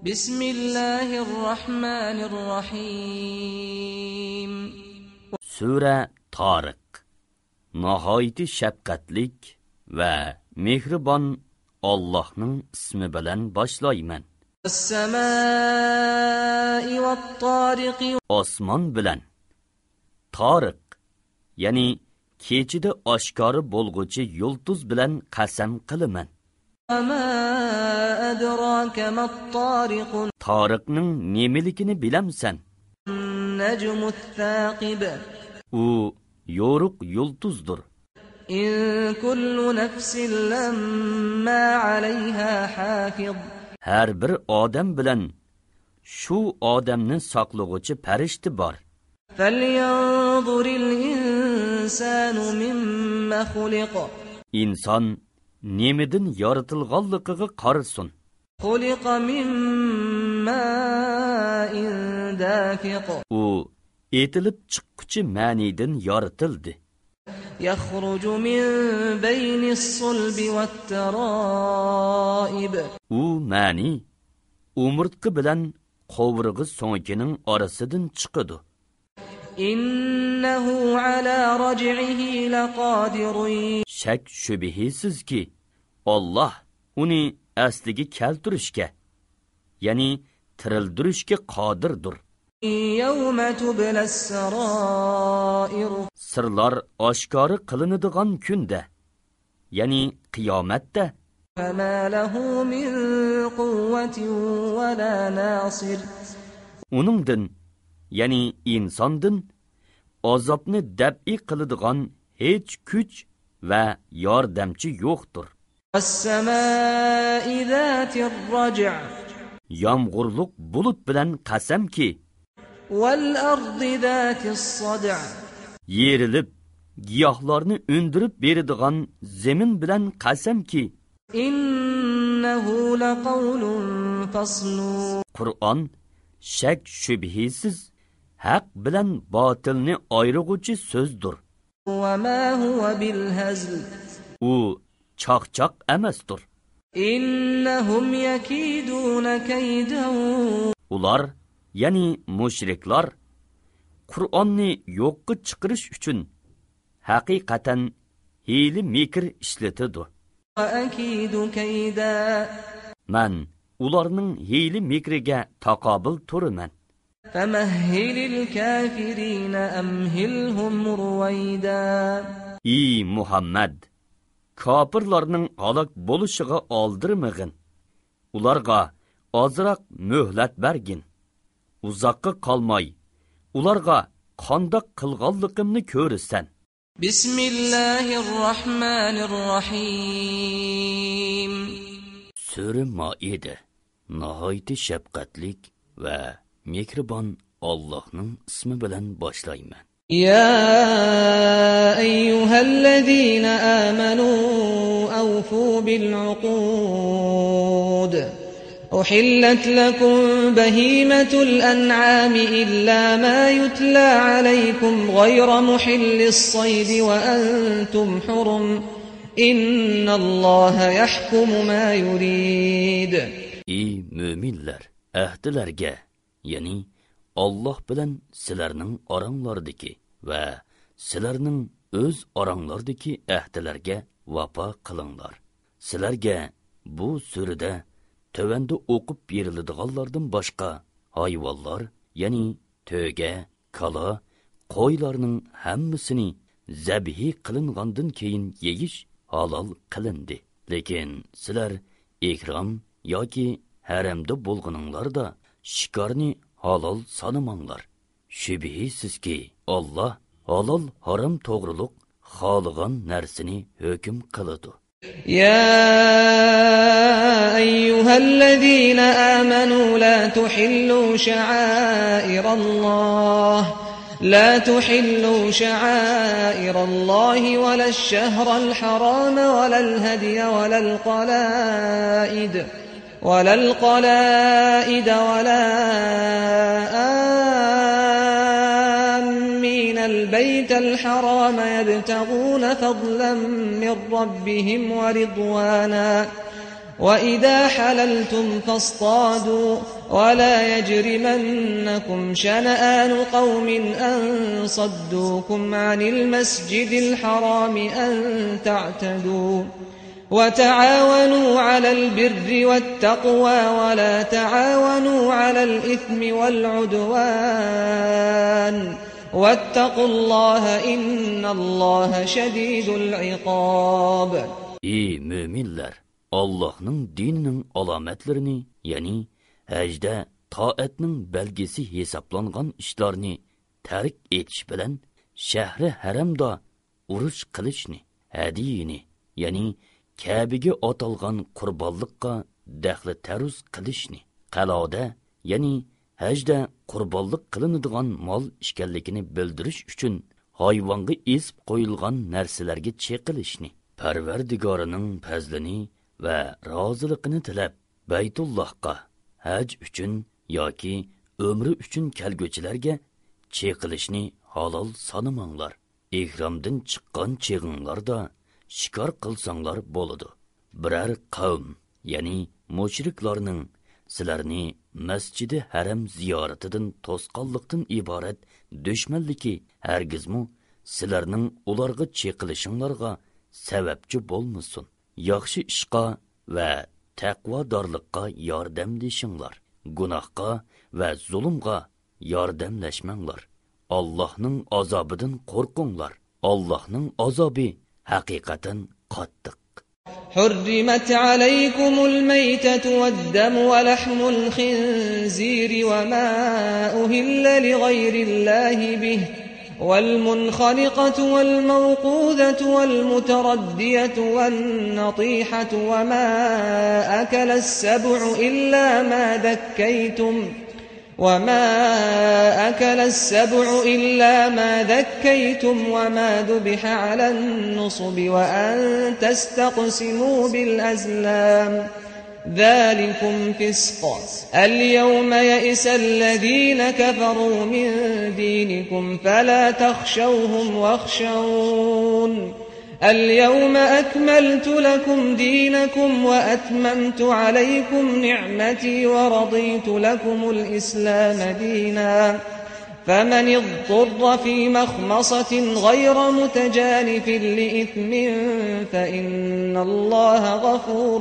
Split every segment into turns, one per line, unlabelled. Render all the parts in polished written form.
Bismillahirrahmanirrahim.
Sura Tariq. Nahayeti şefqatlik ve mehribon Allah'ның ismi bilan boshlayman.
As-samaa'i wat-tariqi.
Osmon bilan. Tariq, ya'ni kechida oshkori bo'lg'uchi yulduz bilan qasam qilaman.
Ma adraka mat-tariq.
Tariqning nemiligini bilamsan?
Najmut-thaqib.
U yo'ruq yulduzdir.
In kullu nafsin lamma 'alayha hafiz.
Har bir odam bilan shu odamni saqlag'uvchi farishta bor.
Falyanzuril insanu mimma khuliq.
İnson nemidan yoritilganligiga qarasin.
Khuliqa mimma dafiq.
U etilib chiqquvchi ma'nidan yoritildi.
Yakhruju min baynis sulbi wat-tara'ib.
U ma'ni umurtqa bilan qo'vrig'i so'ngining orasidan chiqadi.
İnnehu ala raj'ihi laqadirun.
Shak shubhisizki Allah uni asliga keltirishga, ya'ni tirildirishga qodirdir.
Yawma tublas sarair.
Sirlar oshkori qilinadigan kunda, ya'ni qiyomatda.
Fama lahu min quwwatin wa la nasir.
Uningdan, ya'ni insondan azobni dab'i qiladigan hech kuch va yordamchi yo'qdir.
As-samaa'i zatir raj'.
Yomg'irlik bulut bilan qasamki,
wal ardi zatis sad'.
yerilib giyohlarni o'ndirib beradigan zamin bilan qasamki,
innahu laqawlun fasl.
Qur'on shak shubhisiz haq bilan botilni ayiruvchi so'zdir.
Va ma huwa bil hazl.
U chaqchaq emasdir.
Innahum yakiduna kaydan.
Ular, ya'ni mushriklar, Qur'onni yo'qqa chiqarish uchun haqiqatan hiyli mikr ishlatadi.
Va akidu kayda.
Man ularning hiyli mikriga taqobil turaman.
Famahhilil kafirina amhilhum ruwayda.
Ey Muhammad, kafirlarning halok bo'lishiga oldirmag'in. Ularga ozroq muhlat bergin. Uzoqqa qolmay, ularga qandoq qilganligimni ko'rsan.
Bismillahirrahmanirrahim.
Sura Maide. Nahayeti shafqatlik va mehribon Allohning ismi bilan boshlayman.
يا أيها الذين آمنوا أوفوا بالعقود أحلت لكم بهيمة الأنعام إلا ما يتلى عليكم غير محل الصيد وأنتم حرم إن الله يحكم ما يريد.
Ey müminler, ahdilarga, yani Allah bilan sizlarning oranglardagi va sizlarning o'z oranglardagi ahdilarga vafo qilinglar. Sizlarga bu surada tövende o'qib beriladiganlardan boshqa hayvonlar, ya'ni to'ga, kala, qo'ylarning hammasini zabhi qilingandan keyin yeyish halol qilindi. Lekin sizlar ihrom yoki haramda bo'lganinglarda shikarni halol sanamanglar. Shubhisizki Allah halol haram to'g'riliq xohlagan narsani hukm qiladi.
يا أيها الذين آمنوا لا تحلوا شعائر الله ولا الشهر الحرام ولا الهدي ولا القلائد ولا آمين البيت الحرام يبتغون فضلا من ربهم ورضوانا وَإِذَا حَلَلْتُمْ فَاصْطَادُوا وَلَا يَجْرِمَنَّكُمْ شَنَآنُ قَوْمٍ أَن صَدُّوكُمْ عَنِ الْمَسْجِدِ الْحَرَامِ أَن تَعْتَدُوا وَتَعَاوَنُوا عَلَى الْبِرِّ وَالتَّقْوَى وَلَا تَعَاوَنُوا عَلَى الْإِثْمِ وَالْعُدْوَانِ وَاتَّقُوا اللَّهَ إِنَّ اللَّهَ شَدِيدُ الْعِقَابِ.
Ey müminler! Allah'ның dininin alametlerini, yani həcdə taatның belgesi hesaplanğan işlarni tərk etiş bilen şəhri haramda uruş qilishni, hadiyini, yani Kəbəyə atalğan qurbanlıqqa dəxli təruz qilishni, qalada, yani həcdə qurbanlıq qılınıdığan mal işkənligini bildirish uchun hayvonga esib qo'yilgan narsalarga cheqilishni, Parvardigorining fazlini va roziligini tilab Baytullohga haj uchun yoki umri uchun kelguvchilarga cheqilishni halol sanamanglar. Ihromdan chiqqan cheg'inglarda shikor qilsanglar bo'ladi. Biror qavm, ya'ni mushriklarning sizlarni masjidi haram ziyoratidan to'sqanlikdan iborat dushmanligi hargizmi sizlarning ularga cheqilishinglarga sababchi bo'lmasin. Yaxshi ishqa va taqvodorlikqa yordamlashinglar. Gunohga va zulmga yordamlashmanglar. Allohning azobidan qo'rqinglar. Allohning azobi haqiqatan qattiq.
حرمت عليكم الميتة والدم ولحم الخنزير وما أهل لغير الله به والمنخنقة والموقوذة والمتردية والنطيحة وما أكل السبع إلا ما ذكيتم وما ذبح على النصب وأن تستقسموا بالأزلام ذلكم فسق. اليوم يئس الذين كفروا من دينكم فلا تخشوهم واخشون اليوم أكملت لكم دينكم وأتممت عليكم نعمتي ورضيت لكم الإسلام دينا فمن اضطر في مخمصة غير متجانف لإثم فإن الله غفور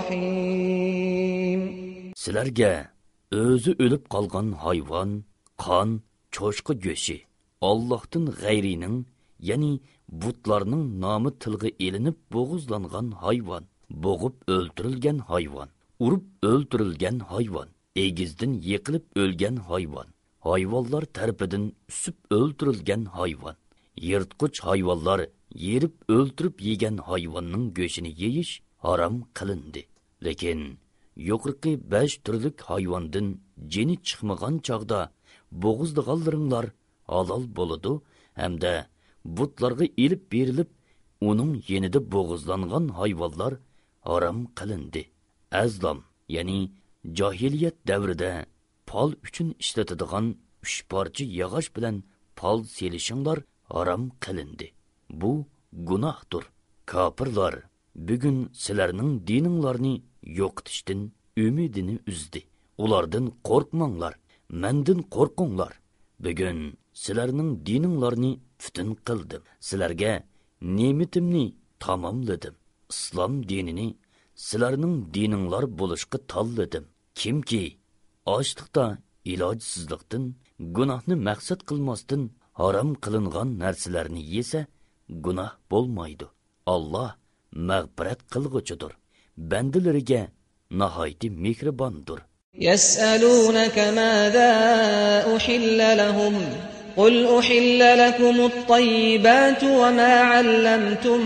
رحيم.
Sizlarga o'zi o'lib qolgan hayvon, qon, cho'chqa go'shi, Allohdan g'ayrining, ya'ni butlarning nomi tilga elinib bo'g'izlangan hayvon, bo'g'ib o'ldirilgan hayvon, urib o'ldirilgan hayvon, egizdan yiqilib o'lgan hayvon, hayvonlar tarafidan usib o'ldirilgan hayvon, yirtqich hayvonlar yerib o'ldirib yegan hayvonning go'shini yeyish harom qilindi. Lekin yuqorqi 5 turlik hayvondan jini chiqmagan chog'da bo'g'izlaganlaringlar halol bo'ladi hamda butlarga elib berilib, uning yenida bo'g'izlangan hayvonlar harom qilindi. Azlam, ya'ni jahiliyat davrida pol uchun ishlatadigan 3 parcha yog'och bilan pol selishinglar harom qilindi. Bu gunohdir. Kofirlar bugun sizlarning dininglarni yo'qotishdan umidini uzdi. Ulardan qo'rqmanglar, mendan qo'rqinglar. Bugun sizlarning dininglarni бүтін qildim. Sizlarga ne'matimni tamomladim. Islom dinini sizlarning dininglar bo'lishga tanladim. Kimki ochliqda, ilojsizlikdan, gunohni maqsad qilmasdan harom qilingan narsalarni yesa, gunoh bo'lmaydi. Alloh mag'firat qilg'uchidir. Bandalariga nihoyat mehribondir.
Yas'alunaka madha uhilla lahum قل أحل لكم الطيبات وما علمتم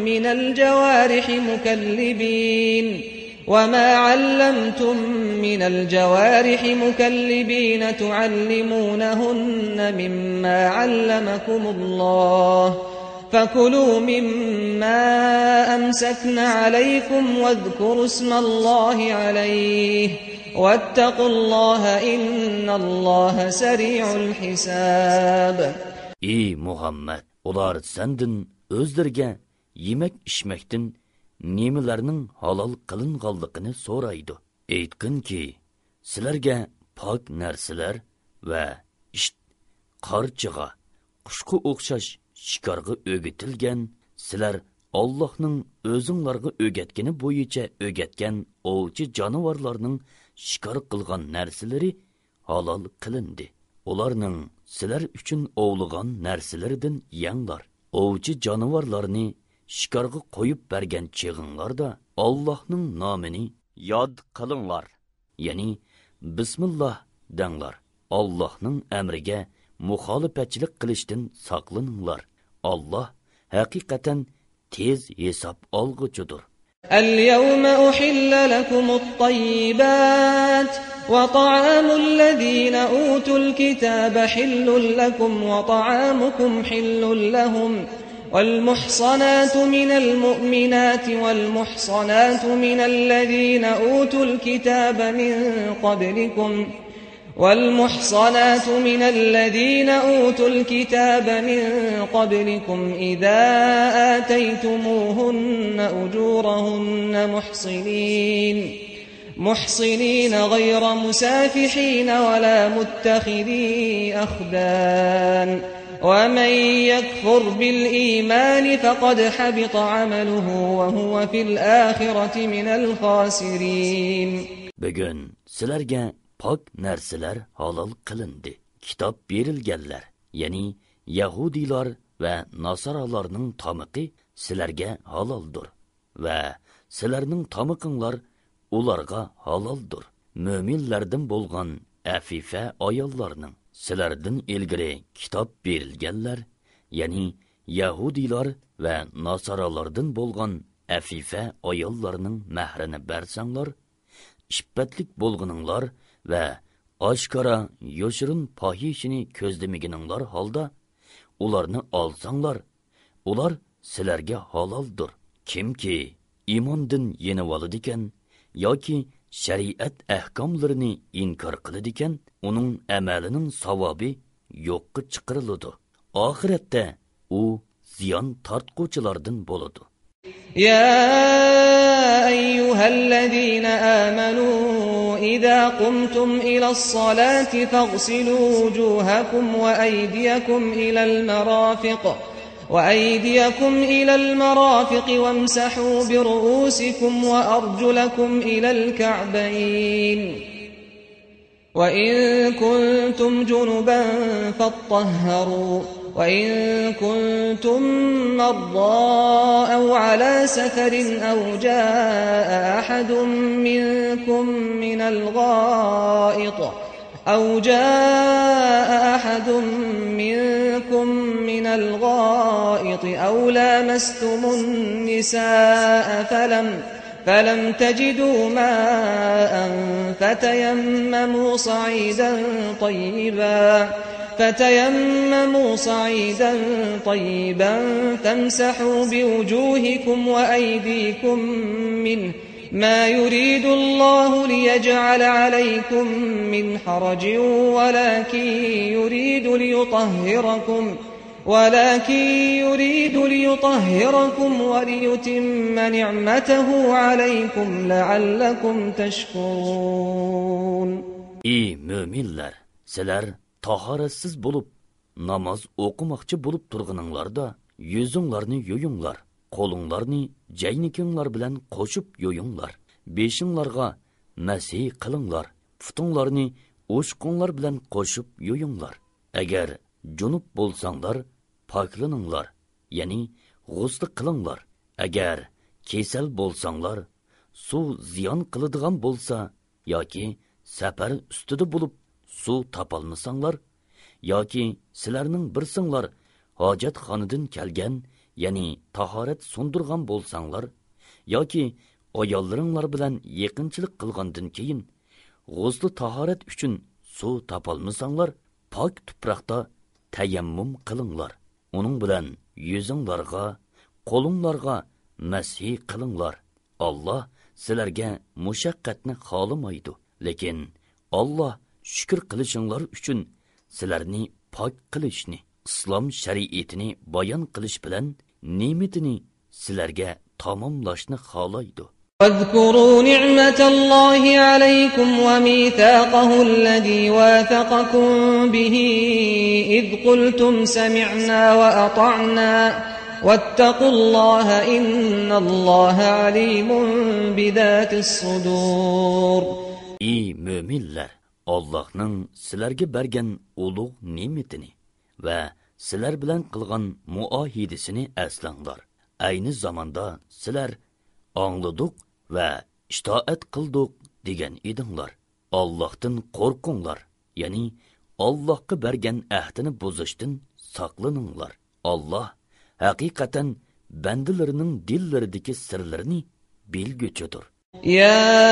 من الجوارح مكلبين تعلمونهن مما علمكم الله فكلوا مما أمسكن عليكم واذكروا اسم الله عليه واتقوا الله إن الله سريع الحساب.
Ey Muhammed, ular senden özlerge yemek içmekten nemelarning halol qilinganligini so'raydi. Aytqinki, sizlarga pok narsalar va qarchiga, qushqa o'xshash shikarga o'gitilgan, sizlar Allohning o'zinglarga o'gatgani bo'yicha o'gatgan ovchi jonivorlarning shikor qilgan narsalari halol qilindi. Ularning sizlar uchun ovlagan narsalaridan yenglar. Ovchi jonivorlarni shikarga qo'yib bergan chig'inglarda Allohning nomini yod qilinglar. Ya'ni bismillah denglar. Allohning amriga muxolifatchilik qilishdan saqlaninglar. Alloh haqiqatan tez hisob olguchidir.
اليوم أحل لكم الطيبات وطعام الذين أوتوا الكتاب حل لكم وطعامكم حل لهم والمحصنات من المؤمنات والمحصنات من الذين أوتوا الكتاب من قبلكم إذا آتيتموهن أجورهن محصنين غير مسافحين ولا متخذي أخدان ومن يكفر بالإيمان فقد حبط عمله وهو في الآخرة من الخاسرين.
Bugün sizlarga pok narsalar halol qilindi. Kitob berilganlar, ya'ni Yahudilar va Nasaralarning tomiqi sizlarga haloldir va sizlarning tomiqinglar ularga haloldir. Mo'minlardan bo'lgan afifa ayollarning sizlardan ilgari kitob berilganlar, ya'ni Yahudilar va Nasaralardan bo'lgan afifa ayollarning mahrini bersanglar, ishbatlik bo'lguninglar va oshkora yoshirin pohishini ko'zdamagininglar holda ularni olsanglar, ular sizlarga haloldir. Kimki iymondan yenib oladigan yoki shariat ahkomlarini inkor qiladigan, uning amalining savobi yo'qqa chiqariladi. Oxiratda u ziyon tortquvchilardan bo'ladi.
يا أيها الذين آمنوا إذا قمتم إلى الصلاة فاغسلوا وجوهكم وأيديكم إلى المرافق وامسحوا برؤوسكم وأرجلكم إلى الكعبين وإن كنتم جنبا فاطهروا وإن كنتم مرضى أو على سفر أو جاء أحد منكم من الغائط أو لامستم النساء فلم تجدوا ماء فتيمموا صعيدا طيبا فامسحوا بوجوهكم وأيديكم منه ما يريد الله ليجعل عليكم من حرج ولكن يريد ليطهركم وليتم نعمته عليكم لعلكم تشكرون.
Ey müminler, sizler taharatsiz bulup namoz o'qimoqchi bo'lib turganinglarda yuzinglarni yo'yinglar, qo'linglarni jaynikinglar bilan qo'shib yo'yinglar, beshinglarga masih qilinglar, putinglarni o'shqinglar bilan qo'shib yo'yinglar. Agar junub bo'lsanglar, poklaninglar, ya'ni g'usl qilinglar. Agar kesal bo'lsanglar, suv ziyon qiladigan bo'lsa yoki safar ustida bo'lib suv topolmasanglar, yoki sizlarning birsinglar hojatxonadan kelgan, ya'ni tahorat sundirgan bo'lsanglar, yoki ayollaringlar bilan yaqinchilik qilgandan keyin g'usl tahorat uchun suv topolmasanglar, pok tuproqda tayammum qilinglar. Uning bilan yuzinglarga, qo'linglarga masih qilinglar. Alloh sizlarga mushaqqatni xohlamaydi, lekin Alloh shukr qilishinglar uchun sizlarni pok qilishni, islom shariatini bayon qilish bilan ne'matini sizlarga tamomlashni xohlaydi.
واذكروا نعمة الله عليكم وميثاقه الذي واثقكم به إذ قلتم سمعنا وأطعنا واتقوا الله إن الله عليم بذات الصدور.
Ey müminler, Allah'ның sizlarga bergan ulug' ne'matini va sizlar bilan qilgan muahidasini eslanglar. Ayni zamonda sizlar angladık ve itoat qildik degan edinglar. Allohdan qo'rqinglar, ya'ni Allohga bergan ahdini buzishdan saqlaninglar. Alloh haqiqatan bandalarining dillaridagi sirlarini bilguchidir.
يا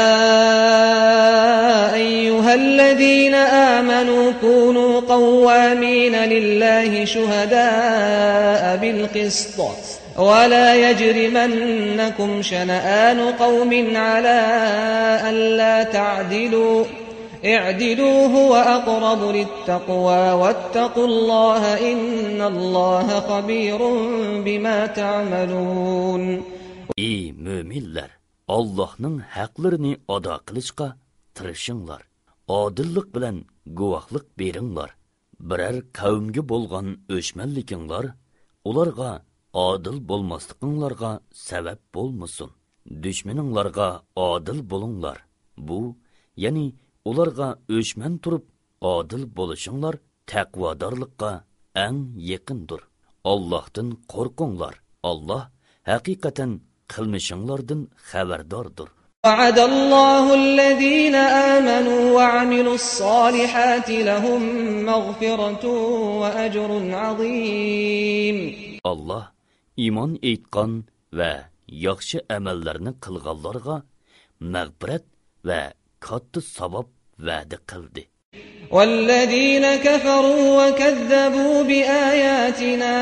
أيها الذين آمنوا كونوا قوامين لله شهداء بالقسط ولا يجرمنكم شنآن قوم على ألا تعدلوا اعدلوا هو أقرب للتقوى واتقوا الله إن الله خبير بما تعملون.
Ey müminler! Allah'ның haqlarini ado qilishga tirishinglar. Odillik bilan guvohlik beringlar. Biror qavmga bo'lgan o'chmanlikinglar ularga adil bo'lmasliginglarga sabab bo'lmasin. Dushmaninglarga adil bo'linglar. Bu, ya'ni ularga o'chman turib adil bo'lishinglar taqvodorlikqa eng yaqindir. Allohdan qo'rqinglar. Alloh haqiqatan qilmishinglardan xabardordir.
وعد الله الذين آمنوا وعملوا الصالحات لهم مغفرة وأجر عظيم.
Allah iymon etgan va yaxshi amallarni qilganlarga mag'firat va katta savob va'da qildi.
والذين كفروا وكذبوا بآياتنا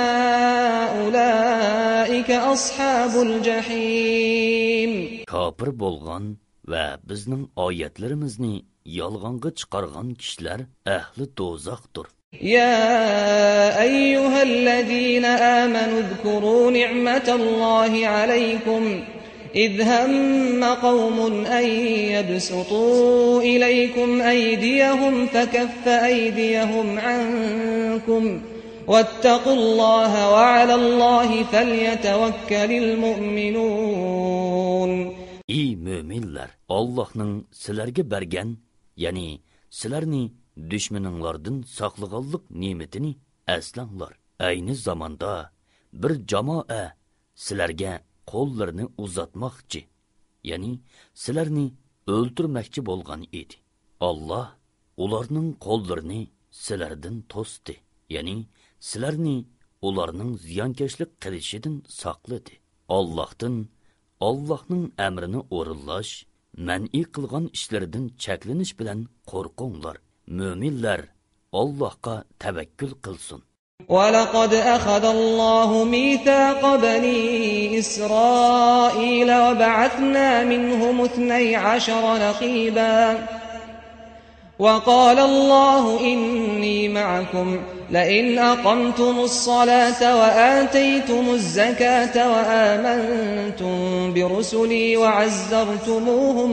أولئك أصحاب الجحيم.
Kafir bo'lgan va bizning oyatlarimizni yolg'onga chiqargan kishilar ahli do'zaxdir.
يا أيها الذين آمنوا اذكروا نعمة الله عليكم إذ هم قوم أن يبسطوا إليكم أيديهم فكف أيديهم عنكم واتقوا الله وعلى الله فليتوكل المؤمنون.
Ey müminler! Allah'ның sizlarga bergan, ya'ni sizlarni düşmaninglardan saqlaganlik ne'matini eslanglar. Ayni zamonda bir jamoa sizlarga qo'llarini uzatmoqchi, ya'ni sizlarni o'ltirmoqchi bo'lgan edi. Alloh ularning qo'llarini sizlardan to'sdi, ya'ni sizlarni ularning ziyonkashlik qilishidan saqladi. Allohning amrini o'rinlash, man'i qilgan ishlardan cheklanish bilan qo'rqinglar. Müminler Allah'a tevekkül kılsın.
وَلَقَدْ أَخَذَ اللَّهُ مِيثَاقَ بَنِي إِسْرَائِيلَ وَبَعَثْنَا مِنْهُمُ 12 نَقِيبًا وَقَالَ اللَّهُ إِنِّي مَعَكُمْ لَئِنْ أَقَمْتُمُ الصَّلَاةَ وَآتَيْتُمُ الزَّكَاةَ وَآمَنْتُمْ بِرُسُلِي وَعَزَّرْتُمُوهُمْ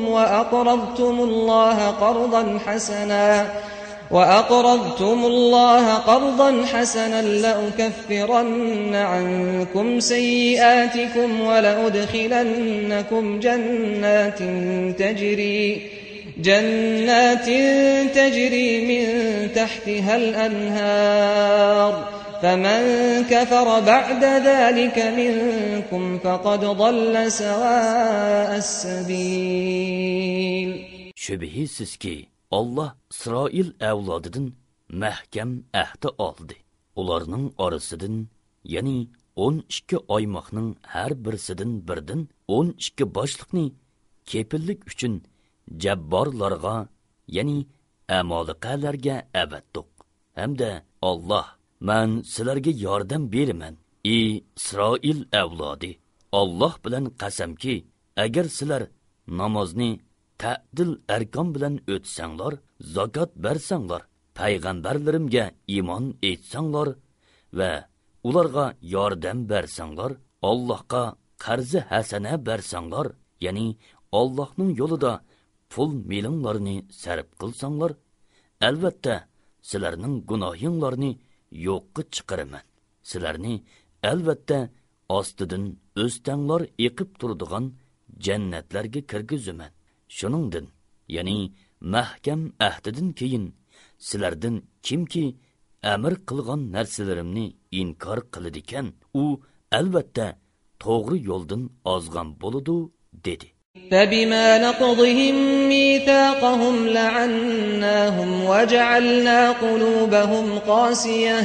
وَأَقْرَضْتُمُ اللَّهَ قَرْضًا حَسَنًا لَأُكَفِّرَنَّ عَنْكُمْ سَيِّئَاتِكُمْ وَلَأُدْخِلَنَّكُمْ جَنَّاتٍ تَجْرِي مِنْ تَحْتِهَا الْأَنْهَارُ فَمَنْ كَفَرَ بَعْدَ ذَلِكَ مِنْكُمْ فَقَدْ ضَلَّ سَوَاءَ السَّبِيلِ.
Şübihisiz ki Allah İsrail evladıdan mahkam ahdi aldı. Ularning arasıdan, yani 12 aymaqning her birisidan birdan 12 boshliqni kepillik uchun jabborlarga, yani amoliqalarga avatdiq. Hamda Allah, men sizlarga yordam beraman, ey İsrail evladı. Allah bilan qasamki, agar sizlar namozni ta'dil arkon bilan o'tsanglar, zakot bersanglar, payg'ambarlarimga iymon etsanglar va ularga yordam bersanglar, Allohga qarzi hasana bersanglar, ya'ni Allohning yo'lida pul milinglarni sarf qilsanglar, albatta sizlarning gunohinglarni yo'qqa chiqaraman. Sizlarni albatta ostidan o'stanglar eqib turadigan jannatlarga kirgizaman. Shuningdin, ya'ni mahkam ahdidan keyin sizlardan kimki amr qilgan narsalarimni inkor qiladi ekan, u albatta to'g'ri yo'ldan ozgan bo'ladi dedi.
فبما نقضهم ميثاقهم لعناهم وجعلنا قلوبهم قاسية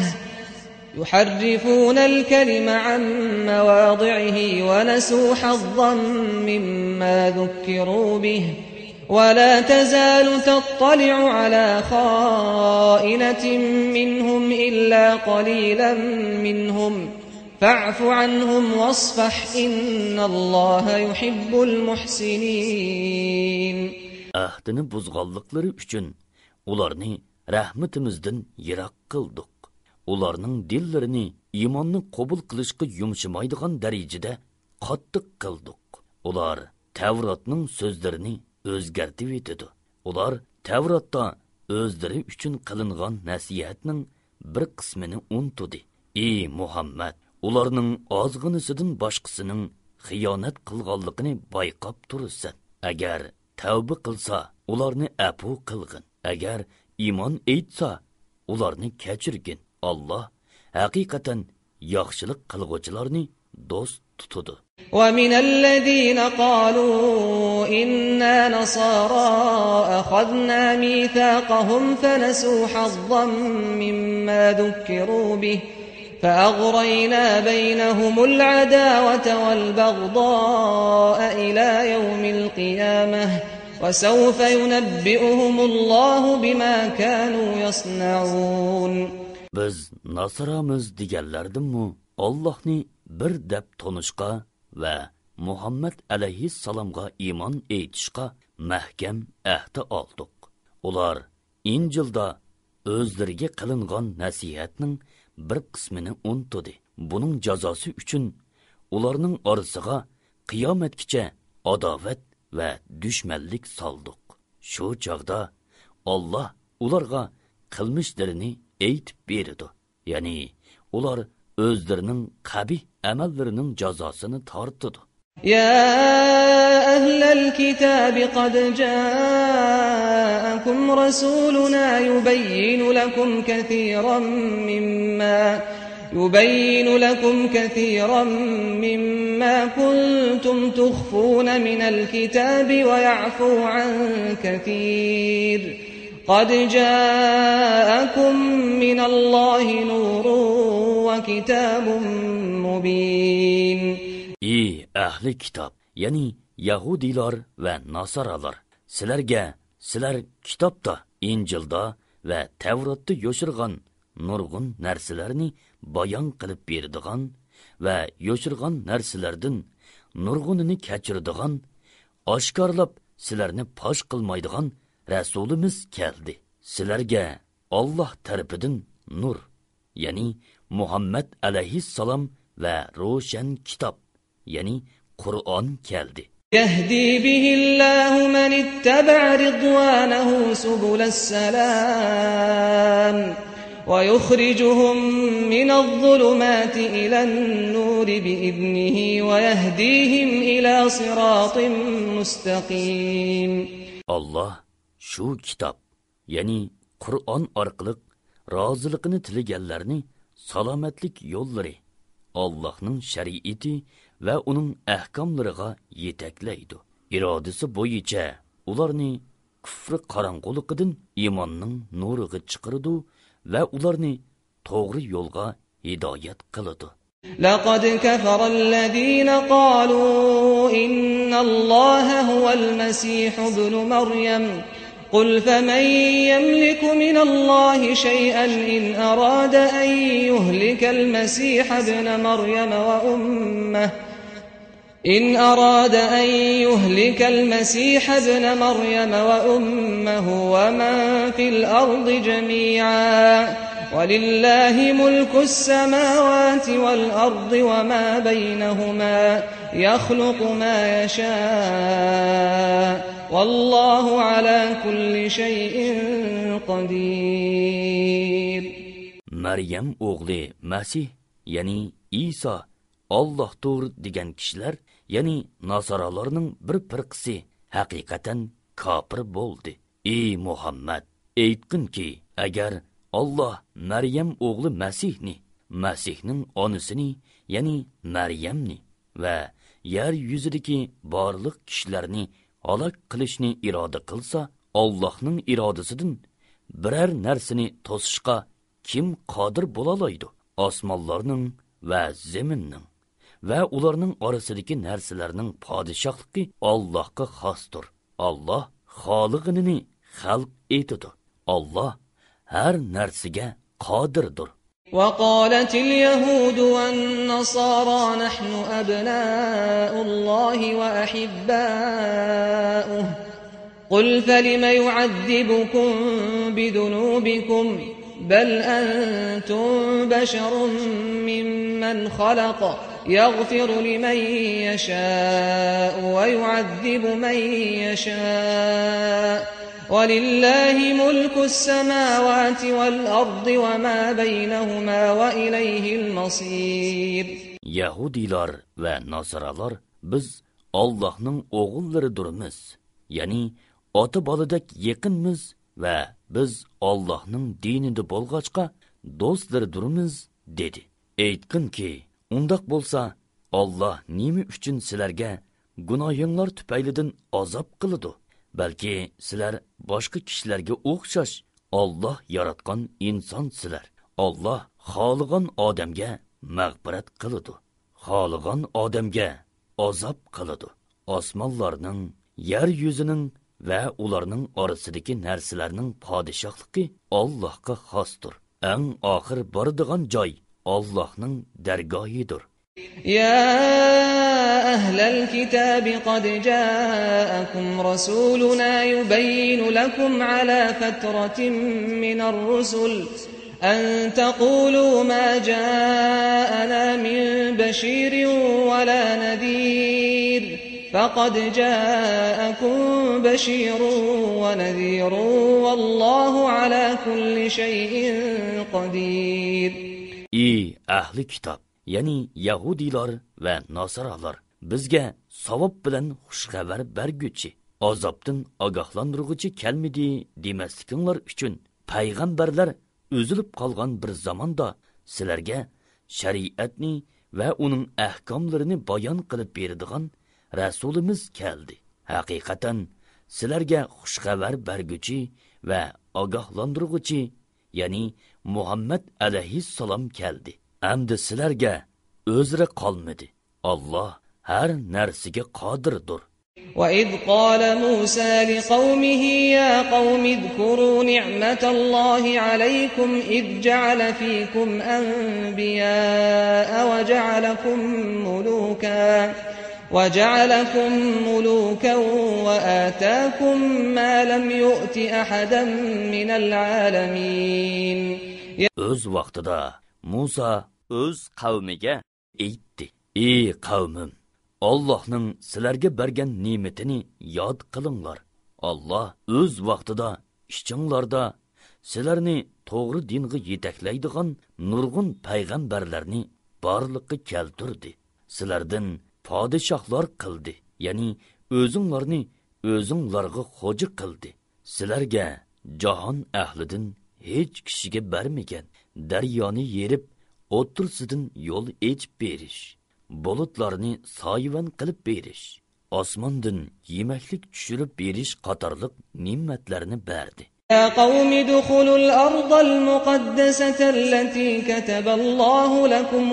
يحرفون الكلم عن مواضعه ونسوا حظا مما ذكروا به ولا تزال تطلع على خائنة منهم إلا قليلا منهم فاعف عنهم واصفح إن الله يحب المحسنين.
Ahdini buzganlıkları üçün ularni rahmetimizden yirak kıldık. Ularning dillarini imanni qabul qilishga yumshamaydigan darajada qattiq qildik. Ular Tavratning so'zlarini o'zgartib etdi. Ular Tavratda o'zlari uchun qilingan nasihatning bir qismini unutdi. Ey Muhammad, ularning ozg'inisidan boshqasining xiyonat qilganligini bayqab tursan. Agar tavba qilsa, ularni afu qilgin. Agar iymon etsa, ularni kechirgin. Allah haqiqatan yaxshilik qilguvchilarni do'st tutadi.
ومن الذين قالوا إنا نصارى أخذنا ميثاقهم فنسوا حظا مما ذكروا به فأغرينا بينهم العداوة والبغضاء إلى يوم القيامة وسوف ينبئهم الله بما كانوا يصنعون.
Biz Nasramiz deganlardimmi Allohni bir deb tonishqa va Muhammad alayhissalomga iymon etishqa mahkam ahd oldik. Ular Injilda o'zlariga qilingan nasihatning bir qismini unutdi. Buning jazosi uchun ularning orasiga qiyomatgacha adovat va dushmanlik soldik. Shu chaqda Alloh ularga qilmishlarini aytib berdi. Ya'ni ular o'zlarining qabih amallarining jazosini tortdi.
يا أهل الكتاب قد جاءكم رسولنا يبين لكم كثيرا مما كنتم تخفون من الكتاب ويعفو عن كثير قد جاءكم من الله نور وكتاب مبين.
Ey ahli kitob, ya'ni Yahudilar va Nasaralar, sizlar kitobda, Injilda va Tavratda yoshirgan nurg'un narsalarni bayon qilib beradigan va yoshirgan narsalardan nurg'unini kechiradigan, oshkorlab sizlarni fosh qilmaydigan rasulimiz keldi. Sizlarga Alloh tarafidan nur, ya'ni Muhammad alayhissalom va ro'shan kitob, ya'ni Qur'on keldi.
يهدي به الله من اتبع رضوانه سبل السلام ويخرجهم من الظلمات إلى النور بإذنه ويهديهم إلى صراط مستقيم. Allah shu kitob, ya'ni Qur'on orqali roziligini tilaganlarni salomatlik yo'llari, Allohning shariati va uning ahkomlariga yetaklaydi. Irodasi bo'yicha ularni kufr qorong'uligidan iymonning nuriga chiqaradi va ularni to'g'ri yo'lga hidoyat qiladi. لقد كفر الذين قالوا إن الله هو المسيح ابن مريم قل فمن يملك من الله شيئا إن أراد أن يهلك المسيح ابن مريم وأمه ومن في الأرض جميعا وَلِلَّهِ مُلْكُ السَّمَاوَاتِ وَالْأَرْضِ وَمَا بَيْنَهُمَا يَخْلُقُ مَا يَشَاءُ وَاللَّهُ عَلَى كُلِّ شَيْءٍ قَدِيرٌ.
Maryam o'g'li Masih, ya'ni Isa Allohdir degan kishilar, ya'ni nasoralarning bir firqasi haqiqatan kofir bo'ldi. Ey Muhammad, aytqinki, agar Allah Maryam o'g'li Masihning onasini, ya'ni Maryamni va yer yuzidagi barliq kishilarni halok qilishni iroda qilsa, Allohning irodasidan biror narsani to'sishga kim qodir bo'lalaydi? Osmonlarning va zaminning va ularning orasidagi narsalarning podshohligi Allohga xosdir. Alloh xoliqini xalq etadi. Alloh har narsaga qodirdir.
وقالت اليهود والنصارى نحن أبناء الله وأحباؤه قل فلم يعذبكم بذنوبكم بل أنتم بشر ممن خلق يغفر لمن يشاء ويعذب من يشاء وَلِلَّهِ مُلْكُ السَّمَاوَاتِ وَالْأَرْضِ وَمَا بَيْنَهُمَا وَإِلَيْهِ الْمَصِيرُ.
Yahudilar ve Nasaralar biz Allah'ın oğullarıdırmız. Yani ota balıdak yakınmız ve biz Allah'ın dininde bolgaçka dostlarıdırmız dedi. Aytqin ki, undaq bolsa Allah nimi üçün sizlerge günahınlar tüpeylidin azap kılıdı. Belki sizler başka kişilerge o'xshash Allah yaratgan inson sizler. Allah xohlagan odamga mag'firat qiladi. Xohlagan odamga azob qiladi. Osmonlarning, yer yuzining va ularning orasidagi narsalarning podshohligi Allohga xosdir. Eng oxir boradigan joy Allohning dargohidir.
يا أهل الكتاب قد جاءكم رسولنا يبين لكم على فترة من الرسل أن تقولوا ما جاءنا من بشير ولا نذير فقد جاءكم بشير ونذير والله على كل شيء قدير.
Ey ahli kitob, ya'ni Yahudilar va Nasaralar, bizga savob bilan xushxabar berguchi, azobdan ogohlantiruvchi kelmidi demaslikinglar uchun payg'ambarlar o'zilib qolgan bir zamonda sizlarga shariatni va uning ahkomlarini bayon qilib beradigan rasulimiz keldi. Haqiqatan sizlarga xushxabar berguchi va ogohlantiruvchi, ya'ni Muhammad alayhissalom keldi. Amdi sizlarga o'zra qolmadi. Allah har narsaga qodirdir.
وَإِذْ قَالَ مُوسَى لِقَوْمِهِ يَا قَوْمِ اذْكُرُوا نِعْمَةَ اللَّهِ عَلَيْكُمْ إِذْ جَعَلَ فِيكُمْ أَنْبِيَاءَ وَجَعَلَكُمْ مُلُوكًا وَآتَاكُمْ مَا لَمْ يُؤْتِ أَحَدًا مِنَ الْعَالَمِينَ.
Öz vaqtida Musa öz qavmiga aytdi: Ey qavmim, Allohning sizlarga bergan ne'matini yod qilinglar. Allah öz vaqtida ishchinglarda sizlarni to'g'ri dinga yetaklaydigan nurg'un payg'ambarlarni borliqqa keltirdi. Sizlardan podshohlar qildi, ya'ni o'zinglarni o'zinglarga xo'ja qildi. Sizlarga jahon ahlidan hech kishiga bermagan daryoni yerib o'tirsidan yo'l echib berish, bulutlarni soyvan qilib berish, osmondan yemaklik tushirib berish qatorliq ne'matlarni berdi.
يا قوم ادخلوا الأرض المقدسة التي كتب الله لكم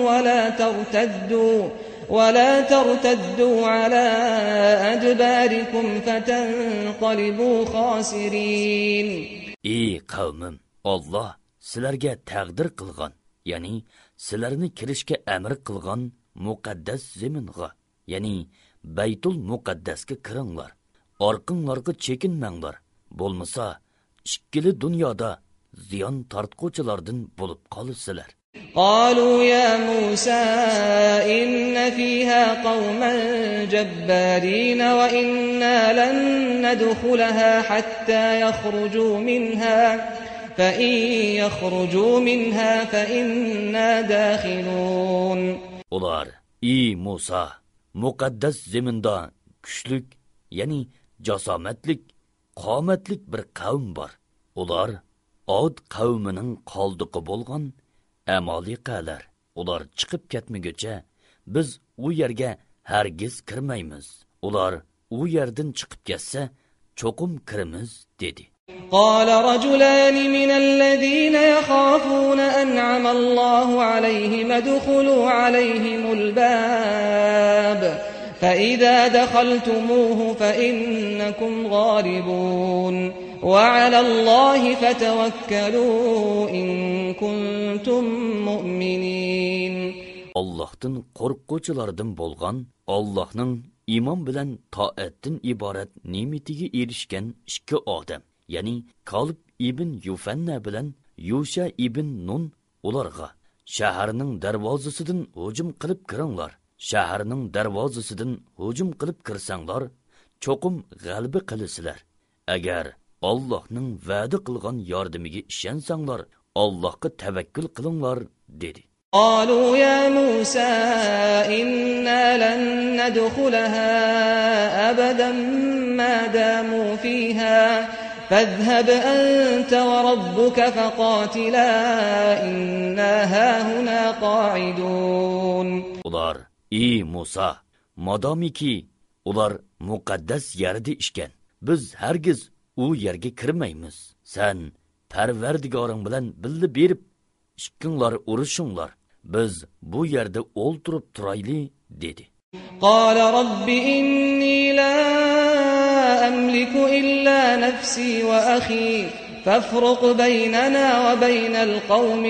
ولا ترتدوا على أدباركم فتنقلبوا خاسرين.
Ey qavmim, Allah sizlarga taqdir qilgan, ya'ni sizlarni kirishga amr qilgan muqaddas zaminga, ya'ni Baytul Muqaddasga kiringlar. Orqinglarga chekinmanglar. Bo'lmasa, ikkili dunyoda ziyon tortquchilardan bo'lib qolasizlar.
قالوا يا موسى إن فيها قوما جبارين وإنا لن ندخلها حتى يخرجوا منها فإن يخرجوا منها فإنا داخلون.
Ular, ey Musa, muqaddas zeminda kuchlik, ya'ni jasomatlik, qomatlik bir qavm bor. Ular Od qavmining qoldiqi bo'lgan Amaliqalar. Ular chiqib ketmaguncha biz u yerga hargiz kirmaymiz. Ular u yerdan chiqib ketsa, cho'qim kiramiz dedi.
قال رجلان من الذين يخافون أنعم الله عليهم ادخلوا عليهم الباب فإذا دخلتموه فإنكم غالبون وعلى الله فتوكلوا إن كنتم مؤمنين.
Allah'tan qorqquchilardan bo'lgan, Allah'ның iman bilan taatdan iborat ne'matiga erishgan ikki odam, ya'ni Kalb ibn Yufanna bilan Yusha ibn Nun ularga shaharning darvozasidan hujum qilib kiringlar. Shaharning darvozasidan hujum qilib kirsanglar, cho'qim g'alaba qilasizlar. Agar Allohning va'da qilgan yordamiga ishonsanglar, Allohga tavakkul qilinglar dedi.
قالوا يا موسى إنا لن ندخلها أبدا ما داموا فيها فاذهب أنت وربك فقاتلا إنا هاهنا قاعدون.
Ular, ey Musa, madamiki ular muqaddas yerda ishgan, biz hargiz u yerga kirmaymiz. Sen Parvardigoring bilan birga berib ikkinglar urushinglar. Biz bu yerda o'ltirib turayli dedi.
قال رب إني لا أملك إلا نفسي وأخي فافرق بيننا وبين القوم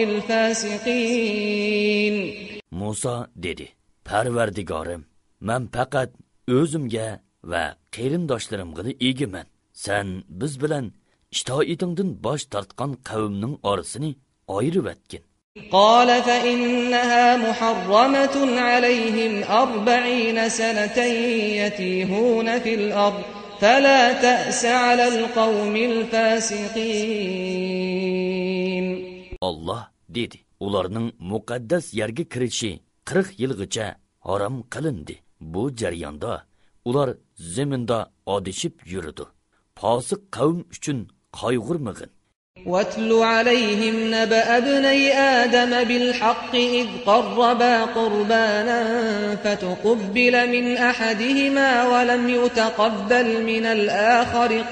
الفاسقين. Musa
dedi, Parvardigorim, men faqat o'zimga va qarindoshlarimga egiman. Sen biz bilan itoatingdan bosh tortgan qavmning orasini ayirib etgin.
قال فإنها محرمة عليهم 40 سنة يتيهون في الأرض فلا تأس على القوم الفاسقين.
Allah dedi, ularning muqaddas yerga kirishi 40 yilgacha harom qilindi. Bu jarayonda ular zaminda odishib yurdi. Fosiq qavm uchun qayg'urmag'in.
واتل عليهم نبأ ابني آدم بالحق إذ قربا قربانا فتقبل من أحدهما ولم يتقبل من الآخر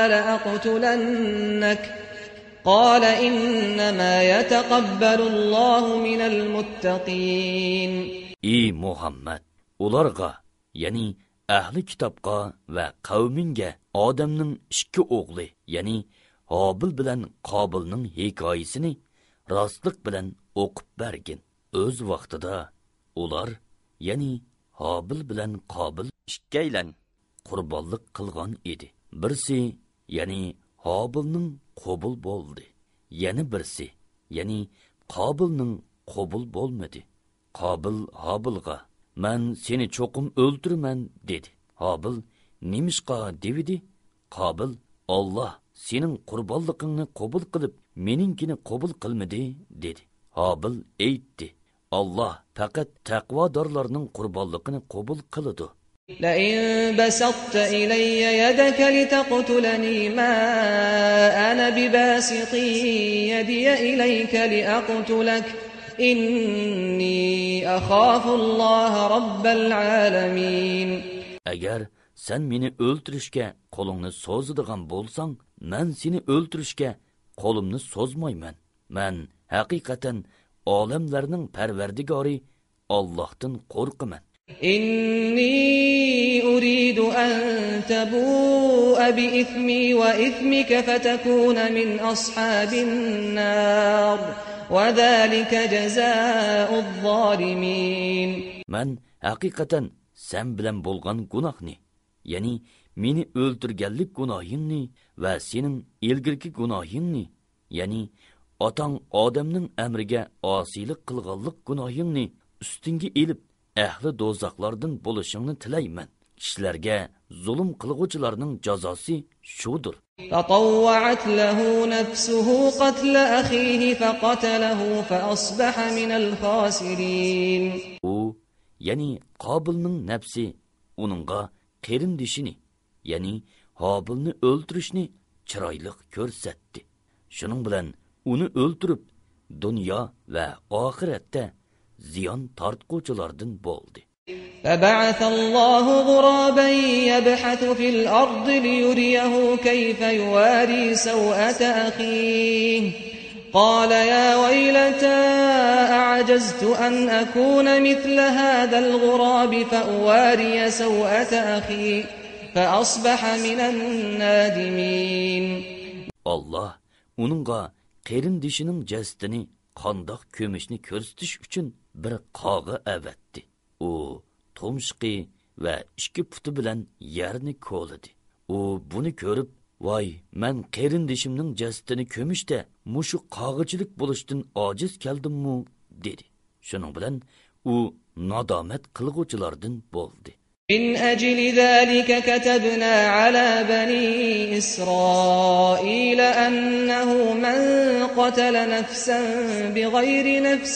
قال إنما يتقبل الله من المتقين.
Ey Muhammed, ularga, yani ahli kitobga va qavminga Odamning ikki o'g'li, yani Habil bilan Qobilning hikoyasini rostlik bilan o'qib bergin. O'z vaqtida ular, ya'ni Habil bilan Qobil ikkaylan qurbonlik qilgan edi. Birsi, ya'ni Habilning qabul bo'ldi. Yana birsi, ya'ni Qobilning qabul bo'lmadi. Qobil Habilga, "Men seni cho'qim o'ldirman" dedi. Habil, "Nimishqa?" dedi. Qobil, "Allah sening qurbonligingni qabul qilib, meninkini qabul qilmadi" dedi. Habil aytdi, "Allah faqat taqvodorlarning qurbonligini qabul qiladi."
لئن بسطت إلي يدك لتقتلني ما أنا بباسط يدي إليك لأقتلك إني أخاف الله رب العالمين.
Agar sen meni o'ltirishga qo'lingni so'zadigan bo'lsang, men seni o'ltirishga qo'limni so'zmayman. Men haqiqatan olamlarning parvardigori Allohdan qo'rqaman.
إني أريد أن تبوء بإثمي وإثمك فتكون من أصحاب النار وذلك جزاء الظالمين.
Men haqiqatan sen bilan bo'lgan gunohni, ya'ni meni o'ldirganlik gunohingni va sening ilgirki gunohingni ya'ni otang odamning amriga osiylik qilganlik gunohingni ustingga elib ahli do'zaxlardan bo'lishingni tilayman. Kishilarga zulm qilg'uvchilarning jazosi shudir.
فطوعت له نفسه قتل أخيه فقتله فأصبح من الخاسرين.
U, ya'ni Qobilning nafsi uningga qarindishini, ya'ni Hobilni o'ldirishni chiroyli ko'rsatdi. Shuning bilan uni o'ldirib, dunyo va oxiratda ziyon tortquvchilardan bo'ldi.
فبعث الله غرابا يبحث في الأرض ليريه كيف يواري سوءة أخيه قال يا ويلتى أعجزت أن أكون مثل هذا الغراب فأواري سوءة أخي فأصبح من النادمين.
Allah uningga qarindishining jasadini qandoq ko'mishni ko'rsatish uchun bir qog'i avatdi. U tumshqi va ikki puti bilan yerni ko'ladi. U buni ko'rib, "Voy, men qarindishimning jasadini ko'mishda mushu qog'ichilik bo'lishdan ojiz keldim-mu?" dedi. Shuning bilan u nadomat qilg'uvchilardan bo'ldi.
من أجل ذلك كتبنا على بني إسرائيل أنه من قتل نفسا بغير نفس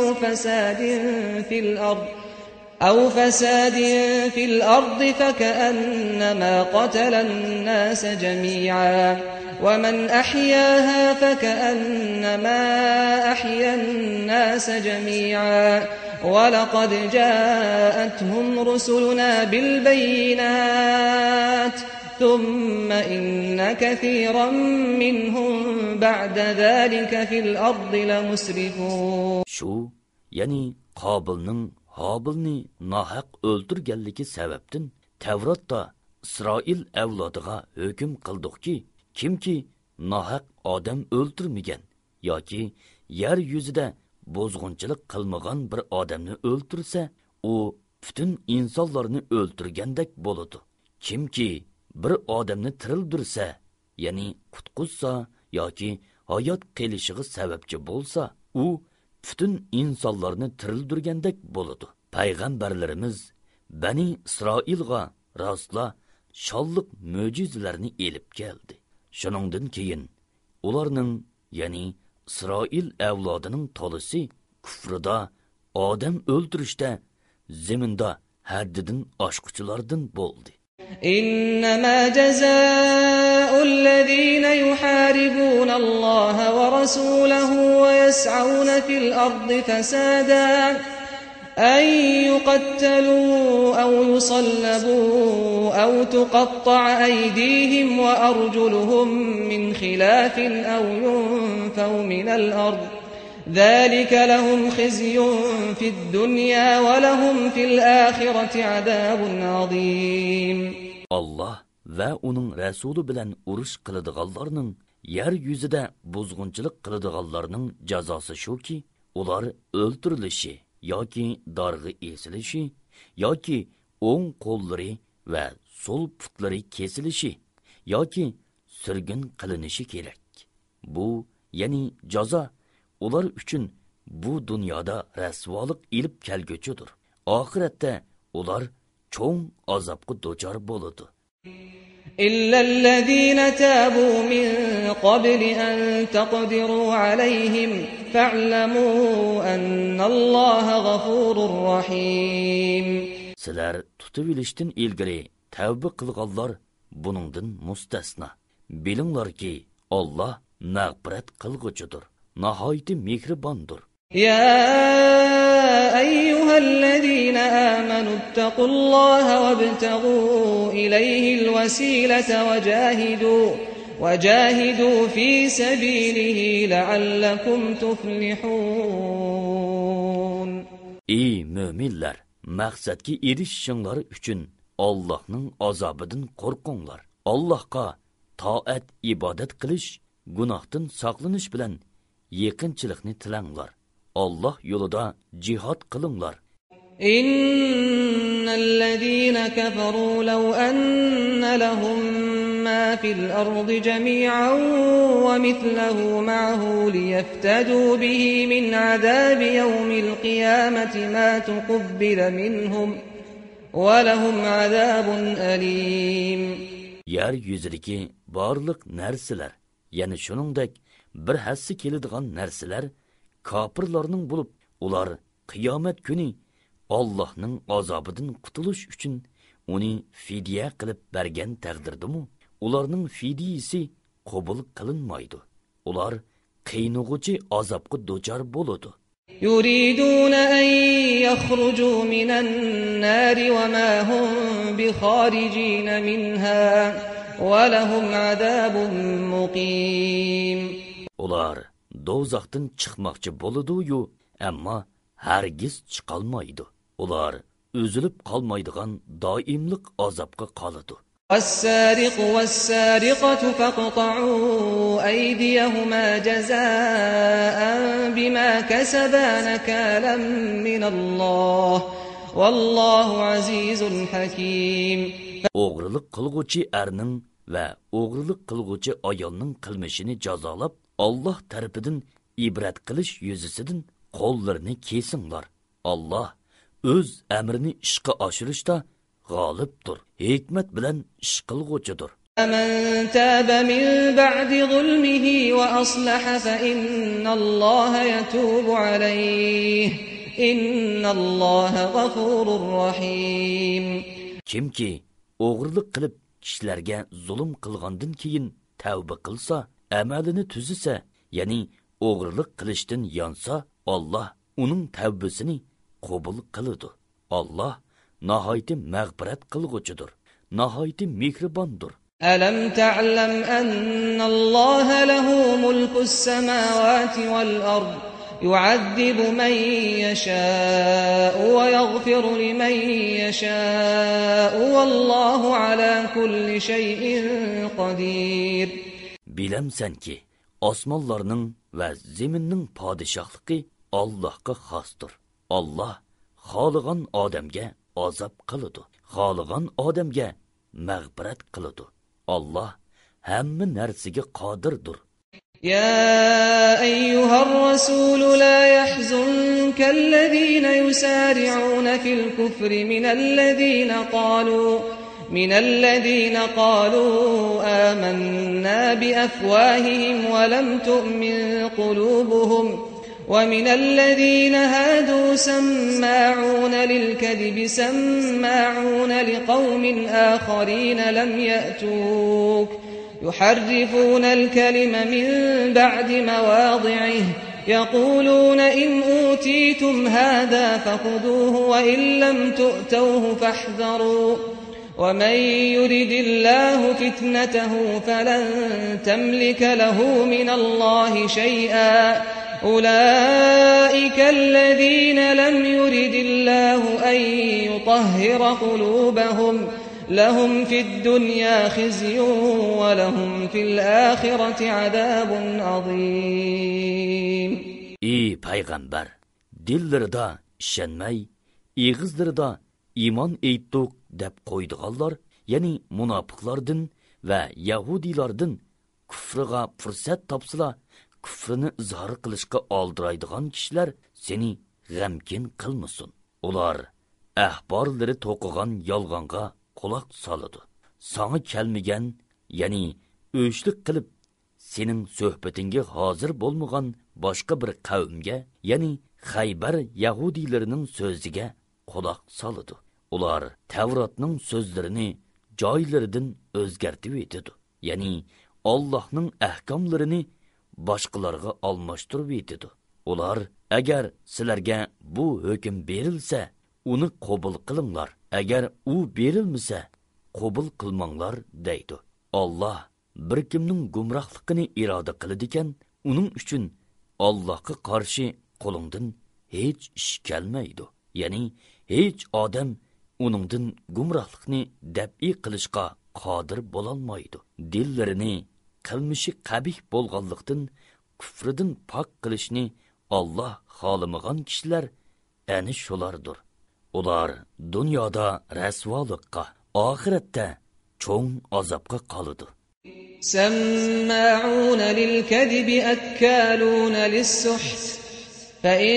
أو فساد في الأرض فكأنما قتل الناس جميعا ومن أحياها فكأنما أحيا الناس جميعا ولقد جاءتهم رسلنا بالبينات ثم إن كثيرا منهم بعد ذلك في الأرض لمسرفون.
Şu, yani Qobilning Hobilni nahaq o'ldirganligi sababdan Tavratda İsroil avlodiga hukm qildiki, kimki nahaq odam o'ldirmagan yoki yer yuzida bozg'unchilik qilmagan bir odamni o'ldirsa, u butun insonlarni o'ldirgandek bo'ladi. Kimki bir odamni tirildirsa, ya'ni qutquzsa yoki hayot kelishiga sababchi bo'lsa, u butun insonlarni tirildirgandek bo'ladi. Payg'ambarlarimiz Bani Isroilga rostla sholliq mo'jizalarni elib keldi. Shuningdan keyin ularning, ya'ni İsroil avlodining tolisi kufrida, odam o'ldirishda, zaminda haddidan oshquchilardan bo'ldi.
إنما جزاء الذين يحاربون الله ورسوله ويسعون في الأرض فسادا أن يقتلوا أو يصلبوا أو تقطع أيديهم وأرجلهم من خلاف أو ينفوا من الأرض ذلك لهم خزي في الدنيا ولهم في الآخرة عذاب عظيم.
Allah va uning rasuli bilan urush qiladiganlarning, yer yuzida buzg'unchilik qiladiganlarning jazosi shuki, ular o'ldirilishi yoki darg'i esilishi yoki o'ng qo'llari va so'l putlari kesilishi yoki surgun qilinishi kerak. Bu, ya'ni jazo ular uchun bu dunyoda rasvolik ilib kelguchidir. Oxiratda ular cho'ng azobga duchor bo'ladi.
إلا الذين تابوا من قبل أن تقدروا عليهم فاعلموا أن الله غفور رحيم.
Sizlar tutib ilishdan ilgari tavba qilganlar buningdan mustasno. Bilinglarki, Alloh mag'firat qilguchidir, nihoyatda mehribondir.
يا أيها الذين آمنوا اتقوا الله وابتغوا إليه الوسيلة وجاهدوا في سبيله لعلكم تفلحون. Ey
müminler, maqsadga erishishinglar uchun Allohning azobidan qo'rqinglar. Allohga toat ibodat qilish, gunohdan saqlanish bilan yaqinchilikni tilanglar. Allah yo'lida jihad qilinglar.
إن الذين كفروا لو أن لهم ما في الأرض جميعا ومثله معه ليفتدوا به من عذاب يوم القيامة ما تقبل منهم ولهم عذاب أليم.
Yer yüzüdeki barlık nerseler, yani şuningdek bir hassi keladigan narsalar kofirlarning bo'lib, ular qiyomat kuni Allohning azobidan qutulish uchun uni fidya qilib bergan taqdirdimi, ularning fidyasi qabul qilinmaydi. Ular qiynug'uchi azobga duchor bo'ladi.
يريدون أن يخرجوا من النار وما هم بخارجين منها ولهم عذاب مقيم.
Ular dozaqdan chiqmoqchi bo'ladi-yu, ammo hargiz chiqolmaydi. Ular üzülüp qolmaydigan doimlik azobga qoladi.
والسارق والسارقة فاقطعوا أيديهما جزاء بما كسبا نكالا من الله والله عزيز حكيم.
O'g'rilik qilguvchi erning va o'g'rilik qilguvchi ayolning qilmishini jazolab, Alloh tarafidan ibrat qilish yuzasidan qo'llarini kesinglar. Alloh o'z amrini ishga oshirishda g'olibdir, hikmat bilan ish qilguvchidir.
من تاب من بعد ظلمه وأصلح فإن الله يتوب عليه إن الله غفور رحيم.
Kimki o'g'rilik qilib kishilarga zulm qilgandan keyin tavba qilsa, amalini tuzisa, ya'ni o'g'rilik qilishdan yonsa, Alloh uning tavbasini qabul qiladi. Alloh nihoyatda mag'firat qilguvchidir, nihoyatda mehribondir.
ألم تعلم أن الله له ملك السماوات والأرض يعذب من يشاء ويغفر لمن يشاء والله على كل شيء قدير. Bilemsenki osmonlarning va zaminning podshohligi Allohga xosdir. Alloh xohlagan odamga azob qiladi, xohlagan odamga mag'firat qiladi. Allah hamma narsaga qodirdir. يا أيها الرسول لا يحزنك الذين يسارعون في الكفر من الذين قالوا آمنا بأفواههم ولم تؤمن قلوبهم ومن الذين هادوا سماعون للكذب سماعون لقوم آخرين لم يأتوك يحرفون الكلم من بعد مواضعه يقولون إن أوتيتم هذا فخذوه وإن لم تؤتوه فاحذروا ومن يرد الله فتنته فلن تملك له من الله شيئا أولئك الذين لم يرد الله أن يطهر قلوبهم لهم في الدنيا خزي ولهم في الآخرة عذاب عظيم.
Ey payg'ambar, dillarida ishonmay, ig'izlarida iymon aytdik deb qo'ydiganlar, ya'ni munofiqlardan va yahudiylardan kufriga fursat topsalar, kufrini izhor qilishga oldiraydigan kishilar seni g'amkin qilmasin. Ular ahborlari to'qigan yolg'onga quloq soladi. Sana kelmagan, ya'ni o'shlik qilib sening suhbatingga hozir bo'lmagan boshqa bir qavmga, ya'ni Xaybar yahudiylarining so'ziga quloq soladi. Ular Tavrotning so'zlarini joylaridan o'zgartib etadi. Ya'ni Allohning ahkomlarini boshqalarga almashtirib etadi. Ular agar sizlarga bu hukm berilsa, uni qabul qilinglar. Agar u berilmasa, qabul qilmanglar deydi. Alloh bir kimning gumrohligini iroda qiladi ekan, uning uchun Allohga qarshi qo'lingdan hech ish kelmaydi. Ya'ni hech odam uningdan gumrohlikni dab'iy qilishga qodir bo'lolmaydi. Dillarini qilmishi qabih bo'lganlikdan kufridan pok qilishni Alloh xohlamagan kishilar ana shulardir. Ular dunyoda rasvolikqa, oxiratda cho'ng azobga qoladi.
سماعون للكذب أكالون للسحت فإن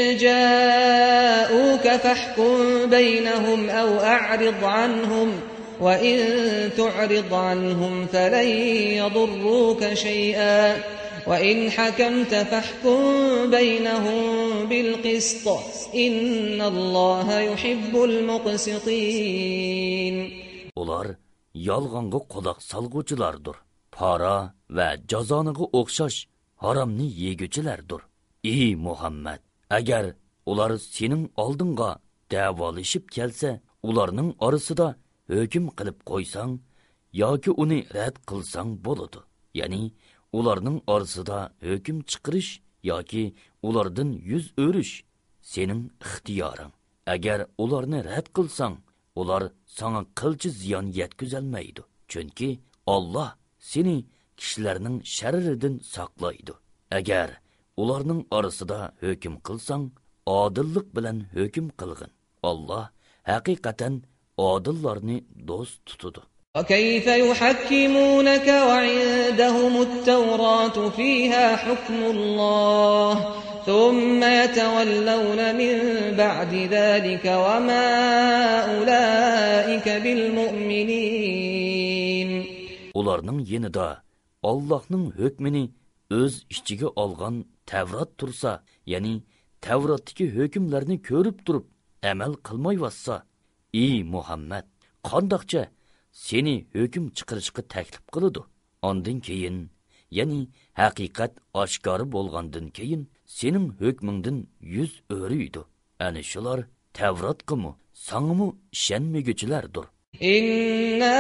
جاءوك فاحكم بينهم أو أعرض عنهم وإن تعرض عنهم فلن يضروك شيئا وإن حكمت فاحكم بينهم بالقسط إن الله يحب المقسطين.
Ular yolg'onga quloq solg'uvchilardir. Para va jazoniga o'xshash haromni yeguchilardir. Ey Muhammad, agar ular sening oldinga davolashib kelsa, ularning orasida hukm qilib qo'ysang yoki uni rad qilsang bo'ladi. Ya'ni ularning orasida hukm chiqarish yoki ulardan yuz o'rish sening ixtiyoring. Agar ularni rad qilsang, ular sana qilchi ziyon yetkazolmaydi. Chunki Alloh seni kishilarning sharridan saqlaydi. Agar ularning orasida hukm qilsang, odillik bilan hukm qilgin. Alloh haqiqatan odillarni do'st tutadi.
وكيف يحكمونك وعندهم التوراة فيها حكم الله ثم يتولون من بعد ذلك وما أولئك بالمؤمنين.
Ularning yenida Allohning hukmini o'z ichiga olgan Tavrat tursa, ya'ni Tavratdagi hukmlarni ko'rib turib amal qilmayotsa, ey Muhammad, qandoqcha seni hukm chiqarishga taklif qiladi. Ondan keyin, ya'ni haqiqat oshkor bo'lgandan keyin sening hukmingdan yuz o'riydi. Ana shular Tavratqimi, sangmi ishonmaguchilardir.
Inna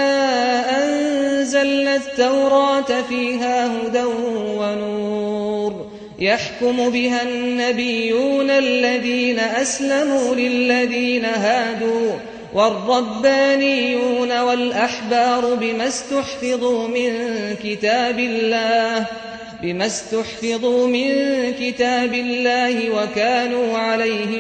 anzalna at-taurata fiha hudan wa nur yahkumu biha an-nabiyyuna alladhina aslamu lilladhina hadu والربانيون والأحبار بما استحفظوا من كتاب الله وكانوا عليه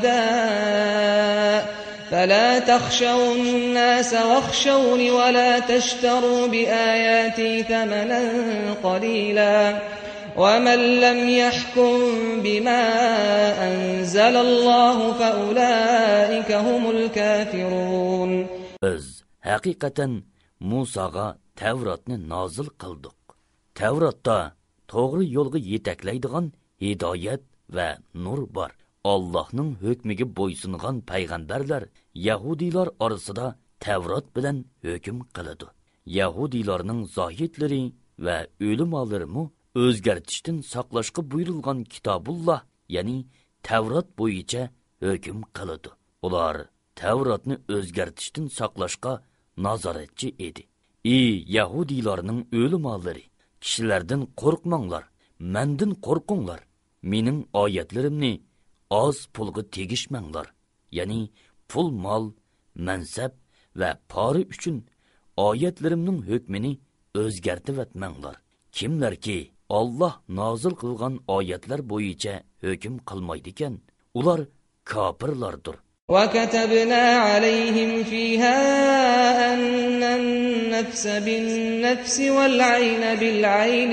شهداء فلا تخشوا الناس واخشوني ولا تشتروا بآياتي ثمنا قليلا ومن لم يحكم بما أنزل الله فأولئك هم الكافرون.
Biz haqiqatan Musaga Tavratni nozil qildik. Tavratda to'g'ri yo'lga yetaklaydigan hidoyat va nur bor. Allohning hukmiga bo'ysungan payg'ambarlar Yahudilar orasida Tavrat bilan hukm qiladi. Yahudilarning zohidlari va o'limalarimi o'zgartishdan saqlashga buyurilgan Kitobulloh, ya'ni Tavrat bo'yicha hukm qiladi. Ular Tavratni o'zgartishdan saqlashga nazoratchi edi. Ey Yahudilarning o'limalari, kishilardan qo'rqmanglar, mendan qo'rqinglar. Mening oyatlarimni oz pulga tegishmanglar. Ya'ni pul, mol, mansab va pora uchun oyatlarimning hukmini o'zgartib etmanglar. Kimlarki Alloh nozil qilgan oyatlar bo'yicha hukm qilmaydi ekan, ular kofirlardir.
وَكَتَبْنَا عَلَيْهِمْ فِيهَا أَنَّ النَّفْسَ بِالنَّفْسِ وَالْعَيْنَ بِالْعَيْنِ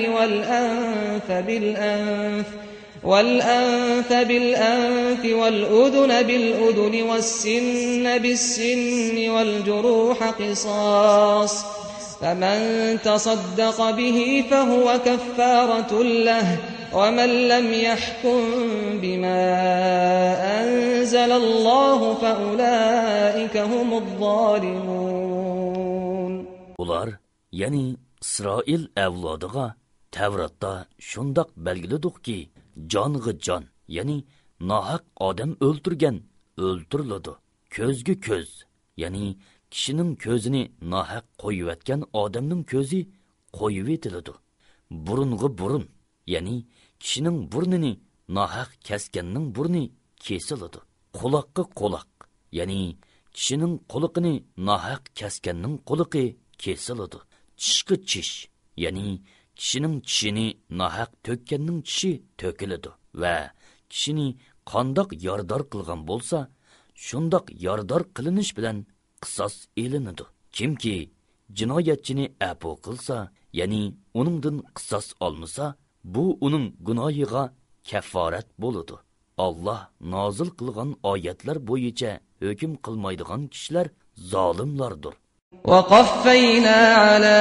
وَالْأَنْفَ بِالْأَنْفِ وَالْأُذُنَ بِالْأُذُنِ وَالسِّنَّ بِالسِّنِّ وَالْجُرُوحَ قِصَاصٌ فمن تصدق به فهو كفارة له ومن لم يحكم بما أنزل الله فأولئك هم الظالمون.
Ular, yani İsrail avlodiga Tavratda shundoq belgiladiki, jonga jon, yani nohaq odam o'ltirgan o'ltiriladi. Ko'zga ko'z, yani kishining ko'zini nohaq qo'yayotgan odamning ko'zi qo'yib etiladi. Burunga burun, ya'ni kishining burnini nohaq kesganning burni kesiladi. Quloqqa quloq, ya'ni kishining quloqini nohaq kesganning quloqi kesiladi. Tishga tish, ya'ni kishining tishini nohaq to'kkanning tishi to'kiladi va kishini qandoq yordar qilgan bo'lsa, shundoq yordar qilinish bilan qisos elinadi. Kimki jinoyatchini afu qilsa, ya'ni uningdan qisos olmasa, bu uning gunohiga kafforat bo'ladi. Allah nozil qilgan oyatlar bo'yicha hukm qilmaydigan kishilar zolimlardir.
وقفينا على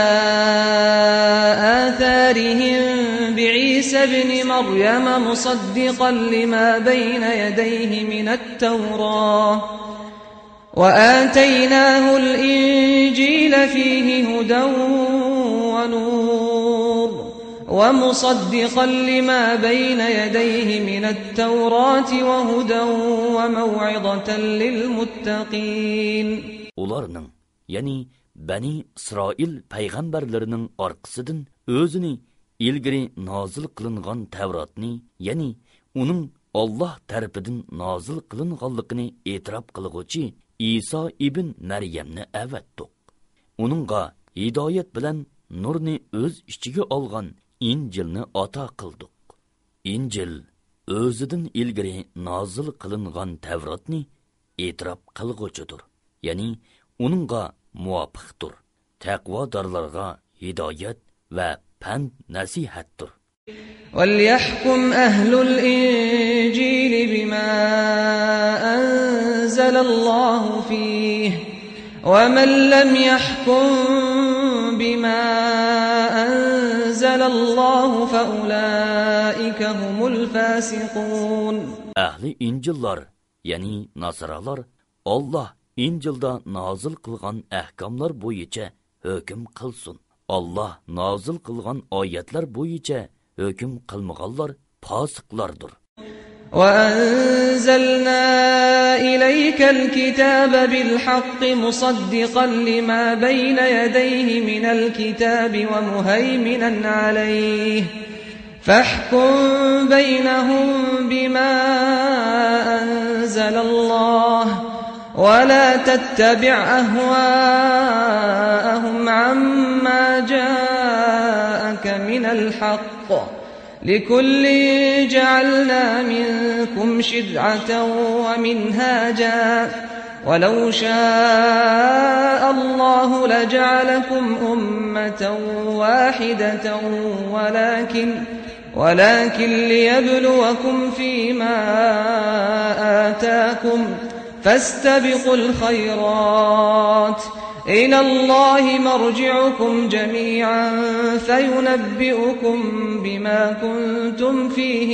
آثارهم بعيسى ابن مريم مصدقا لما بين يديه من التوراة وآتيناه الإنجيل فيه هدى ونور ومصدقا لما بين يديه من التوراة وهدى وموعظة للمتقين.
Ularning, ya'ni Bani İsrail payg'ambarlarining orqasidan o'zini ilgari nozil qilingan Tavratni, ya'ni uning Alloh tarafidan nozil qilinganligini e'tirof qilguvchi İsa ibn Maryamni avatdiq. Uningga hidoyat bilan nurni o'z ichiga olgan İncilni ata qildik. İncil o'zidan ilgari nozil qilingan Tavratni e'tirof qilguvchidir, ya'ni uningga muvofiqdir. Taqvodorlarga hidoyat va pand nasihatdir.
وَلْيَحْكُمْ أَهْلُ الْإِنْجِيلِ بِمَا أَنْزَلَ اللَّهُ فِيهِ وَمَنْ لَمْ يَحْكُمْ بِمَا أَنْزَلَ اللَّهُ فَأُولَئِكَ هُمُ الْفَاسِقُونَ. Ahli
İncillar, ya'ni Nasaralar, Allah İncilda nazil qilgan ahkomlar bo'yicha hukm qilsin. Allah nazil qilgan oyatlar bo'yicha hukm qilmaganlar fosiqlardir.
وَأَنزَلْنَا إِلَيْكَ الْكِتَابَ بِالْحَقِّ مُصَدِّقًا لِمَا بَيْنَ يَدَيْهِ مِنَ الْكِتَابِ وَمُهَيْمِنًا عَلَيْهِ فَاحْكُم بَيْنَهُم بِمَا أَنزَلَ اللَّهُ وَلَا تَتَّبِعْ أَهْوَاءَهُمْ عَمَّا جَاءَكَ مِنَ الْحَقِّ لِكُلٍّ جَعَلْنَا مِنكُمْ شِرْعَةً وَمِنْهَاجًا وَلَوْ شَاءَ اللَّهُ لَجَعَلَكُمْ أُمَّةً وَاحِدَةً ولكن ليبلوكم فيما آتاكم فاستبقوا الخيرات إلى الله مرجعكم جميعا فينبئكم بما كنتم فيه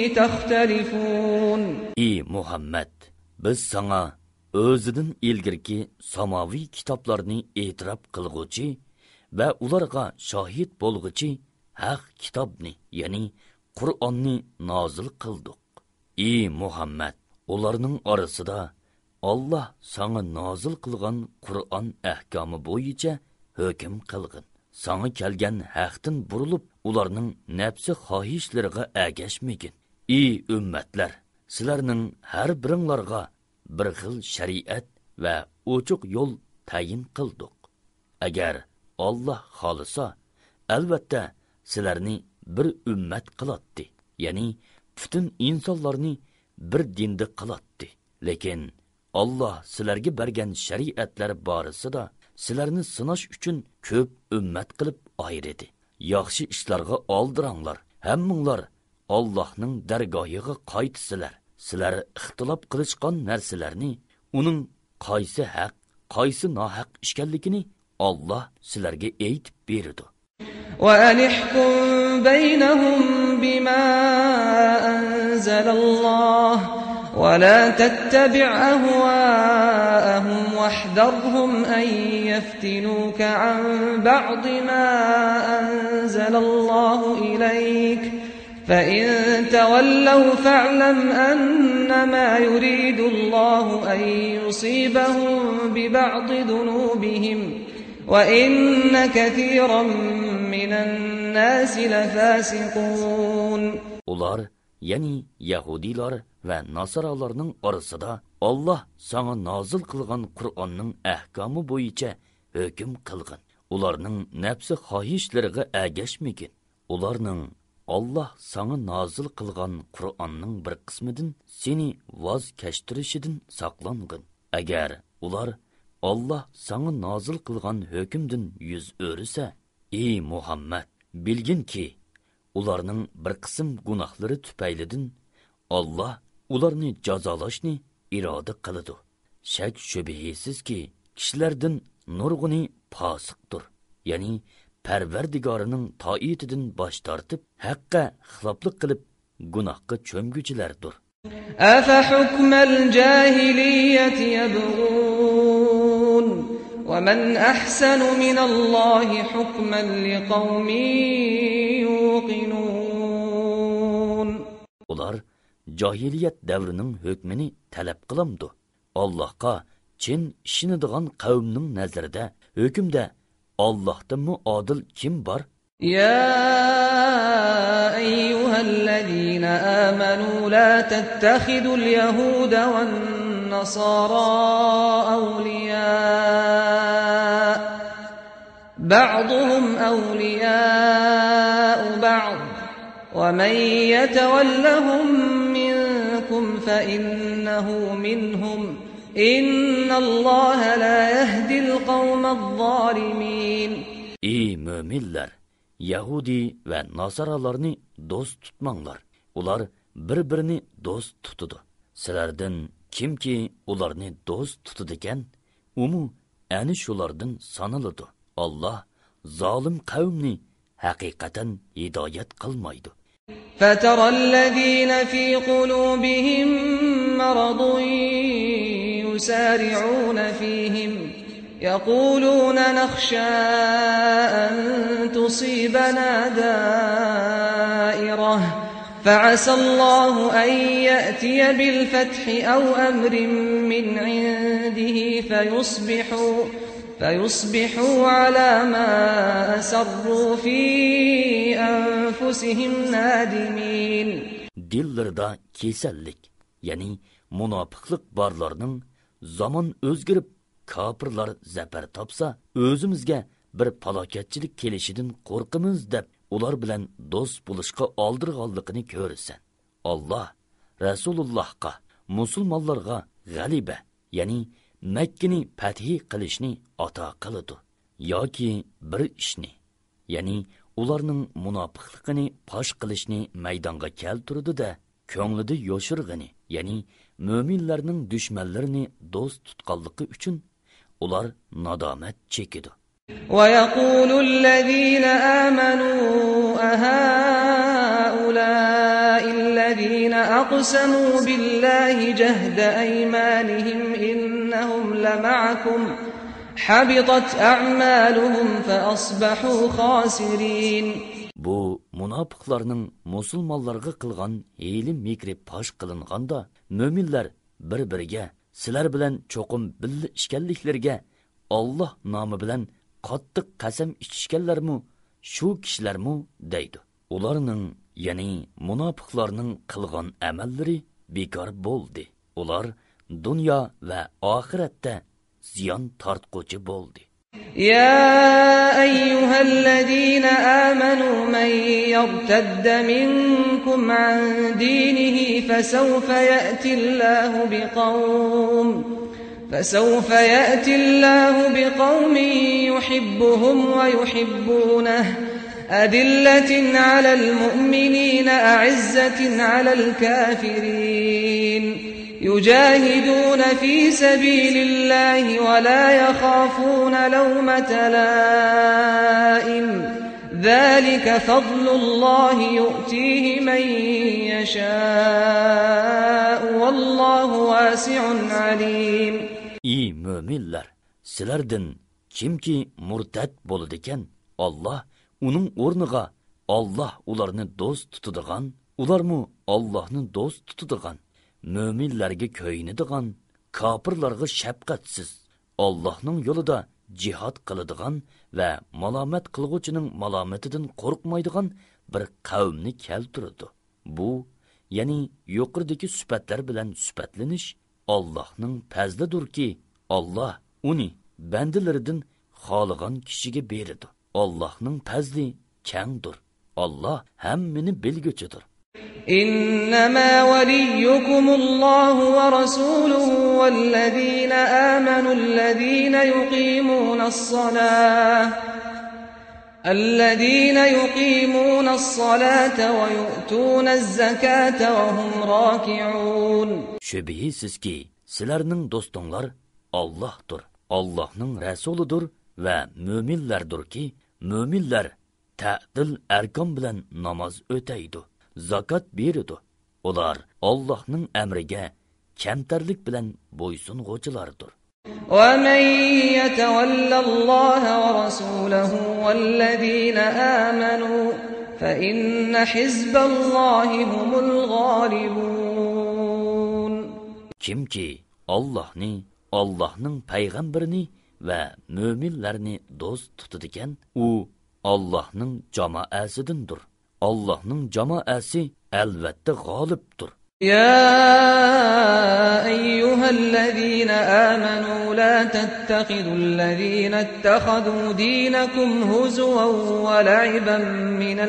تختلفون.
Ey Muhammed, biz sana o'zidan ilgirki samaviy kitoblarni e'tirof qilguvchi va ularga shohid bo'lg'uchi haq kitobni, ya'ni Qur'onni nozil qildik. Ey Muhammed, ularning orasida Allah sana nozil qilgan Qur'on ahkomi bo'yicha hukm qilgin. Sana kelgan haqdan burilib, ularning nafsi xohishlariga agashmagin. Ey ummatlar, sizlarning har biringlarga bir xil shariat va ochiq yo'l tayin qildik. Agar Allah xolisa, albatta sizlarni bir ummat qilatdi, ya'ni butun insonlarni bir dinda qilatdi. Lekin Allah sizlarga bergan shariatlar borasida sizlarni sinash uchun ko'p ummat qilib ayirdi. Yaxshi ishlarga oldiranglar, hammanglar Allohning dargohiga qaytsizlar. Sizlar ixtilof qilishgan narsalarni, uning qaysi haq, qaysi nohaq ekanligini Allah sizlarga aytib berdi.
وَأَنِحْكُمْ بَيْنَهُمْ بِمَا أَنزَلَ اللَّهُ وَلَا تَتَّبِعْ أَهْوَاءَهُمْ وَاحْذَرْهُمْ أَن يَفْتِنُوكَ عَن بَعْضِ مَا أَنزَلَ اللَّهُ إِلَيْكَ فَإِن تَوَلَّوْا فَاعْلَمْ أَنَّمَا يُرِيدُ اللَّهُ أَن يُصِيبَهُم بِبَعْضِ ذُنُوبِهِمْ وَإِنَّ كَثِيرًا مِنَ النَّاسِ لَفَاسِقُونَ.
Ular, ya'ni Yahudilar va Nasaralarning orasida Allah sana nozil qilgan Qur'onning ahkomi bo'yicha hukm qilgin. Ularning nafsi xohishlariga agashmagin. Ularning Allah sana nozil qilgan Qur'onning bir qismidan seni voz kechtirishidan saqlangin. Agar ular Allah sana nazil qilgan hükümdün yüz örüse, ey Muhammed, bilgin ki, ularning bir qism gunohlari tüpeylidin, Allah ularni jazolashni iroda qiladi. Shak shubhisiz ki, kishilardan nurg'uni fosiqdir. Ya'ni Parvardigorining toitidan bosh tortib, haqqa xiloflik qilib, gunohga cho'mguchilardir.
أفحكم الجاهلية يبغون ومن أحسن من الله حكما لقوم يوقنون.
Ular jahiliyet devrinin hükmini talep qılamdı. Allah'a chin ishinidigan qavmning nazarida hükümde Allah'tan mı adil kim var?
يا أيها الذين آمنوا لا تتخذوا اليهود والنصارى أولياء بعضهم أولياء بعض ومن يتولهم منكم فإنه منهم إن الله لا يهدي القوم الظالمين.
Ey müminler! Yahudi ve Nasaralarını dost tutmanglar. Ular bir-birini dost tutudu. Sizlerden kim ki ularını dost tutudiken, umu ani şulardan sanılıdı. Allah zalim kavmni hakikaten hidayet kılmaydı.
فَتَرَى الَّذ۪ينَ ف۪ي قُلُوبِهِمْ مَرَضٌ يُسَارِعُونَ ف۪يهِمْ يقولون نخشى أن تصيبنا دائرة فعسى الله أن يأتي بالفتح أو أمر من عنده فيصبحوا على ما أسروا في أنفسهم نادمين.
Dillerda kesellik, yani münafıklık barlarının zaman özgürüp Kapırlar zafer tapsa, özümüzge bir palaketçilik kelişidin korkımız dep, ular bilen dost buluşqa aldırğallıqını görürsen. Allah, Resulullah'a, musulmanlarga galibe, yani Mekkini fethi qilishni ata qılıdı. Yoki bir ishni, yani ularning munofiqligini pash qilishni maydonga keltirdi da, ko'nglida yoshirg'ini, yani mo'minlarning dushmanlarini do'st tutganligi uchun ular nadomat chekidi.
وَيَقُولُ الَّذِينَ آمَنُوا أَهَؤُلَاءِ الَّذِينَ أَقْسَمُوا بِاللَّهِ جَهْدَ أَيْمَانِهِمْ إِنَّهُمْ لَمَعَكُمْ حَبِطَتْ أَعْمَالُهُمْ فَأَصْبَحُوا خَاسِرِينَ.
Bu münafıqlarning musulmonlarga qilgan hiyli mikri pash qilinganda, mo'minlar bir-biriga sizlar bilan cho'qim billa ishkanliklarga Allah nomi bilan qattiq qasam ichishganlarmi, shu kishilarmi deydi. Ularning, ya'ni munofiqlarning qilgan amallari bekor bo'ldi. Ular dunyo va oxiratda ziyon tortquchi bo'ldi.
يا أيها الذين آمنوا من يرتد منكم عن دينه فسوف يأتي الله بقوم يحبهم ويحبونه أذلة على المؤمنين أعزة على الكافرين يجاهدون في سبيل الله ولا يخافون لومة لائم ذلك فضل الله يؤتيه من يشاء والله واسع عليم.
Ey müminler, sizlerden kimki murtad bo'ladigan, Allah uning o'rniga Allah ularni do'st tutadigan, ularmi Allohni do'st tutadigan, mo'minlarga ko'yinadigan, kofirlarga shafqatsiz, Allohning yo'lida jihad qiladigan va malomat qilguvchining malomatidan qo'rqmaydigan bir qavmni keltirdi. Bu, ya'ni yuqoridagi sifatlar bilan sifatlanish Allohning fazlidirki, Allah uni bandalaridan xohlagan kishiga beradi. Allohning fazli kengdir. Allah hammani bilguchidir.
إنما وليكم الله ورسوله والذين آمنوا الذين يقيمون الصلاة ويؤتون الزكاة وهم راكعون.
Şübihisiz sizlerning dostonglar Allah'tır, Allah'ның Resulüdür ve müminlerdir ki, müminler ta'dil erkan bilen namaz öteydi, zakat beridi. Ular Allah'ның emriga kamtarlik bilen boysunğuchilardir.
وَمَنْ يَتَوَلَّ اللَّهَ وَرَسُولَهُ وَالَّذِينَ آمَنُوا فَإِنَّ حِزْبَ اللَّهِ هُمُ الْغَالِبُونَ.
Kimki Allah'ni, Allah'ның peygamberini ve müminlerini dost tutadigan, u Allah'ның cemaasidandir. Allah'ның cemaasi elbette g'olibdir.
يا أيها الذين آمنوا لا تتخذوا الذين اتخذوا دينكم هزوا ولعبا من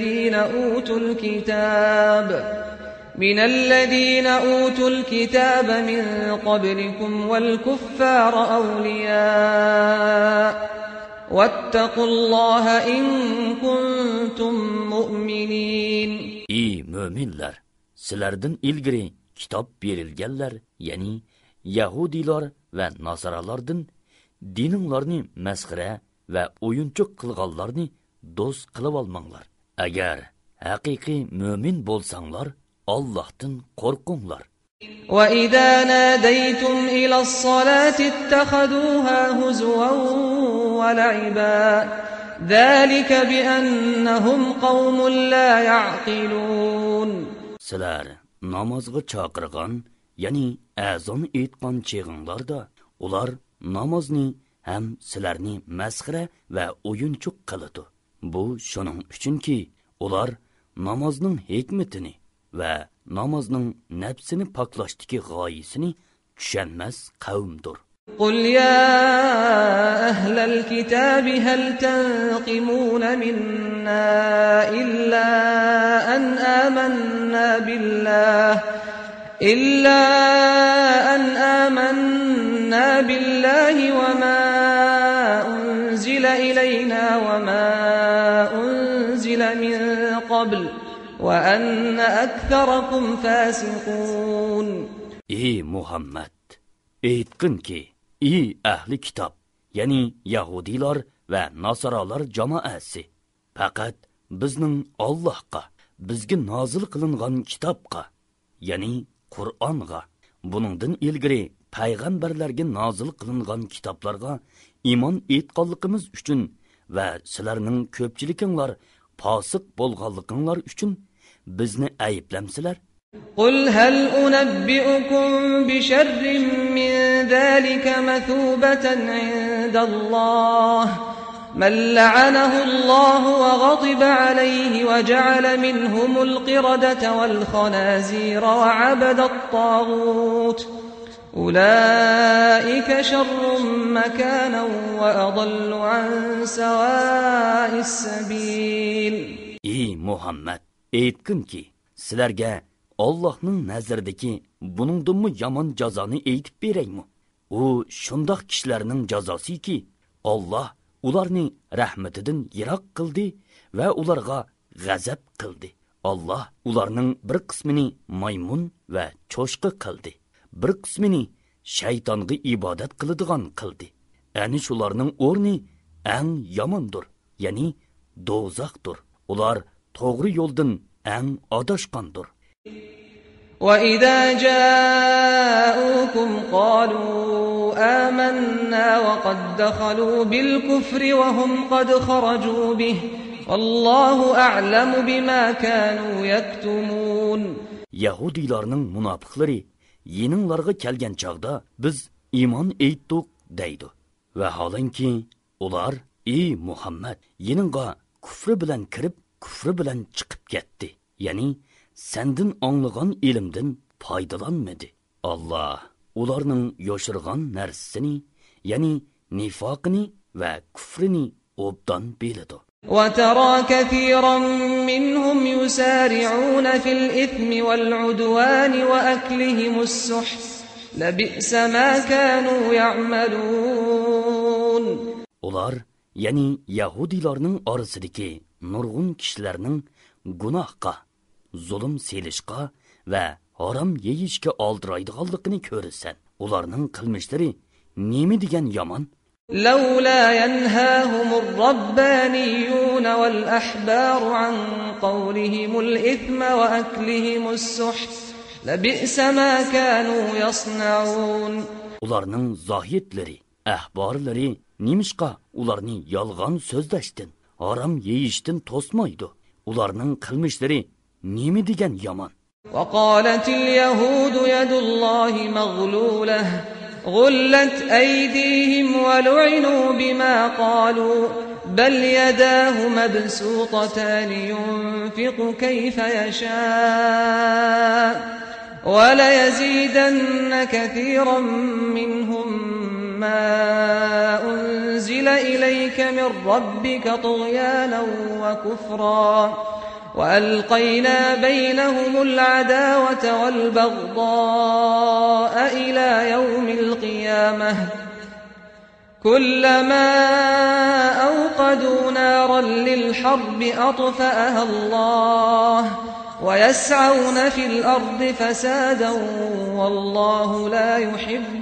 الذين أوتوا الكتاب من قبلكم والكفار أولياء واتقوا الله إن كنتم مؤمنين.
İyi müminler! Sizlerden ilgiri kitap berilgenler, yani Yahudiler ve Nasaralardan dininglarni mesxire ve oyunçuk kılgallarni dost kılıp almanglar. Eğer hakiki mümin bolsanglar, Allah'tan korkunglar.
وَإِذَا نَادَيْتُمْ إِلَى الصَّلَاةِ اتَّخَذُوهَا هُزُوًا وَلَعِبًا ذَلِكَ بِأَنَّهُمْ قَوْمٌ لَا يَعْقِلُونَ.
Sizler namazga çağırgan, yani azon etkan çığınlarda, ular namazni hem sizlerni mesxire ve oyunçuk kılıdı. Bu şunun üçün ki, ular namazның hikmetini ve namazның nefsini paklaştaki gayesini düşenmez kavimdir.
قُلْ يَا أَهْلَ الْكِتَابِ هَلْ تَنْقِمُونَ مِنَّا إِلَّا أَنْ آمَنَّا بِاللَّهِ وَمَا أُنْزِلَ إِلَيْنَا وَمَا أُنْزِلَ مِنْ قَبْلُ وَأَنَّ أَكْثَرَكُمْ فَاسِقُونَ.
Ey Muhammed! Eytkin ki, ey ahli kitap, yani Yahudiler ve Nasaralar cemaasi, fakat bizning Allah'qa, bizga nazil qilingan kitapqa, yani Qur'onga, buningdan ilgari payg'ambarlarga nazil qilingan kitaplarga iymon etganligimiz uchun va sizlarning ko'pchilikinglar fosiq bo'lganliginglar uchun bizni ayblamsizlar.
قُلْ هَلْ أُنَبِّئُكُمْ بِشَرٍّ مِّن ذَلِكَ مَثُوبَةً عِندَ اللَّهِ مَن لَّعَنَهُ اللَّهُ وَغَضِبَ عَلَيْهِ وَجَعَلَ مِنْهُمُ الْقِرَدَةَ وَالْخَنَازِيرَ وَعَبَدَ الطَّاغُوتَ أُولَٰئِكَ شَرٌّ مَّكَانًا وَأَضَلُّ عَن سَوَاءِ السَّبِيلِ.
Ey Muhammed! Eytkin ki, sizlerge Allah'ның nazardaki buningdanmı yaman cazanı eytip bereymi? O şundaq kişilerinin cazası ki, Allah ularni rahmetidan yiroq qildi ve ularga g'azab qildi. Allah ularning bir qismini maymun ve cho'shqi qildi, bir qismini shaytonga ibodat qiladigan qildi. Ani shularning o'rni eng yomondir, ya'ni do'zaxdir. Ular to'g'ri yo'ldan eng adashqandir.
وَإِذَا جَاءُوكُمْ قَالُوا آمَنَّا وَقَدْ دَخَلُوا بِالْكُفْرِ وَهُمْ قَدْ خَرَجُوا بِهِ وَاللَّهُ أَعْلَمُ بِمَا كَانُوا يَكْتُمُونَ. Yahudilarning
munofiqlari yeninglarga kelgan chaqda biz iymon etdik deydi. Va holanki ular ey Muhammad yeningga kufri bilan kirib, kufri bilan chiqib ketdi. Ya'ni sendin anlagan ilimden faydalanmadı. Allah ularning yoshirgan narsasini, yani nifaqini ve küfrini obdan biladi.
وترى كثيرا منهم يسارعون في الإثم والعدوان وأكلهم السحت لبئس ما كانوا يعملون.
Ular, yani Yahudilarning orasidagi nurg'un kishilarning gunohga, zulm selishga va harom yeyishga oldiraydiganligini ko'rasan. Ularning qilmishlari nima degan yomon?
لولا ينهاهم الربانيون والأحبار عن قولهم الإثم وأكلهم السحت لبئس ما كانوا يصنعون.
Ularning zohitlari, ahborlari nimishqa ularni yolg'on so'zlashdan, harom yeyishdan to'smaydi. Ularning qilmishlari nima degan yomon?
وقالت اليهود يد الله مغلولة غلت أيديهم ولعنوا بما قالوا بل يداه مبسوطتان ينفق كيف يشاء وليزيدن كثيرا منهم ما أنزل إليك من ربك طغيانا وكفرا وألقينا بينهم العداوة والبغضاء إلى يوم القيامة كلما أوقدوا نارا للحرب أطفأها الله ويسعون في الأرض فسادا والله لا يحب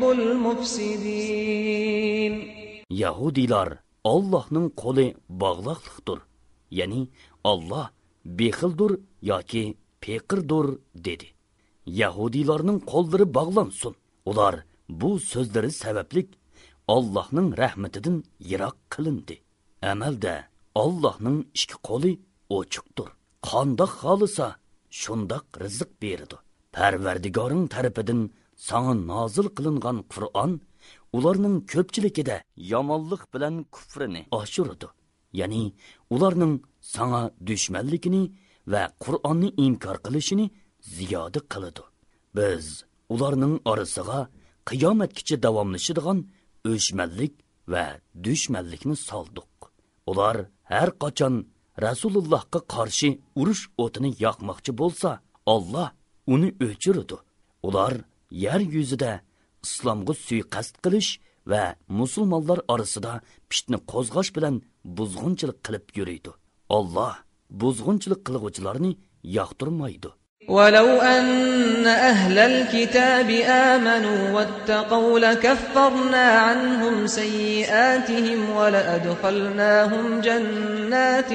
المفسدين.
Yahudilar Allah'ның qo'li bağlaqlıqdır. Yani Allah bexildir yoki peqirdir dedi. Yahudilarning qo'llari bog'lansin. Ular bu so'zlari sababli Allah'ның rahmatidan yiroq qilindi. Amalda Allah'ның ikki qo'li ochiqdir. Qandoq xolisa shundoq rizq beradi. Parvardigoring tarafidan sana nozil qilingan Qur'on ularning ko'pchiligida yomonlik bilan kufrini oshiradi. Ya'ni ularning sana dushmanligini va Qur'onni inkor qilishini ziyoda qiladi. Biz ularning orasiga qiyomatgacha davomlashadigan o'shmanlik va dushmanlikni soldik. Ular har qachon Rasulullohga qarshi urush o'tini yoqmoqchi bo'lsa, Alloh uni o'chiradi. Ular yer yuzida islomga suiqasd qilish va musulmonlar orasida fitna qo'zg'ash bilan buzg'unchilik qilib yuradi. Alloh buzg'unchilik qiluvchilarni yoqtirmaydi.
ولو أن أهل الكتاب آمنوا واتقوا لكفرنا عنهم سيئاتهم ولأدخلناهم جنات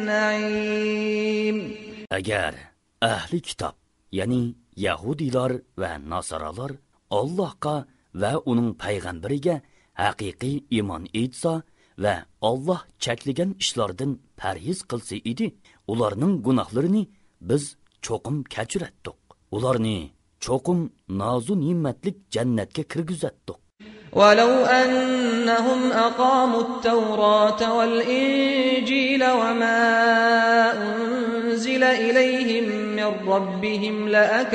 النعيم.
Agar ahli kitob, ya'ni Yahudilar va Nasaralar Allohga va uning payg'ambariga haqiqiy iymon etsa va Alloh cheklagan ishlardan parhez qilsa edi, ularning gunohlarini biz cho'qim kechiratdik. Ularni cho'qim nozu ne'matlik jannatga kirgizatdik.
ولو أنهم أقاموا التوراة والإنجيل وما أنزل إليهم من ربهم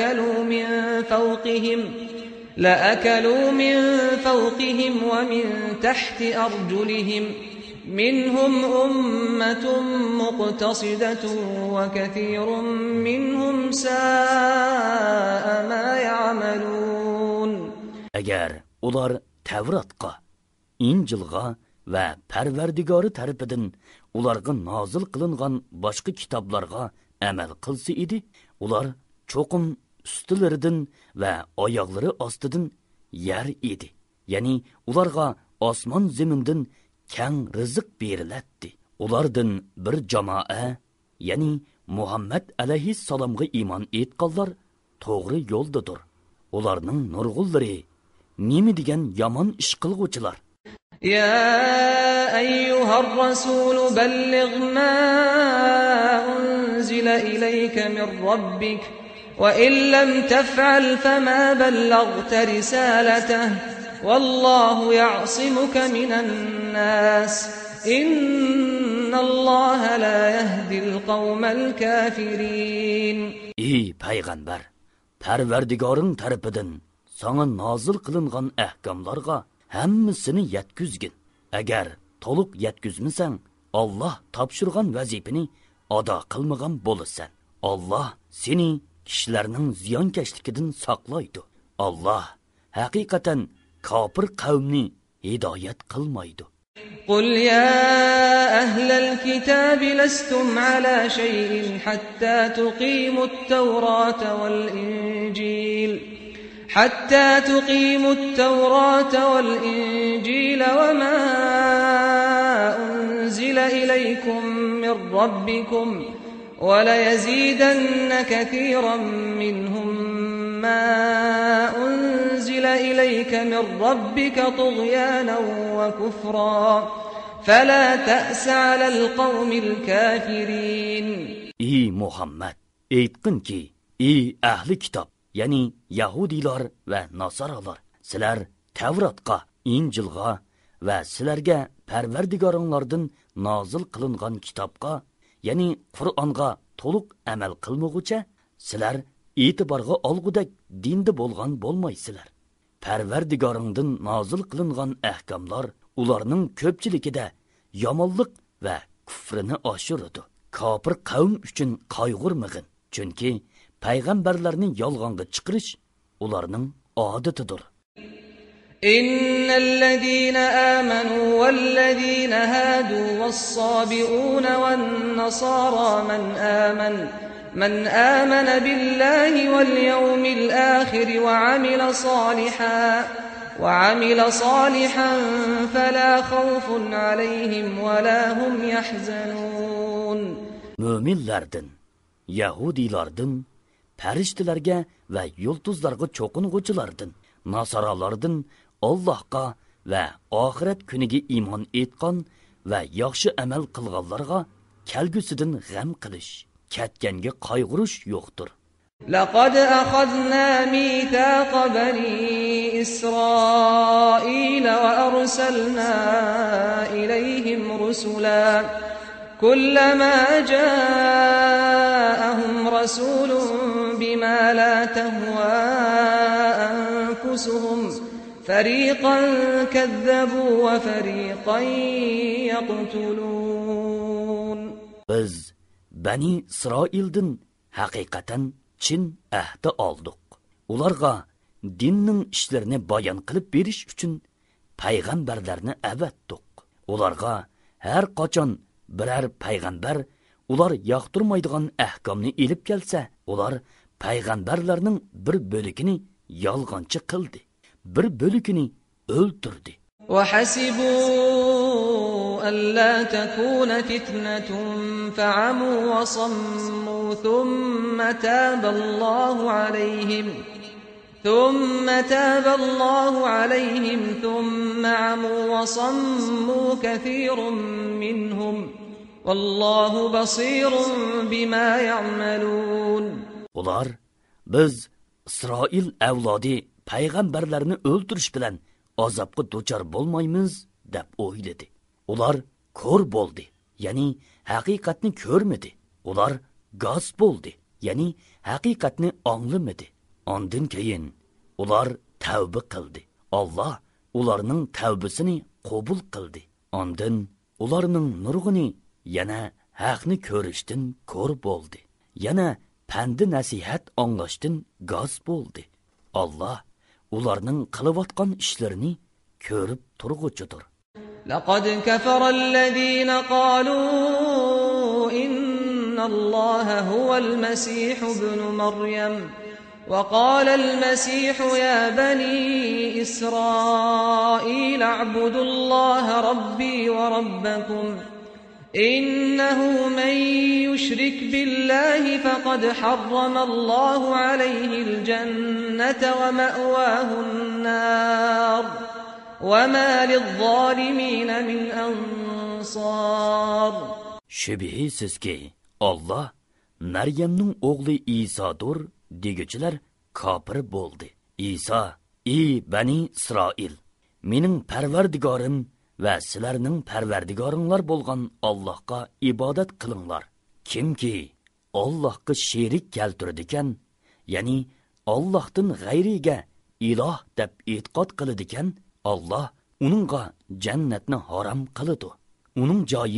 لأكلوا من فوقهم ومن تحت أرجلهم منهم أمة مقتصدة وكثير منهم ساء ما يعملون.
Agar ular Tavratga, Injilga va Parvardigori tarafidan ularga nozil qilingan boshqa kitoblarga amal qilsa edi, ular cho'qim ustilaridan va oyoqlari ostidan yer edi. Ya'ni ularga osmon zamindan keng rizq beriladi. Ulardan bir jamoa, ya'ni Muhammad alayhissalomga iymon etganlar to'g'ri yo'ldadir. Ularning nurg'unlari nima degan yomon ish qilguvchilar.
يا أيها الرسول بلغ ما أنزل إليك من ربك وإن لم تفعل فما بلغت رسالته والله يعصمك من الناس إن الله لا يهدي القوم الكافرين. Ey
payg'ambar, Parvardigoring tarafidan sana nozil qilingan ahkomlarga hammasini yetkizgin. Agar to'liq yetkizmasang, Allah topshirgan vazifani ado qilmagan bo'lasan. Allah seni kishilarning ziyonkashligidan saqlaydi. Allah haqiqatan kofir qavmni hidoyat qilmaydi.
قل يا أهل الكتاب لستم على شيء حتى تقيموا التوراة والإنجيل وما أنزل إليكم من ربكم وليزيدن كثيرا منهم ما أنزل إليك من ربك طغيانا وكفرا فلا تأس على القوم الكافرين.
Ey Muhammad, aytqin ki, ey ahli kitob, ya'ni Yahudilar va Nasaralar, sizlar Tavratga, Injilga va sizlarga Parvardigoringlardan nozil qilingan kitobga, ya'ni Qur'onga to'liq amal qilmoqcha, sizlar e'tiborga olgudek dinda bo'lgan bo'lmaysizlar. Parvardigoringdan nozil qilingan ahkamlar ularning ko'pchiligida yomonlik va kufrini oshiradi. Kofir qavm uchun qayg'urmag'in, chunki payg'ambarlarni yolg'onga chiqarish ularning odatidir.
إن الذين آمنوا والذين هادوا والصابئون والنصارى من آمن بالله واليوم الآخر وعمل صالحا فلا خوف عليهم ولا هم يحزنون.
Müminlerden, Yahudilardan, farishtalarga va yulduzlarga cho'qing'uvchilardan, Nasaralardan Allohga va oxirat kuniga iymon etgan va yaxshi amal qilganlarga kelgusidan g'am qilish, ketganga qayg'urish yo'qdir.
لقد أخذنا ميثاق بني إسرائيل وأرسلنا إليهم رسلا كلما جاءهم رسول بما لا تهوى أنفسهم فريقا كذبوا وفريقا يقتلون.
Biz Bani İsrail'den haqiqatan chin ahdi oldik. Ularga dinning ishlarini bayon qilib berish uchun payg'ambarlarni avatdik. Ularga har qachon biror payg'ambar ular yoqtirmaydigan ahkomni elib kelsa, ular payg'ambarlarning bir bo'ligini yolg'onchi qildi, bir bo'ligini o'ldirdi.
وحسبوا ألا تكون فتنة فعموا وصموا ثم تاب الله عليهم ثم عموا وصموا كثير منهم والله بصير بما يعملون.
Ular biz İsrail avlodi payg'ambarlarni o'ldirish bilan azobga duchor bo'lmaymiz deb o'yladi. Ular ko'r bo'ldi, ya'ni haqiqatni ko'rmadi. Ular g'oz bo'ldi, ya'ni haqiqatni anglamadi. Ondan keyin ular tavba qildi. Alloh ularning tavbasini qabul qildi. Ondan ularning nurg'ini yana haqni ko'rishdan ko'r bo'ldi. Yana pandi nasihat anglashdan g'oz bo'ldi. Alloh ularning qilayotgan ishlarini ko'rib turg'uchidir.
لقد كفر الذين قالوا إن الله هو المسيح ابن مريم وقال المسيح يا بني إسرائيل اعبدوا الله ربي وربكم إنه من يشرك بالله فقد حرم الله عليه الجنة ومأواه النار وما للظالمين من أنصار.
Şübihisiz ki Allah Meryem'nin oğlu İsa'dır degüçüler kafir boldu. İsa, ey Bani İsrail, mening Parvardigorim ve sizlarning Parvardigoringlar bolgan Allohga ibodat qilinglar. Kimki Allohga sherik keltirdikan, ya'ni Allohdan g'ayriga iloh deb e'tiqod qiladigan, Allah uningga jannatni harom qiladi. Uning joyi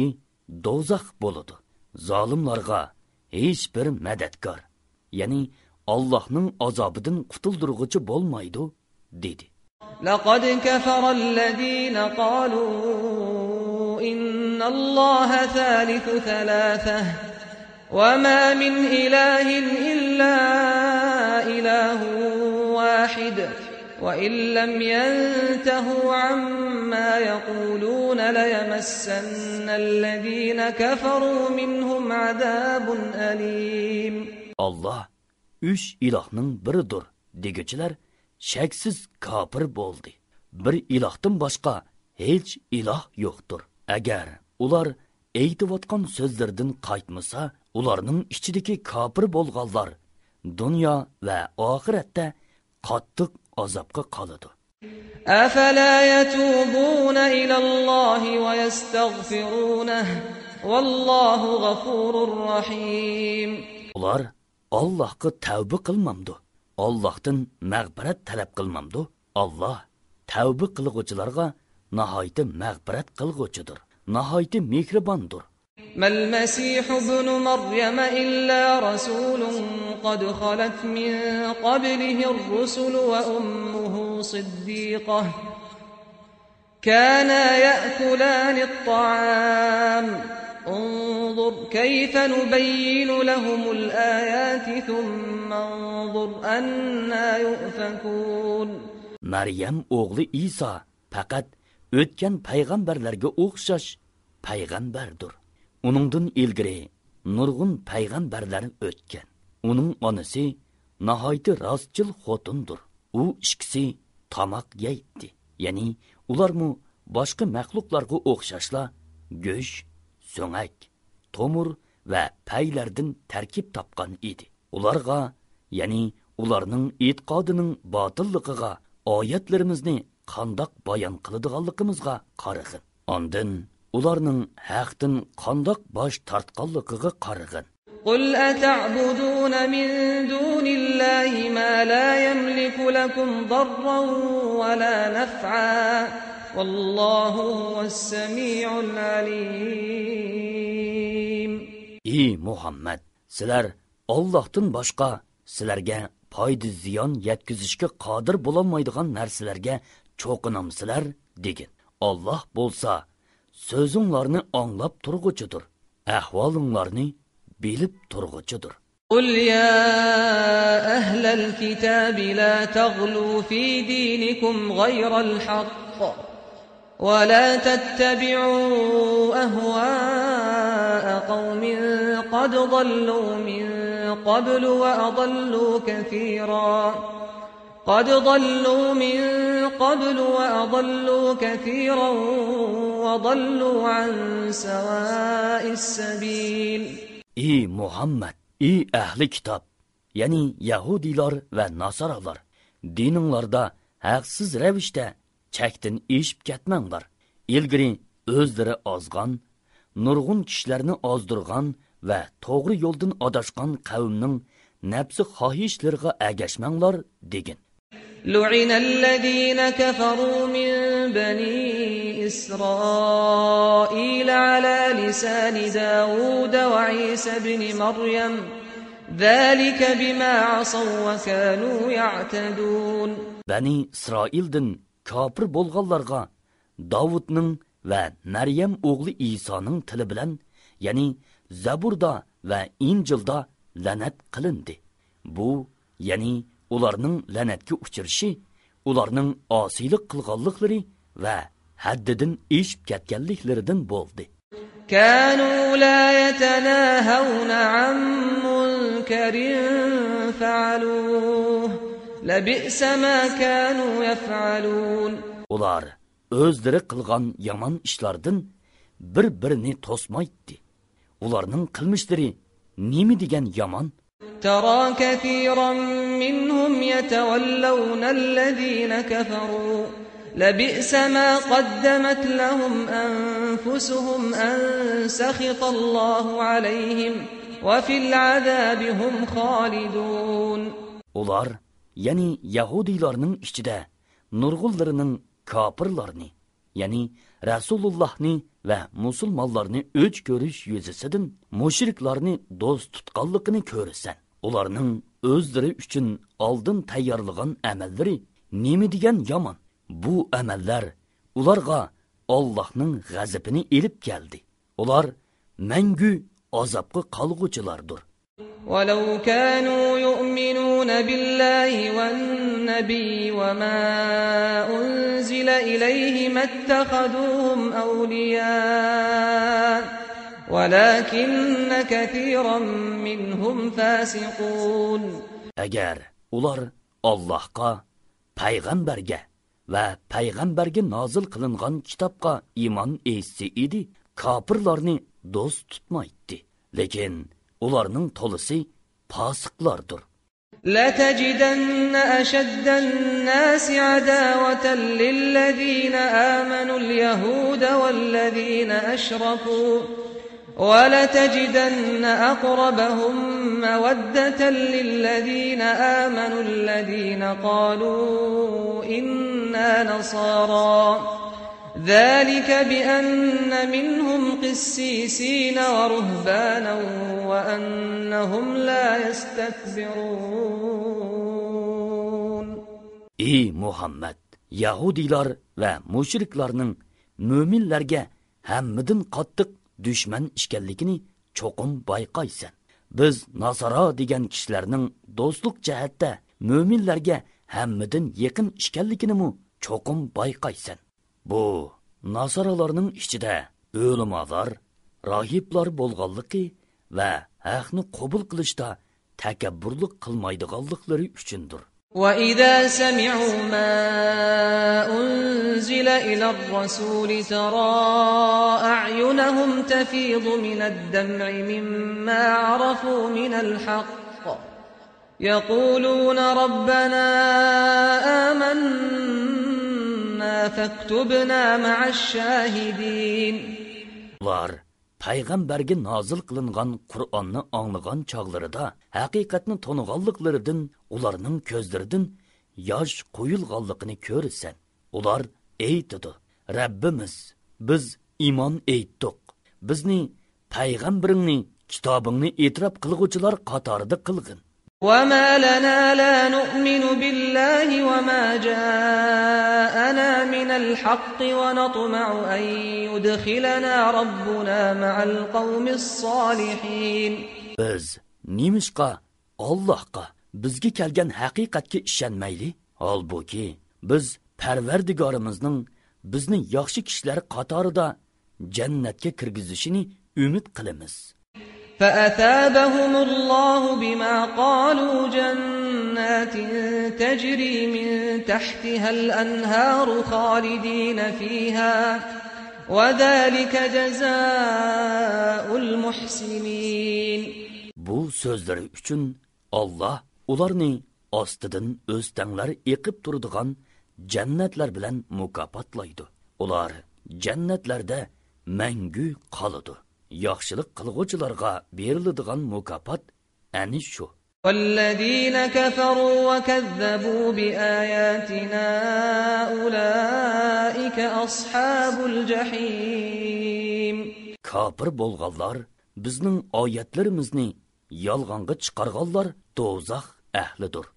dozaq bo'ladi. Zolimlarga hech bir madadkor, ya'ni Allohning azobidan qutuldiruvchi bo'lmaydi, dedi.
لقد كفر الذين قالوا إن الله ثالث ثلاثة وما من إله إلا إله واحد وإن لم ينتهوا عما يقولون ليمسن الذين كفروا منهم عذاب أليم.
Allah üç ilahning biridir deguchilar shaksiz kafir bo'ldi. Bir ilahdan boshqa hech iloh yo'qdir. Agar ular aytayotgan so'zlardan qaytmasa, ularning ichidagi kafir bo'lganlar dunyo va oxiratda qattiq azobga qoladi.
أفلا يتوبون إلى الله ويستغفرونه والله غفور رحيم.
Ular Allohga tavba qilmamdi. Allohdan mag'firat talab qilmamdi. Alloh tavba qilguvchilarga nihoyat mag'firat qilguvchidir, nihoyat mehribondir.
ما المسيح ابن مريم إلا رسول قد خلت من قبله الرسل وأمه صديقة كانا يأكلان الطعام انظر كيف نبين لهم الآيات ثم انظر أنا يؤفكون.
Maryam o'g'li İsa faqat o'tgan payg'ambarlarga o'xshash payg'ambardir. Uningdan ilgari nurg'un payg'ambarlar o'tgan. Uning onasi nihoyat rostchil xotindir. U ikkisi tamoq yeydi. Ya'ni ularmu boshqa maxluqlarga o'xshashla go'sht, so'ngak, tomur va paylardan tarkib topgan edi. Ularga, ya'ni ularning e'tiqodining botilligiga oyatlarimizni qandoq bayon qiladiganligimizga qarag'in. Ondan ularning haqdan qandoq bosh tortganligiga qarag'in.
قل أتعبدون من دون الله ما لا يملك لكم ضرا ولا نفعا والله هو السميع العليم.
Ey Muhammad, sizlar Allohdan boshqa sizlarga foyda ziyon yetkazishga qodir bo'lolmaydigan narsalarga cho'qinamsizlar degin. Alloh bo'lsa so'zinglarni anglab turg'uchidir, ahvolinglarni bilib turg'uchidir.
قل يا أهل الكتاب لا تغلوا في دينكم غير الحق ولا تتبعوا أهواء قوم قد ضلوا من قبل وأضلوا كثيرا وضلوا عن سواء السبيل.
Ey Muhammad, ey ahli kitob, ya'ni Yahudilar va Nasaralar, dininglarda haqsiz ravishda chakdan eshib ketmanglar. Ilgari o'zlari ozgan, nurg'un kishilarni ozdirgan va to'g'ri yo'ldan adashgan qavmning nafsi xohishlariga agashmanglar degin.
لعن الذين كفروا من بني إسرائيل على لسان داود وعيسى بن مريم ذلك بما عصوا وكانوا يعتدون. Bani
İsrail'den kafir bo'lganlarga Davudning va Maryam o'g'li Isoning tili bilan, ya'ni Zaburda va Injilda la'nat qilindi. Bu, ya'ni ularning la'natga uchirishi, ularning osiylik qilganliklari va haddidan eshib ketganliklaridan bo'ldi.
كانوا لا يتناهون عن منكر فعلوه لبئس ما كانوا يفعلون.
Ular o'zlari qilgan yomon ishlardan bir-birini to'smaydi. Ularning qilmishlari nima degan yomon?
ترى كثيرا منهم يتولون الذين كفروا لبئس ما قدمت لهم أنفسهم أن سخط الله عليهم وفي العذاب هم خالدون.
Ular, yani Yahudilarning ichida nurg'unlarining kafirlarni, yani Rasulullahni va musulmonlarni o'ch ko'rish yuzasidan mushriklarni do'st tutganligini ko'rasan. Ularning o'zlari uchun oldin tayyorlagan amallari nima degan yomon. Bu amallar ularga Allohning g'azabini elib keldi. Ular mangu azobga qolg'uchilardir.
وَلَوْ كَانُوا يُؤْمِنُونَ بِاللَّهِ وَالنَّبِيِّ وَمَا أُنْزِلَ إِلَيْهِ مَا اتَّخَذُوهُمْ أَوْلِيَاءَ وَلَكِنَّ كَثِيرًا مِنْهُمْ فَاسِقُونَ. Agar
ular Allohga, payg'ambarga va payg'ambarga nozil qilingan kitobga iymon etsa edi, kofirlarni do'st tutmaydi. Lekin ularning to'lisi fosiqlardir.
لَتَجِدَنَّ أَشَدَّ النَّاسِ عَدَاوَةً لِلَّذِينَ آمَنُوا الْيَهُودَ وَالَّذِينَ أَشْرَكُوا وَلَتَجِدَنَّ أَقْرَبَهُم مَّوَدَّةً لِلَّذِينَ آمَنُوا الَّذِينَ قَالُوا إِنَّا نَصَارَى ذَلِكَ بِأَنَّ مِنْهُمْ قِسِّيسِينَ وَرُهْبَانًا وَأَنَّهُمْ لَا يَسْتَكْبِرُونَ.
Ey Muhammed, Yahudilar va mushriklarning mo'minlarga hammadan qattiq dushman ishkanligini cho'qim bayqaysan. Biz Nasara degan kishilarning do'stlik jihatda mo'minlarga hammadan yaqin ishkanligini cho'qim bayqaysan. Bu Nasaralarning ichida o'limazor, rohiblar bo'lganligi va haqni qabul qilishda takabburlik qilmaydiganliklari uchundir.
وَإِذَا سَمِعُوا مَا أُنْزِلَ إِلَى الرَّسُولِ تَرَى أَعْيُنَهُمْ تَفِيضُ مِنَ الدَّمْعِ مِمَّا عَرَفُوا مِنَ الْحَقِّ يَقُولُونَ رَبَّنَا آمَنَّا فَاكْتُبْنَا مَعَ الشَّاهِدِينَ.
payg'ambarga nozil qilingan Qur'onni anglagan chog'larida haqiqatni toniganliklaridan ularning ko'zlaridan yosh qo'yilganligini ko'rasan. Ular aytadi: Rabbimiz, biz iymon etdik. Bizni payg'ambaringni, kitobingni e'tirof qilguvchilar qatorida qilgin.
وَمَا لَنَا لَا نُؤْمِنُ بِاللَّهِ وَمَا جَاءَنَا مِنَ الْحَقِّ وَنَطْمَعُ أَن يُدْخِلَنَا رَبُّنَا مَعَ الْقَوْمِ الصَّالِحِينَ.
Biz nimishqa Allohga, bizga kelgan haqiqatga ishonmayli? Holbuki biz Parvardigorimizning bizni yaxshi kishilar qatorida jannatga kirgizishini umid qilamiz.
فَأَثَابَهُمُ اللَّهُ بِمَا قَالُوا جَنَّاتٍ تَجْرِي مِن تَحْتِهَا الْأَنْهَارُ خَالِدِينَ فِيهَا وَذَلِكَ جَزَاءُ الْمُحْسِنِينَ. Bu sözleri üçün Allah ularni ostidan o'stanlar eqib turadigan jannatlar bilan mukofotlaydi. Ular jannatlarda mangu qoladi. Yaxshilik qilguvchilarga beriladigan mukofot ani shu. وَالَّذِينَ كَفَرُوا وَكَذَّبُوا بِآيَاتِنَا أُولَئِكَ أَصْحَابُ الْجَحِيمِ.
Kafir bo'lganlar, bizning oyatlarimizni yolg'onga chiqarganlar do'zax ahlidir.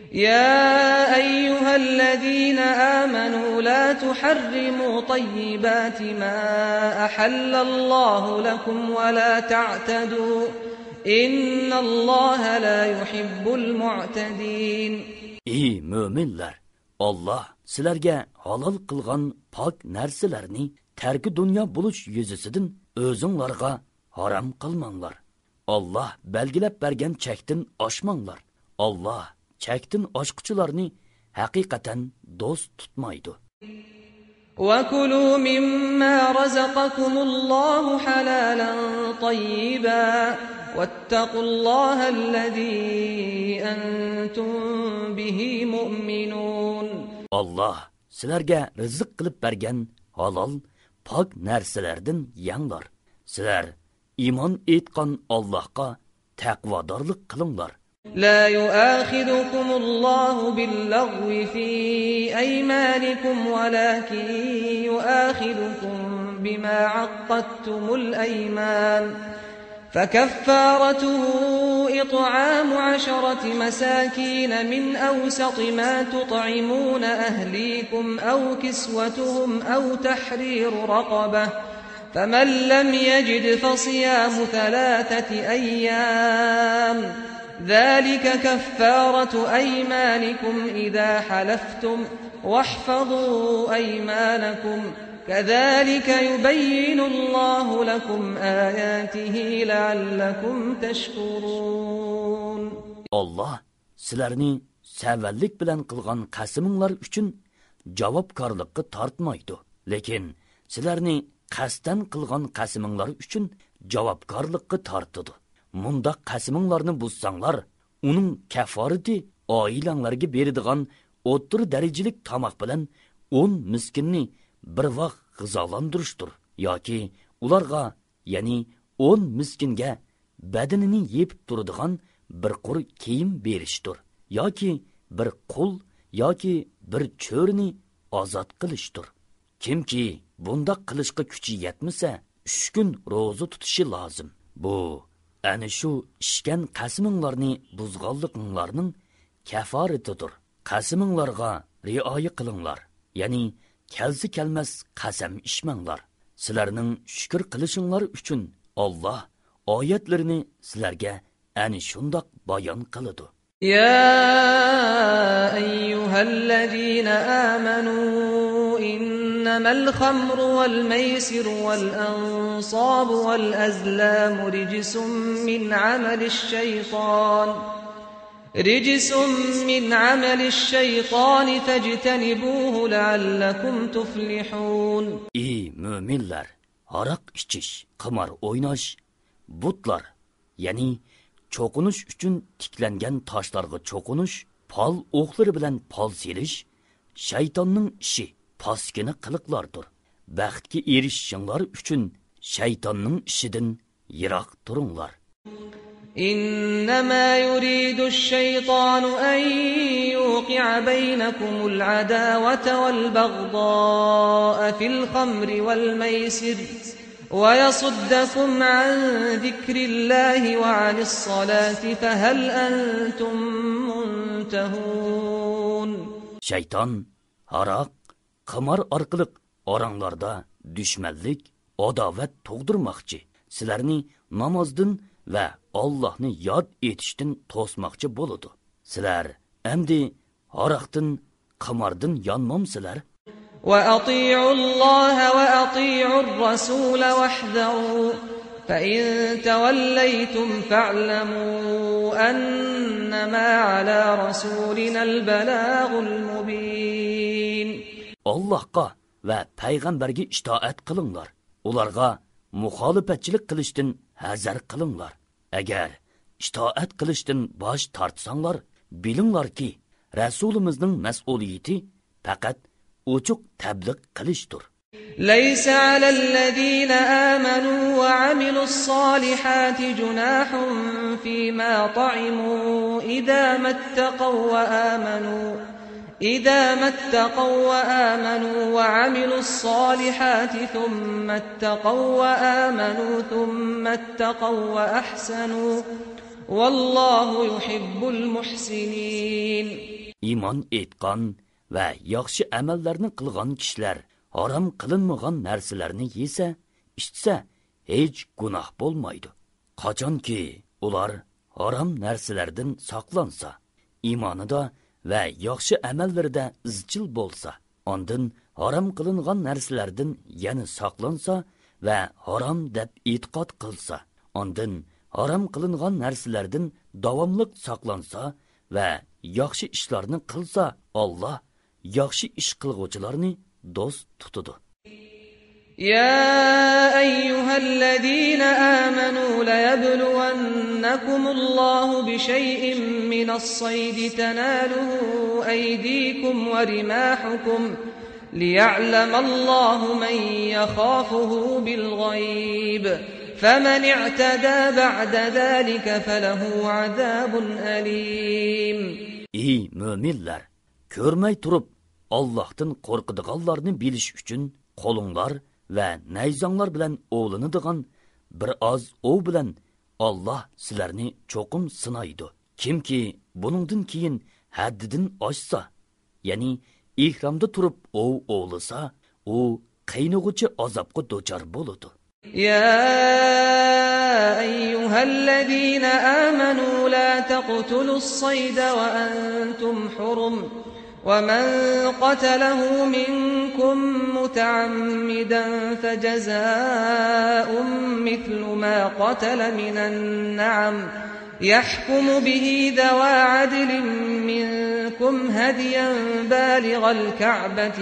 يا أيها الذين آمنوا لا تحرموا طيبات ما أحل الله لكم ولا تعتدوا إن الله لا يحب المعتدين. Ey
müminler! Allah sizlarga halal qilgan pok narsalarni tarki dunyo bo'lish yuzasidan o'zinglarga harom qilmanglar. Allah belgilab bergan chekdan oshmanglar. Allah chekdan oshquchilarni haqiqatan do'st tutmaydi.
وَكُلُوا مِمَّا رَزَقَكُمُ اللَّهُ حَلَالًا طَيِّبًا وَاتَّقُوا اللَّهَ الَّذِي أَنْتُمْ بِهِ مُؤْمِنُونَ. Allah sizlarga rizq qilib bergan halol, pok narsalardan yanglar. Sizlar iymon etgan Allohga taqvodorlik qilinglar. لا يؤاخذكم الله باللغو في أيمانكم ولكن يؤاخذكم بما عقدتم الأيمان فكفارته إطعام 10 مساكين من أوسط ما تطعمون أهليكم أو كسوتهم أو تحرير رقبة فمن لم يجد فصيام 3 أيام ذلك كفارة أيمانكم إذا حلفتم واحفظوا أيمانكم كذلك يبين الله لكم آياته لعلكم تشكرون.
Allah sizlarni savallik bilan qilgan qasiminglar uchun javobgarlikka tortmaydi. Lekin sizlarni qasddan qilgan qasiminglar uchun javobgarlikka tortadi. Munda qasiminglarni buzsanglar, uning kaforati oilanglarga beradigan o'rta darajalik tomoq bilan 10 miskinni bir vaqt g'izolantirishdir yoki ularga, ya'ni 10 miskinga badanini yepib turadigan bir qur kiyim berishdir yoki bir qul yoki bir cho'rini ozod qilishdir. Kimki bunda qilishga kuchi yetmasa 3 kun ro'za tutishi lozim. Bu ana shu ishgan qasiminglarni buzganliklarning kaforatidir. Qasiminglarga rioya qilinglar, ya'ni kelsi kelmas qasam ishmanglar. Sizlarning shukr qilishinglar uchun Alloh oyatlarini sizlarga ana shundoq bayon qiladi.
Ya ayyuhallazina amanu innamal khamru wal maisiru wal ansabu wal azlamu rijsun min amalish shaytan رجس من عمل الشيطان فاجتنبوه لعلكم تفلحون.
Ey müminler, arak içiş, qimar oynaş, butlar, yani çoqunuş üçün tiklengen taşlarga çoqunuş, pal oqları bilen pal seliş, şeytanның işi, paskini qılıqlardır. Baxtki erişişinlar üçün şeytanның işidin yirak turunlar.
إنما يريد الشيطان أن يوقع بينكم العداوة والبغضاء في الخمر والميسر ويصدكم عن ذكر الله وعن الصلاة فهل أنتم منتهون.
Şeytan, harak, qimar arqılıq oranglarda düşmanlik, adavet to'g'dirmoqchi, sizlarni namozdan va Allohni yod etishdan to'smoqchi bo'ladi. Sizlar endi haroqdan, qimardan yonmamsizlar?
Va ati'ulloha va ati'ur rasul wahdharu fa in tawallaytum fa'lamu annama ala rasulinal balagul mubin. Allohga
va payg'ambarga itoat qilinglar. Ularga muxolifatchilik qilishdan hazar qilinglar. Agar itoat qilishdan bosh tortsanglar, bilinglarki, Rasulimizning mas'uliyati faqat ochiq tabliq qilishdir.
Laysa 'alal-ladina amanu wa 'amilus-solihati junahun fima ta'imu idza mattaqaw wa amanu إذا ما اتقوا وآمنوا وعملوا الصالحات ثم اتقوا وآمنوا ثم اتقوا وأحسنوا والله يحب المحسنين.
İman etqan va yaxshi amallarni qilgan kishilar harom qilinmagan narsalarni yesa, ichsa hech gunoh bo'lmaydi. Qachonki ular harom narsalardan saqlansa, iymonida va yaxshi amallarda izchil bo'lsa, ondan harom qilingan narsalardan yana saqlansa va harom deb e'tiqod qilsa, ondan harom qilingan narsalardan davomli saqlansa va yaxshi ishlarni qilsa, Alloh yaxshi ish qilguvchilarni do'st tutadi.
يا أيها الذين آمنوا ليبلونكم الله بشيء من الصيد تناله أيديكم ورماحكم ليعلم الله من يخافه بالغيب فَمَنِ اعْتَدَى بَعْدَ ذَلِكَ فَلَهُ عَذَابٌ أَلِيمٌ.
Ey müminler, görmey turup Allah'tan korkuduğanlarını biliş üçün kolunlar ve neyzanlar bilen oğlanıdığan bir az o bilen Allah sizlerini çokum sınaydı. Kim ki bunundan keyin haddidin aşsa, yani ihramda turup o oğlasa, o kaynagucu azapkı doçar boludu.
يا أيها الذين آمنوا لا تقتلوا الصيد وأنتم حرم ومن قتله منكم متعمدا فجزاء مثل ما قتل من النعم يحكم به ذوى عدل منكم هديا بالغ الكعبة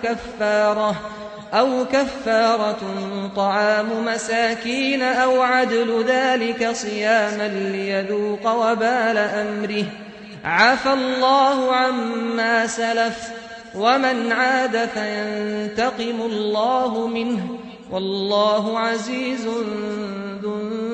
أو كفارة طعام مساكين أو عدل ذلك صياما ليذوق وبال أمره عفى الله عما سلف ومن عاد فينتقم الله منه والله عزيز ذو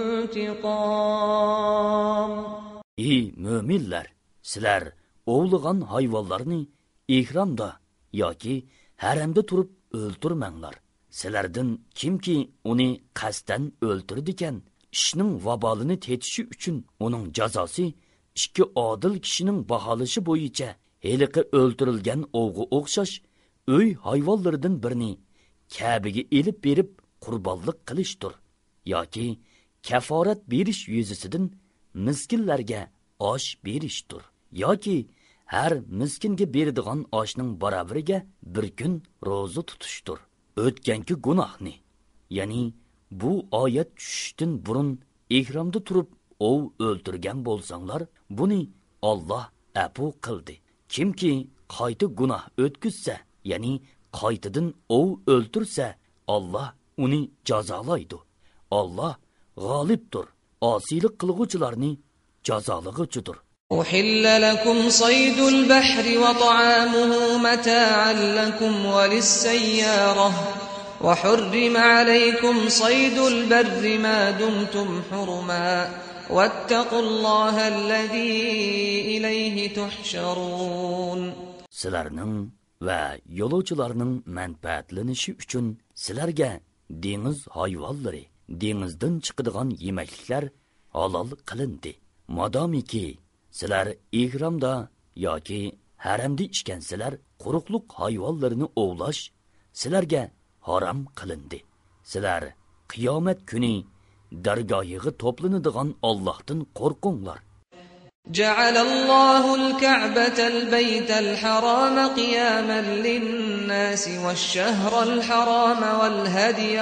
انتقام.
Ey müminler, sizler oğluğan hayvanlarını ihramda yoki haremde turup öldürmenglar. Sizlerden kimki onu kasten öldürdüken işinin vabalını tetişi üçün onun cazası iki adil kişinin bahalışı boyunca heliki öldürülgen oğu okşaş öy hayvallarından birini Kabe'ye elip berip kurbanlık kılıştır. Yoki kefaret beriş yüzüsüdün miskinlerge aş beriştir. Yoki her miskinge berdiğan aşının barabiriga bir gün rozu tutuştur. Ötkenki günahni, yani bu ayet düşüştün burun ihramda turup ov öldürgen bolsanlar, bunu Allah apu kıldı. Kimki qayta günah ötküzse, yani qaytadan ov öldürse, Allah onu cazalaydı. Allah galiptir. Asilik kılgıçlarını cazalıgıcıdır.
أحل لكم صيد البحر وطعامه متاعا لكم وللسيارة وحرم عليكم صيد البر ما دمتم حرما واتقوا الله الذي إليه تحشرون.
Sizlerinin ve yolcularının menfaatlenishi üçün sizlerge deniz hayvanları, denizden çıkıdığan yemeklikler halal kılındı. Madamiki sizler ihramda yoki haremde içkensizler quruqluq hayvanlarını ovlash sizlerge haram qilindi. Sizler qiyomat kuni dargohiga toplanadigan Allohdan qo'rqinglar.
جعل الله الكعبة البيت الحرام قياما للناس والشهر الحرام والهدي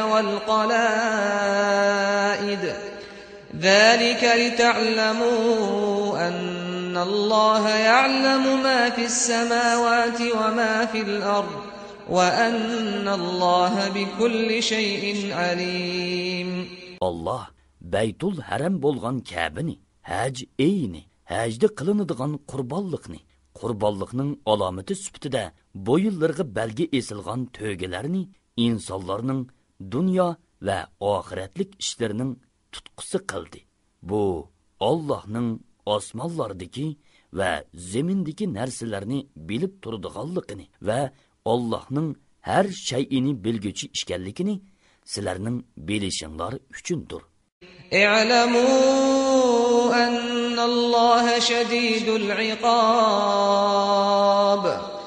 والقلائد ذلك لتعلموا أن الله يعلم ما في السماوات وما في الأرض وأن الله بكل شيء عليم.
Allah Beytul Haram bolgan Ka'bani, hac eyni, hacda qılınadigan qurbanlıqning alamati süptida bu yillarga belgi esilgan tögelarni insonlarning dunyo va oxiratlik ishlarining tutqusi qildi. Bu Allohning osmonlardagi va zemindagi narsalarni bilib turadiganligini va Allohning har shay'ini bilguchi ekanligini sizlarning bilishinglar uchundir.
اعلموا أن الله شديد العقاب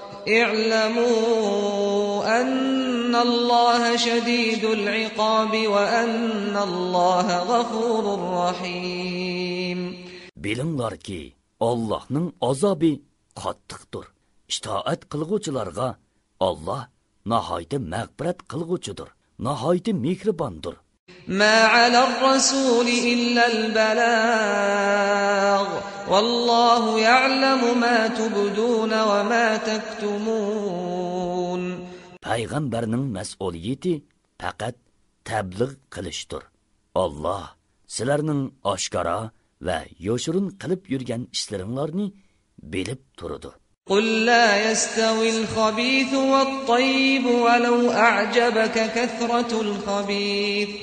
اعلموا أن الله شديد العقاب وأن الله غفور رحيم.
Bilinglar ki Allah'ның azabı qattiqdir. İtaat qilguvchilarga Allah nahayta mağfirat qilguvchidir, nahayta mehribondir.
ما على الرسول إلا البلاغ والله يعلم ما تبدون وما تكتمون.
Peygamberning mas'uliyati faqat tabliğ qilishdir. Allah sizlarning oshkora va yoshirin qilib yurgan ishlaringlarni bilib turadi.
قل لا يستوي الخبيث والطيب ولو أعجبك كثرة الخبيث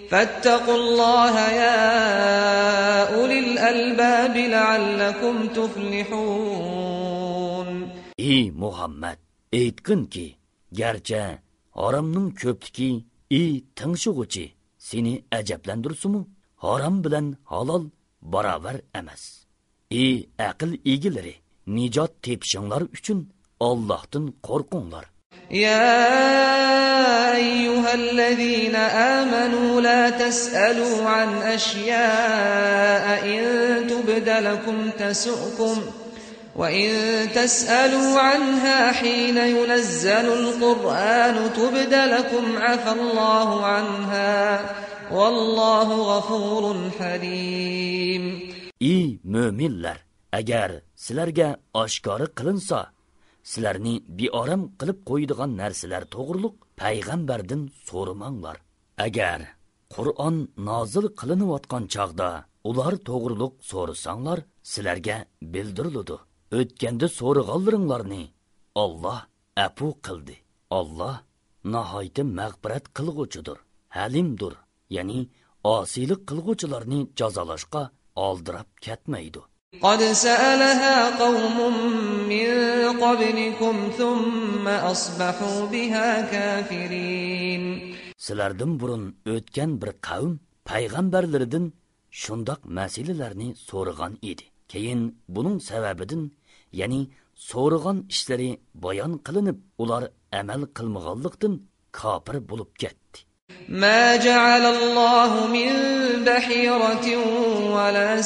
فاتقوا الله يا أولي الألباب لعلكم تفلحون.
Ey Muhammed, aytqin ki, gerçi haramning ko'pligi ey tingshug'uchi seni ajablandirsumu? Haram bilan halol barobar emas. Ey aql egilari, nijot tepishinglar uchun Allohdan qo'rqinglar.
يا أيها الذين آمنوا لا تسألوا عن أشياء إن تبد لكم تسؤكم وإن تسألوا عنها حين ينزل القرآن تبد لكم عفى الله عنها والله غفور حليم.
Ey müminler, agar sizlarga oshkora qilinsa, sizlarni beoram qilib qo'yadigan narsalar to'g'riliq payg'ambardan so'ramanglar. Agar Qur'on nozil qilinayotgan chog'da ular to'g'riliq so'rasanglar, sizlarga bildiriladi. O'tganda so'rag'anlaringlarni Alloh afu qildi. Alloh nihoyat mag'firat qilg'uchidir, halimdir. Ya'ni osiylik qilg'uvchilarni jazolashga oldirab ketmaydi.
قد سألها قوم من قبلكم ثم أصبحوا بها كافرين.
Sizlardan burun o'tgan bir qavm payg'ambarlaridan shundoq masalalarni so'ragan edi. Keyin buning sababidan, ya'ni so'ragan ishlari bayon qilinib, ular amal qilmaganlikdan kofir bo'lib ketdi.
ما جعل الله من بحيرة ولا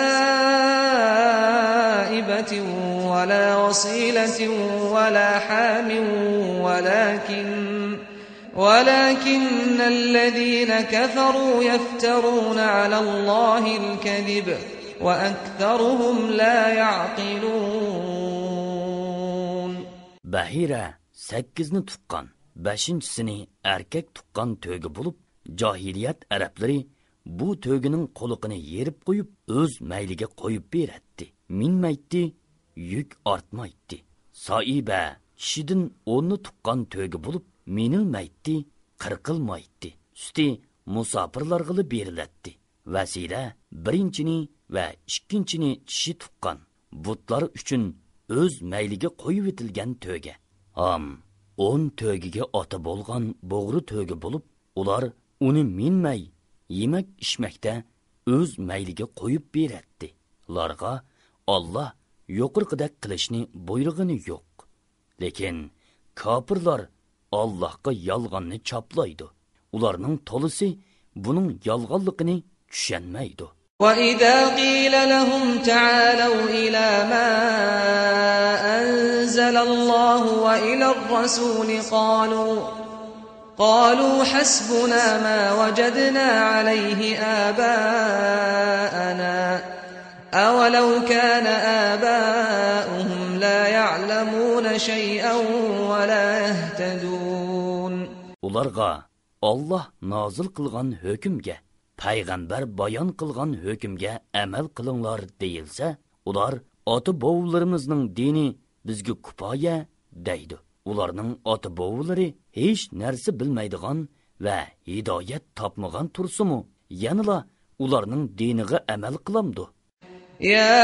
سائبة ولا وصيلة ولا حام ولكن الذين كفروا يفترون على الله الكذب وأكثرهم لا يعقلون.
Bahira 8ni tuqqan, 5-sini erkek tuqqan tögü bulup, cahiliyet Arapları bu tögünün qoluqini yerib qo'yib, o'z mayliga qo'yib beratdi. Minmaydi, yük artmaydi. Saiba kishidan 10ni tuqqan tögü bulup, minilmaydi, qirqilmaydi. Üsti musafirlarga berilatdi. Vasila 1-chini va 2-chini kishi tuqqan. Butlar uchun o'z mayliga qo'yib etilgan töge. 10 tögiga ota bo'lgan bo'g'ri tögi bo'lib, ular uni minmay, yemak ishmakda o'z mayliga qo'yib beratdi. Ularga Alloh yuqorqidek qilishni buyrug'ini yo'q. Lekin kofirlar Allohga yolg'onni choplaydi. Ularning to'lisi buning yolg'onligini tushunmaydi.
وَإِذَا قِيلَ لَهُمْ تَعَالَوْا إِلَى مَا أَنزَلَ اللَّهُ وَإِلَى الرَّسُولِ قَالُوا حَسْبُنَا مَا وَجَدْنَا عَلَيْهِ آبَاءَنَا أَوَلَوْ كَانَ آبَاؤُهُمْ لَا يَعْلَمُونَ شَيْئًا وَلَا يَهْتَدُونَ.
Ularga Allah nazil qilgan hükümge, payg'ambar bayon qilgan hukmga amal qilinglar deyilsa, ular ota-bovlarimizning dini bizga kifoya deydi. Ularning ota-bovlari hech narsa bilmaydigan va hidoyat topmagan tursimu, yanila ularning diniga amal qilamdi.
Ya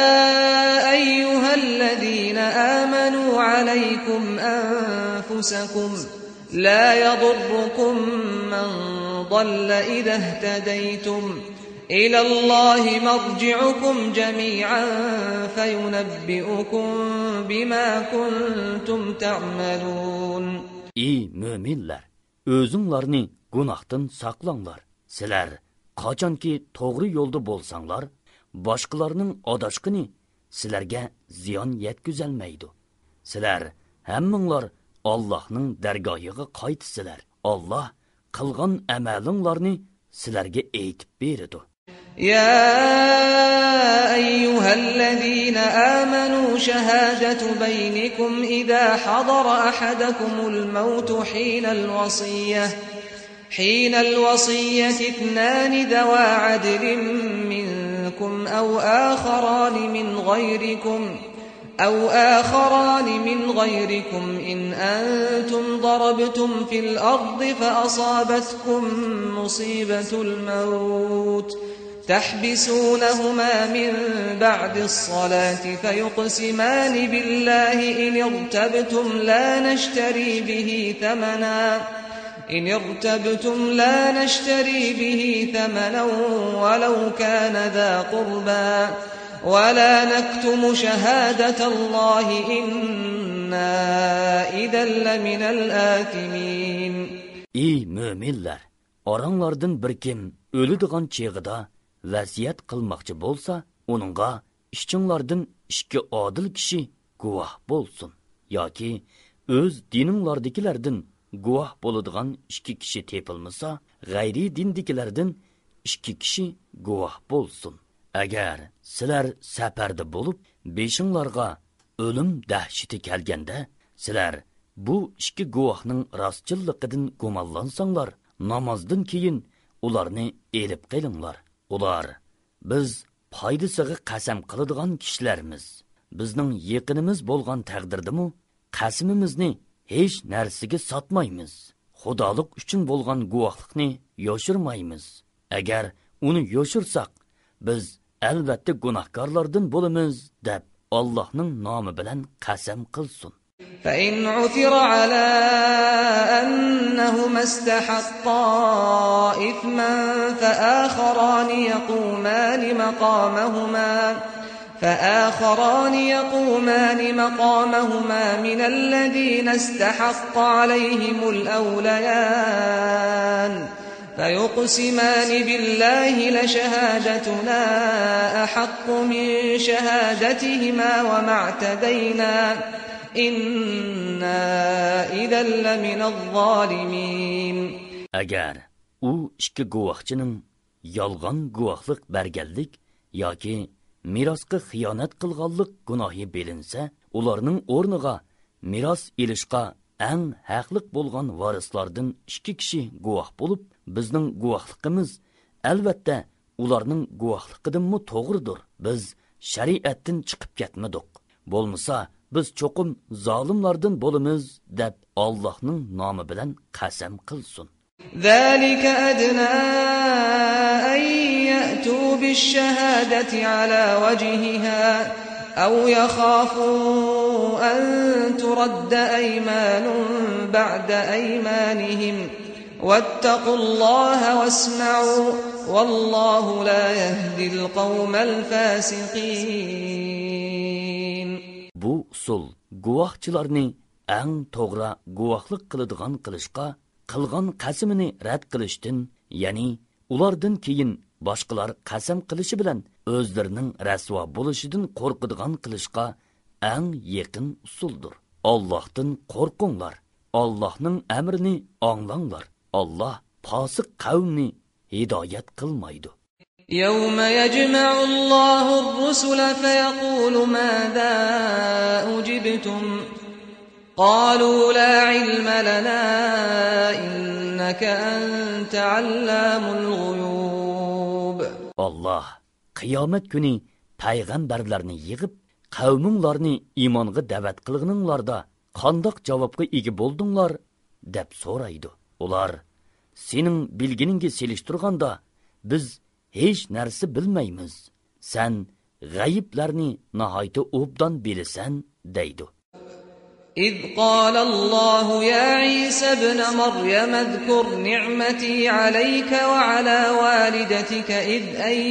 ayyuhallazina amanu alaykum anfusakum la yadurrukum man ضل إذا اهتديتم إلى الله مرجعكم جميعا فينبئكم بما كنتم تعملون.
Ey müminler, özüңlarni günahdan saqlanglar. Sizlar qachonki to'g'ri yo'lda bo'lsanglar, boshqalarning adashqini sizlarga ziyon yetkazolmaydi. Sizlar hammanglar Allohning dargohiga qaytsizlar. Alloh qilgan amalinglarni sizlarga aytib beradi.
Ya ayyuhallazina amanu shahadatu baynikum idha hadara ahadakumul maut hina al-wasiyyah ithnan dawa adlin minkum aw akharan min من غيركم إن أنتم ضربتم في الأرض فأصابتكم مصيبة الموت تحبسونهما من بعد الصلاة فيقسمان بالله إن ارتبتم لا نشتري به ثمنا ولو كان ذا قربى ولا نكتم شهادة الله إنا إذا لمن الآثمين.
Ey müminler! Aranlardan bir kim ölüdigan çağıda vasiyet qilmoqchi bo'lsa, uningga ishchinglardan ikki odil kishi guvoh bo'lsin yoki o'z dininglardagilardan guvoh bo'ladigan ikki kishi tepilmasa, g'ayri dindagilardan ikki kishi guvoh bo'lsin. Agar sizlar safarda bo'lib, beshinglarga o'lim dahshati kelganda, sizlar bu ikki guvohning rostchilligidan gumonlansanglar, namozdan keyin ularni elib qilinglar. Ular biz foydasiga qasam qiladigan kishilarimiz. Bizning yaqinimiz bo'lgan taqdirdimi, qasamimizni hech narsaga sotmaymiz. Xudolik uchun bo'lgan guvohlikni yoshirmaymiz. Agar uni yoshirsak, biz albatta gunohkorlardan bo'lamiz deb Allohning nomi bilan qasam qilsin.
فإن عثر على أنهما استحقا إثما فآخران يقومان مقامهما من الذين استحق عليهم الأوليان فيقسمان بالله لشهادتنا أحق من شهادتهما وما اعتدينا إنا إذا لمن الظالمين.
Agar u ikki guvohchining yolg'on guvohlik berganlik yoki mirosga xiyonat qilganlik gunohi bilinsa, ularning o'rniga miros ilishqa eng haqliq bo'lgan varislardan ikki kishi guvoh bo'lib, bizning guvohligimiz albatta ularning guvohligidanmi to'g'ridir. Biz shariatdan chiqib ketmadik. Bo'lmasa biz cho'qim zolimlardan bo'lamiz deb Allohning nomi bilan qasam qilsin.
ذلك أدنى أن يأتوا بالشهادة على وجهها أو يخافوا أن ترد أيمان بعد أيمانهم واتقوا الله واسمعوا والله لا يهدي القوم الفاسقين.
Bu usul guvohchilarni eng to'g'ri guvohlik qiladigan qilishqa, qilgan qasamini rad qilishdan, ya'ni ulardan keyin boshqalar qasam qilishi bilan o'zlarining rasvo bo'lishidan qo'rqadigan qilishqa eng yaqin usuldir. Allohdan qo'rqinglar. Allohning amrini anglanglar. Alloh fosiq qavmni hidoyat qilmaydi.
يوم يجمع الله الرسل فيقول ماذا أجبتم قالوا لا علم لنا إنك أنت علام الغيوب.
Allah qiyomat kuni payg'ambarlarni yig'ib, qavminglarni iymonga da'vat qilganinglarda qandoq javobga ega bo'ldinglar deb so'raydi. Ular sening bilginingga selishtirganda biz hech narsa bilmaymiz. Sen g'ayiblarni nihoyat obdan bilasan deydi.
إذ قال الله يا عيسى ابن مريم اذكر نعمتي عليك وعلى والدتك إذ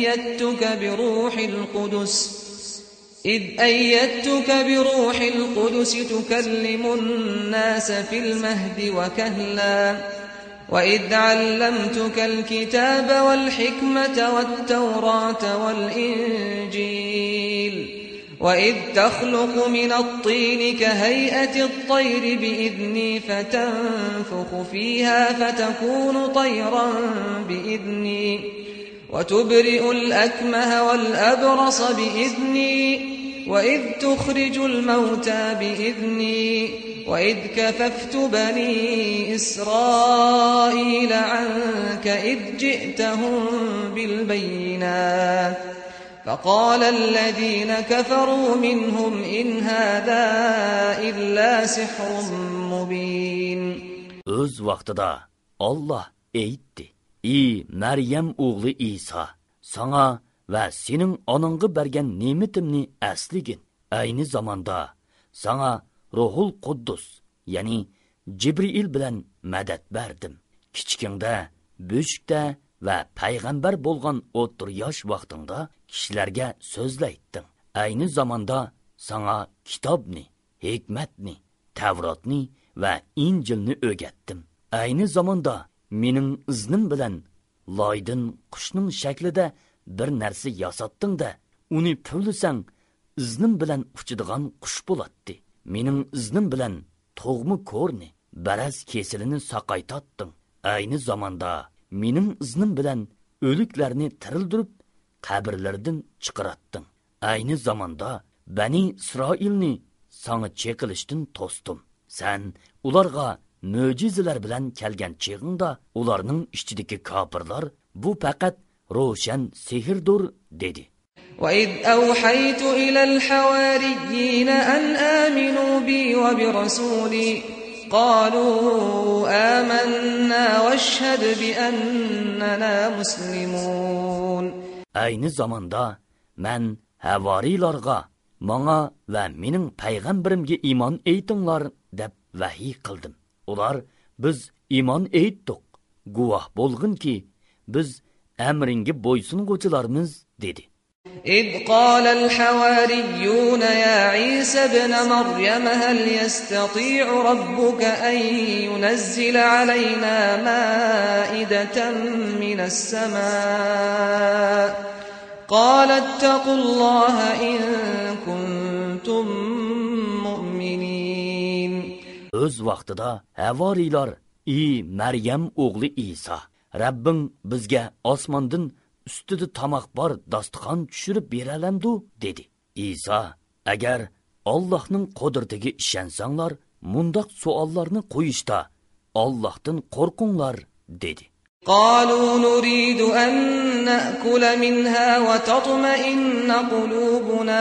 أيدتك بروح القدس تكلم الناس في المهد وكهلا وإذ علمتك الكتاب والحكمة والتوراة والإنجيل وإذ تخلق من الطين كهيئة الطير بإذني فتنفخ فيها فتكون طيرا بإذني وتبرئ الأكمه والأبرص بإذني وإذ تخرج الموتى بإذني وإذ كففت بني إسرائيل عنك إذ جئتهم بالبينات فقال الذين كفروا منهم إن هذا إلا سحر مبين.
Öz vaqtida Allah aytdi: "Ey Maryam o'g'li Isa, sana va sening onangga bergan ne'matimni asligin. Ayni zamonda sana Ruhul Quddus, ya'ni Jibril bilan madad berdim. Kichkingda, bo'shikda va payg'ambar bo'lgan o'ttir yosh vaqtingda kishilarga so'zlaytding. Ayni zamonda sana kitobni, hikmatni, Tavrotni va Injilni o'rgatdim. Ayni zamonda mening iznim bilan loydin qushning shaklida bir narsa yasatding-da, uni puvlisang iznim bilan uchadigan qush bo'ladi. Mening iznim bilan tug'mi ko'rni, baraz kesilini saqaytatding. Ayni zamonda mening iznim bilan o'liklarni tirildirib, qabrlardan chiqaratding. Ayni zamonda Bani Isroilni sana cheqilishdan to'sdim. Sen ularga mo'jizalar bilan kelgan cheg'ingda ularning ichidagi kofirlar bu faqat ro'shan sehrdir dedi.
وَإِذْ أَوْحَيْتُ إِلَى الْحَوَارِيِّينَ أَنْ آمِنُوا بِي وَبِرَسُولِي قَالُوا آمَنَّا وَاشْهَدْ بِأَنَّنَا مُسْلِمُونَ. Ayni zamanda men havarilarga, "Manga va mening payg'ambarimga iymon aytinglar" deb vahiy qildim. Ular, "Biz iymon aytdik. Guvoh bo'lginki, biz amringga bo'ysunguchilarmiz" dedi. إذ قال الحواريون يا عيسى ابن مريم هل يستطيع ربك أن ينزل علينا مائدة من السماء قال اتقوا الله إن كنتم مؤمنين.
Öz vaqtida havarilar: "Ey Maryam o'g'li Isa, Rabbing bizga osmondan ustida tamoq bor dasturxon tushirib beralamdu" dedi. Isa: "Agar Allohning qudratiga ishonsanglar, mundaq savollarni qo'yishda Allohdan qo'rqinglar" dedi.
قالوا نريد أن نأكل منها وتطمئن قلوبنا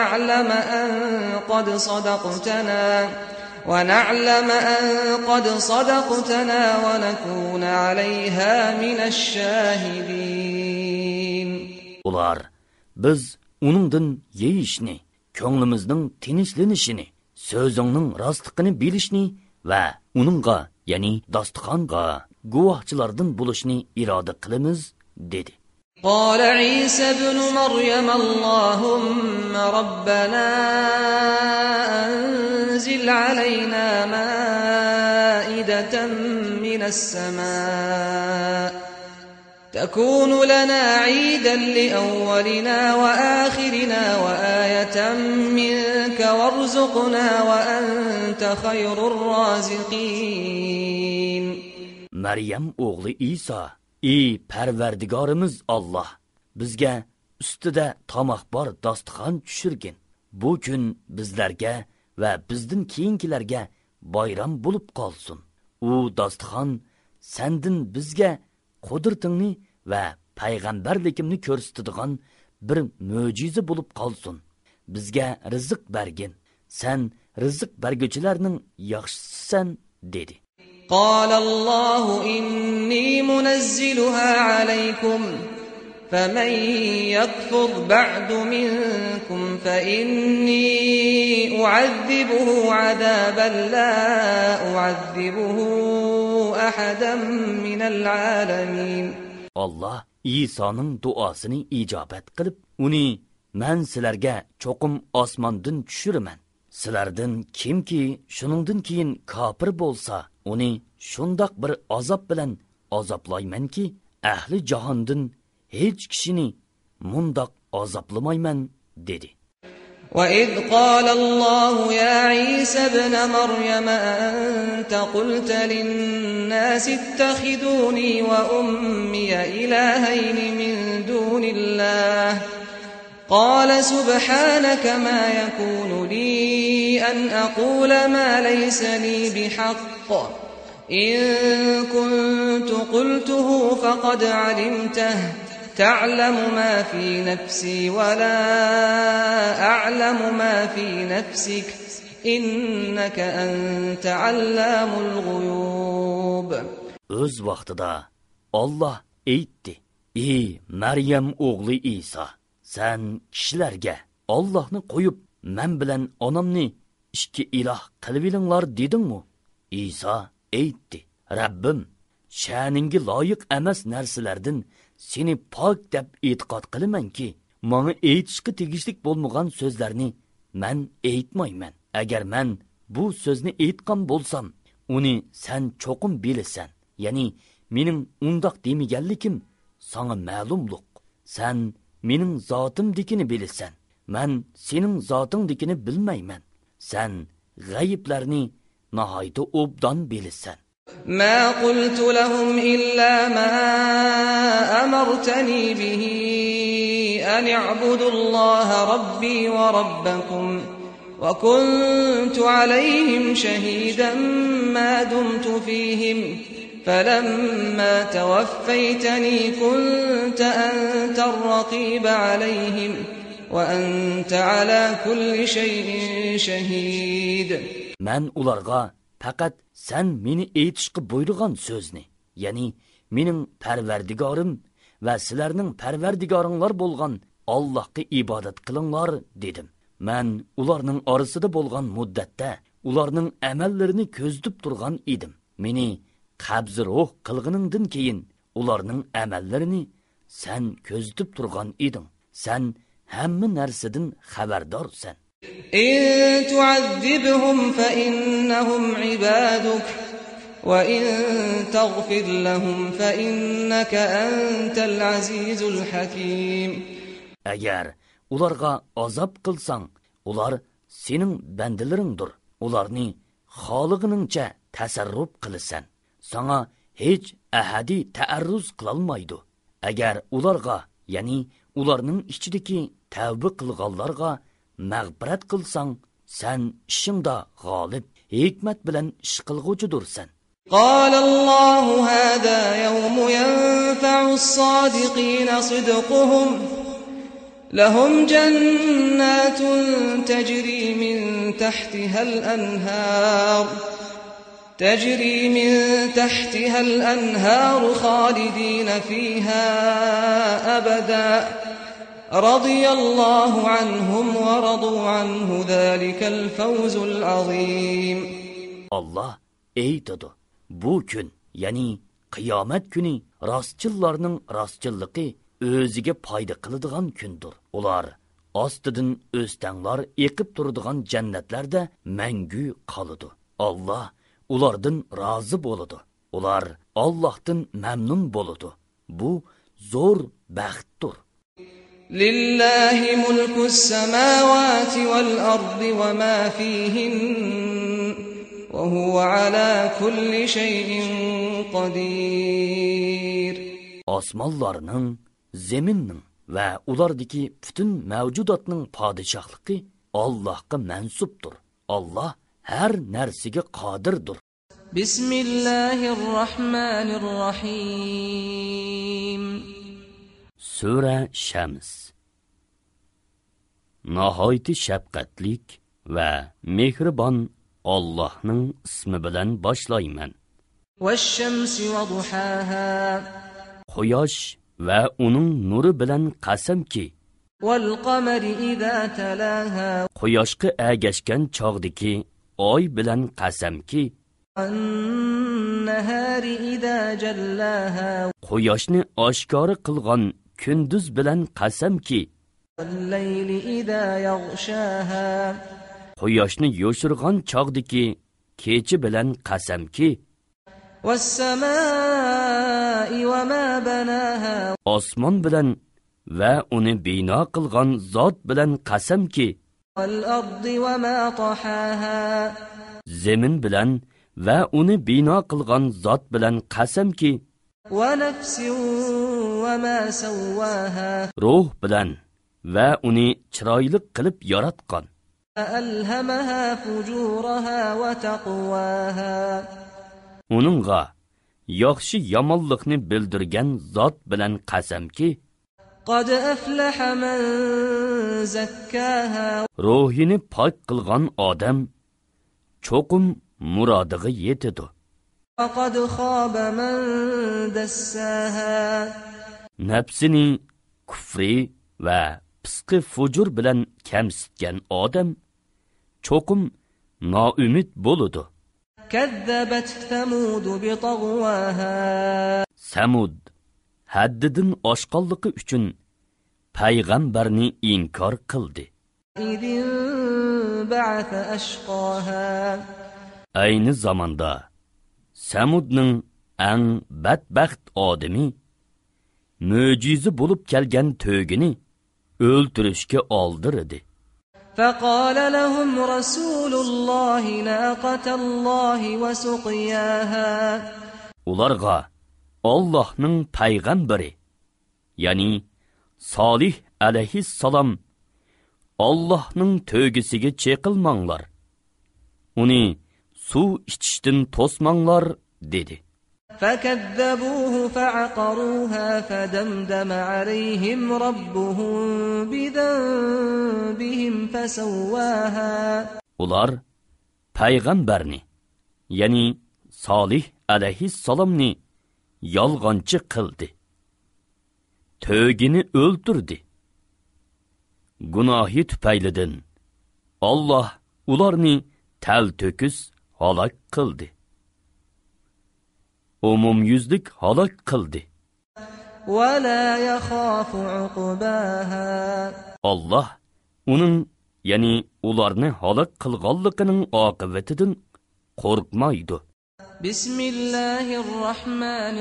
ونعلم أن قد صدقتنا ونكون عليها من الشاهدين.
Ular, biz uningdan yeyishni, ko'nglimizning tinchlanishini, so'zingning rostligini bilishni va uningga, ya'ni dasturxonga guvohchilardan bo'lishni iroda qilamiz dedi.
قال عيسى ابن مريم اللهم ربنا أنزل علينا مائدة من السماء تكون لنا عيدا لأولنا وآخرنا وآية منك وارزقنا وأنت خير الرازقين.
Maryam o'g'li Isa: "Ey Parvardigorimiz Alloh, bizga ustida tamoq bor dasturxon tushirgin. Bu kun bizlarga va bizdan keyingilarga bayram bo'lib qolsin. U dasturxon sendin bizga qudratingni va payg'ambarligimni ko'rsatadigan bir mo'jiza bo'lib qolsin. Bizga rizq bergin. Sen rizq berguvchilarning yaxshisisan" dedi.
قال الله إني منزلها عليكم فمن يكفر بعد منكم فإني أعذبه عذابا لا أعذبه أحدا من العالمين.
Allah İsa'nın duasını icabet qilib, uni "Men sizlarga cho'qim osmondan tushiraman. Sizlardan kimki shuningdan keyin kofir bo'lsa, uni shundoq bir azob bilan azoblaymanki, ahli jahondan hech kishini mundoq azoblamayman" dedi.
وَإِذْ قَالَ اللَّهُ يَا عِيسَى ابْنَ مَرْيَمَ أَنْتَ قُلْتَ لِلنَّاسِ اتَّخِذُونِي وَأُمِّيَ إِلَٰهَيْنِ مِن دُونِ اللَّهِ قَالَ سُبْحَانَكَ مَا يَكُونُ لِي أَنْ أَقُولَ مَا لَيْسَ لِي بِحَقٍّ إِن كُنتُ قُلْتُهُ فَقَدْ عَلِمْتَهُ تعلم ما في نفسي ولا أعلم ما في نفسك إنك أنت علام الغيوب.
Öz vaqtida Allah aytdi: "Ey Maryam o'g'li İsa, sen kishilarga Allohni qo'yib, men bilan onamni ikki iloh qilib olinglar dedingmi?" İsa aytdi: "Rabbim, sha'ningga loyiq emas narsalardan seni pok deb e'tiqod qilamanki, menga aytishga tegishlik bo'lmagan so'zlarni men aytmayman. Agar men bu so'zni aytgan bo'lsam, uni sen cho'qim bilasan. Ya'ni mening undoq demaganlikim sana ma'lumliq. Sen mening zotimdikini bilasan. Men sening zotingdikini bilmayman. Sen g'ayiblarni nihoyatda obdan bilasan."
ما قلت لهم إلا ما أمرتني به أن اعبدوا الله ربي وربكم وكنت عليهم شهيدا ما دمت فيهم فلما توفيتني كنت أنت الرقيب عليهم وأنت على كل شيء شهيد.
من ularga faqat sen meni aytishga buyurgan so'zni, ya'ni mening Parvardigorim va sizlarning Parvardigoringlar bo'lgan Allohga ibodat qilinglar dedim. Men ularning orasida bo'lgan muddatda ularning amallarini ko'zlab turgan edim. Meni qabz ruh qilganingdan keyin ularning amallarini sen ko'zlab turgan eding. Sen hamma narsadan xabardorsan.
إن تعذبهم فإنهم عبادك وإن تغفر لهم فإنك أنت العزيز الحكيم.
Agar ularga azab qilsang, ular sening bandalaringdir. Ularni xoliqiningcha tasarruf qilasan. Sana hech ahadi ta'arruz qilolmaydi. Agar ularga, ya'ni ularning ichidagi tavba qilganlarga mag'firat qilsang, sen ishingda g'olib, hikmat bilan ish qilg'uvchidursan.
قال الله هذا يوم ينفع الصادقين صدقهم لهم جنات تجري من تحتها الأنهار خالدين فيها أبدا رضي الله عنهم ورضوا عنه ذلك الفوز العظيم.
Allah aytadi: bu kun, ya'ni qiyomat kuni rostchillarning rostchilligi o'ziga foyda qiladigan kundir. Ular ostidan o'stanglar eqib turadigan jannatlarda mangu qoladi. Allah ulardan rozi bo'ladi. Ular Allohdan mamnun bo'ladi. Bu zo'r baxtdir.
لله ملك السماوات والأرض وما فيهن وهو على كل شيء قدير.
Osmonlarning, zaminning va ulardagi butun mavjudotning podshohligi Allohga mansubdir. Allah har narsaga qodirdir.
Bismillahirrahmanirrahim.
Sura Shams. Nihoyatda shafqatlik va mehribon Allohning ismi bilan boshlayman.
Vash-shamsi va duhaha.
Quyosh va uning nuri bilan qasamki.
Wal-qamari idza talaha.
Quyoshga agashgan chog'dagi oy bilan qasamki.
An-nahari idza jallaha.
Quyoshni oshkora qilgan kunduz bilan qasamki.
Wal-layli idza yaghshaha.
Quyoshni yo'shirgan chog'dagi kecha bilan qasamki.
Was-samaa'i wa ma banaha.
Osmon bilan va uni bino qilgan zot bilan qasamki.
Wal-ardi wa ma tahaha.
Zamin bilan va uni bino qilgan zot bilan qasamki.
Wa nafsin wa ma sawwaha.
Ruh bilan va uni chiroyli qilib yaratgan.
Alhamaha fujuraha wa taqwaha.
Uningga yaxshi yomonlikni bildirgan zot bilan qasamki.
قد أفلح من زكاها
ruhini pok qilgan odam cho'qim murodiga yetadi.
وقد خاب من دساها
Nafsini kufri va fisqi fujur bilan kamsitgan odam cho'qim noumid bo'ladi.
كذبت ثمود بطغواها
Samud haddidan oshqonligi uchun payg'ambarni inkor qildi.
إذ انبعث أشقاها
Ayni zamonda Samudning eng badbaxt odami mo'jiza bo'lib kelgan to'gini o'ltirishga oldirdi.
فقال لهم رسول الله ناقة الله وسقياها
Ularga Allohning payg'ambari, ya'ni Solih alayhissalom Allohning to'gisiga cheqilmanglar. Uni suv ichishdan to'smanglar dedi.
فكذبوه فعقروها فدمدم عليهم ربهم بذنبهم فسواها
Ular payg'ambarni, ya'ni Solih alayhissalomni yolg'onchi qildi. To'gini o'ldirdi. Gunohi tufaylidan Alloh ularni tal-to'kis halok qildi. Umumyuzlik halok qildi.
ولا يخاف عقباها
Alloh uning, ya'ni ularni halok qilganligining oqibatidan qo'rqmaydi.
بسم الله الرحمن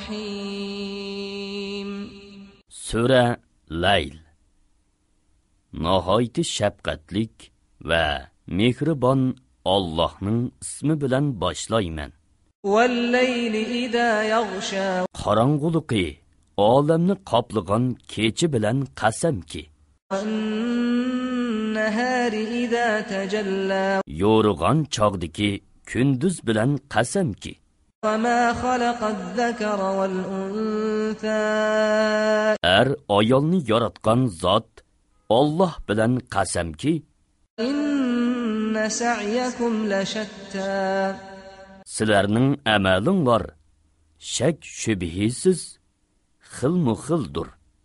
الرحيم
Sura Layl. Nihoyat shafqatlik va mehribon Allohning ismi bilan boshlayman.
والليل إذا يغشى
Qorong'uliqi olamni qoplagan kechi bilan qasamki,
والنهار إذا تجلى
yo'rug'on chog'diki kunduz bilan qasamki,
وما خلق الذكر والأنثى
ayolni yaratgan zot Alloh bilan qasamki,
إن سعيكم لشتى
sizlarning amalinglar shak shubhisiz xilmu-xildir.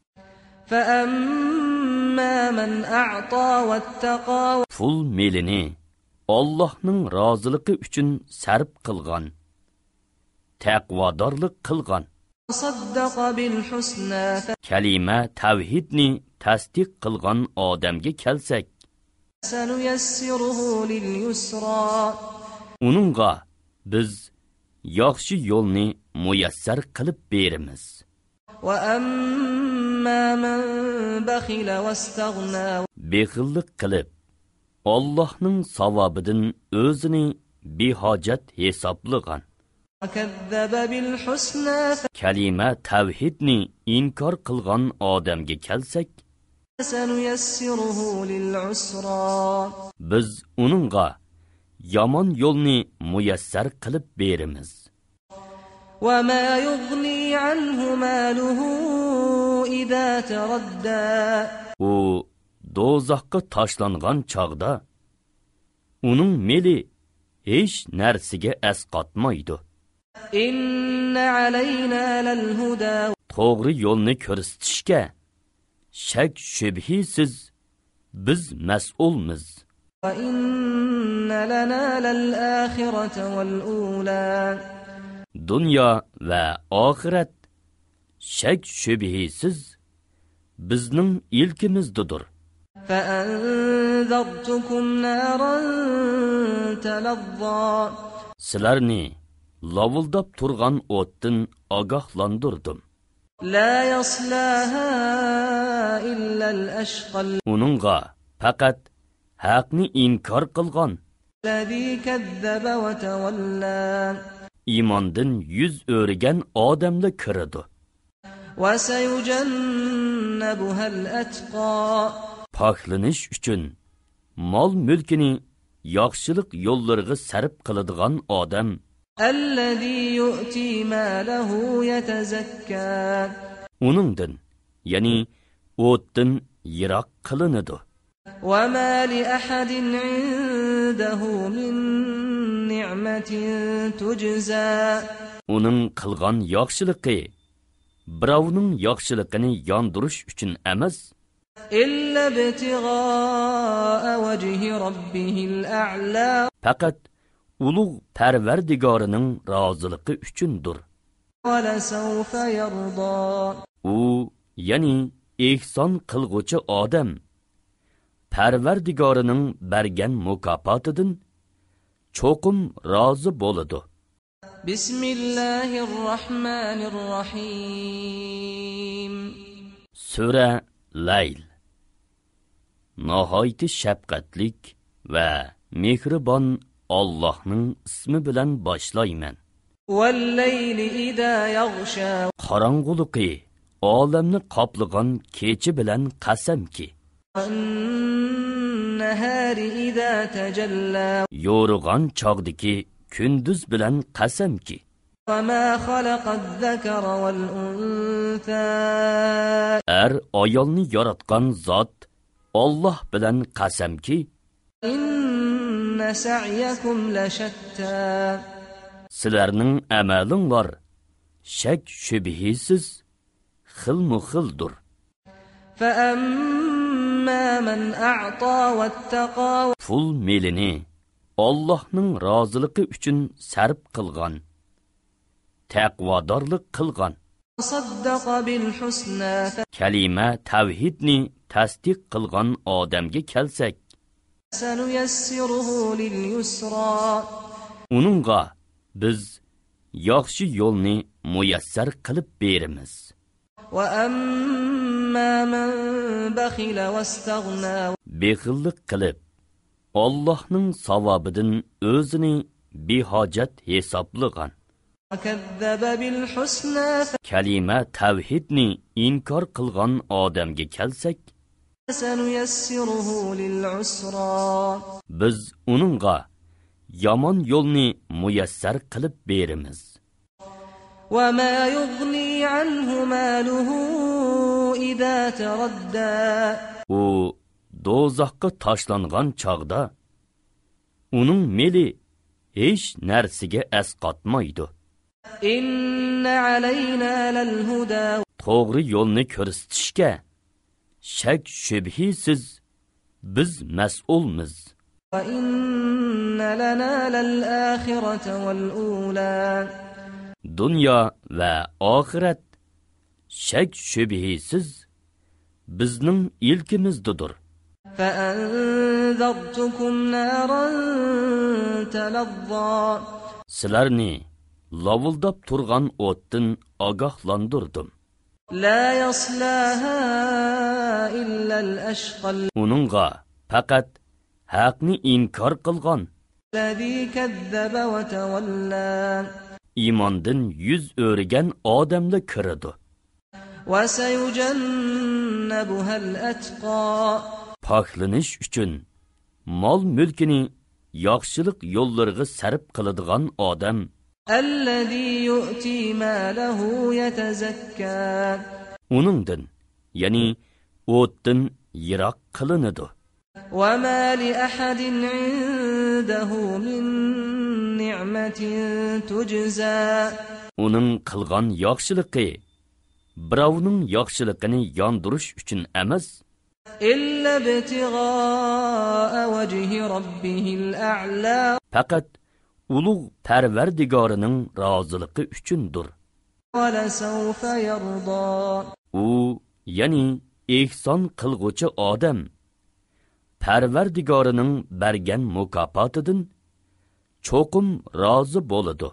فأما من أعطى واتقى
Pul melini Allohning roziligi uchun sarf qilgan, taqvodorlik qilgan,
وصدق بالحسنى
kalima tavhidni tasdiq qilgan odamga kelsak,
فسنيسره لليسرى
uningga biz yaxshi yo'lni muyassar qilib beramiz.
وأما من بخل واستغنى
Bexillik qilib Allohning savobidan o'zini behojat hisoblagan,
وكذب بالحسنى
kalima tavhidni inkor qilgan odamga kelsak,
فسنيسره للعسرى
biz uningga yomon yo'lni muyassar qilib beramiz.
وما يغني عنه ماله إذا تردى
U do'zaxga tashlangan chog'da uning meli hech narsaga asqatmaydi.
إن علينا للهدى
To'g'ri yo'lni ko'rsatishga shak shubhisiz biz mas'ulmiz.
وإن لنا للآخرة والأولى
Dunyo va oxirat shak shubhisiz bizning ilkimizdir.
فأنذرتكم نارا تلظى
Sizlarni lavuldab turgan o'tdan ogohlantirdim.
لا يصلاها إلا الأشقى
Uningga faqat haqni inkor qilgan,
الذي كذب وتولى
iymondan yuz o'rgan odamlar kiradi.
وسيجنبها الأتقى
Poklanish uchun mol mulkini yaxshilik yo'llariga sarf qiladigan odam,
الذي يؤتي ماله يتزكى
uningdan, ya'ni o'tdan yiroq qilinadi.
وَمَا لِأَحَدٍ عِندَهُ مِنْ نِعْمَةٍ تُجْزَى
Uning qilgan yaxshiligi birovning yaxshiligini yondirish uchun emas,
إِلَّا ابْتِغَاءَ وَجْهِ رَبِّهِ الْأَعْلَى
faqat ulug' Parvardigorining roziligi uchundir.
وَلَسَوْفَ يَرْضَى
U, ya'ni ehson qilg'uchi odam Parvardigorining bergan mukofotidan cho'qim rozi bo'ladi.
Bismillahirrahmanirrahim.
Sura Layl. Nihoyat shafqatlik va mehribon Allohning ismi bilan boshlayman.
Wal-layli idha yaghsha.
Qorong'uliqi olamni qoplagan kecha bilan qasamki.
Wan-nahari idha tajalla.
Yo'rg'an chog'diki kunduz bilan qasamki.
وَمَا خَلَقَ الذَّكَرَ وَالْأُنْثَى
Ayolni yaratgan zot Alloh bilan qasamki.
İnna sa'yakum lashatta.
Sizlarning amalinglar shak shubhisiz xilmu-xildir.
فَأَمَّا مَنْ أَعْطَى وَاتَّقَى
Pul melini Allohning roziligi uchun sarf qilgan, taqvodorlik qilgan,
صَدَّقَ بِالْحُسْنَى
kalima tavhidni tasdiq qilgan odamga kelsak,
فَسَنُيَسِّرُهُ لِلْيُسْرَى
uningga biz yaxshi yo'lni muyassar qilib beramiz.
وَأَمَّا مَنْ بَخِلَ وَاسْتَغْنَى
Bexillik qilib Allohning savobidan o'zini behojat hisoblagan,
وَكَذَّبَ بِالْحُسْنَى
kalima tavhidni inkor qilgan odamga kelsak,
فَسَنُيَسِّرُهُ لِلْعُسْرَى
biz uningga yomon yo'lni muyassar qilib beramiz.
وَمَا يُغْنِي عَنْهُ مَالُهُ إِذَا تَرَدَّى
U do'zaxga tashlangan chog'da uning meli hech narsaga asqatmaydi.
إِنَّ عَلَيْنَا لَلْهُدَى
To'g'ri yo'lni ko'rsatishga shak shubhisiz biz mas'ulmiz.
وَإِنَّ لَنَا لَلْآخِرَةَ وَالْأُولَى
Dunyo va oxirat shak shubhisiz bizning ilkimizdir.
فَأَنذَرْتُكُمْ نَارًا تَلَظَّى
Sizlarni lavuldab turgan o'tdan ogohlantirdim.
لَا يَصْلَاهَا إِلَّا الْأَشْقَى
Uningga faqat haqni inkor qilgan,
الَّذِي كَذَّبَ وَتَوَلَّى
iymondan yuz o'rgan odamlar kiradi.
وَسَيُجَنَّبُهَا الْأَتْقَى
Paklanish uchun mol mulkini yaxshilik yo'llariga sarf qiladigan odam,
الَّذِي يُؤْتِي مَالَهُ يَتَزَكَّى
uningdan, ya'ni o'tdan yiroq qilinadi.
وَمَا لِأَحَدٍ عِندَهُ مِنْ نِعْمَةٍ تُجْزَى
Uning qilgan yaxshiligi birovning yaxshiligini yondirish uchun emas,
إِلَّا ابْتِغَاءَ وَجْهِ رَبِّهِ الْأَعْلَى
faqat ulug' Parvardigorining roziligi uchundir.
وَلَسَوْفَ يَرْضَى
U, ya'ni ehson qilg'uchi odam Parvardigorining bergan mukofotidan cho'qim rozi bo'ladi.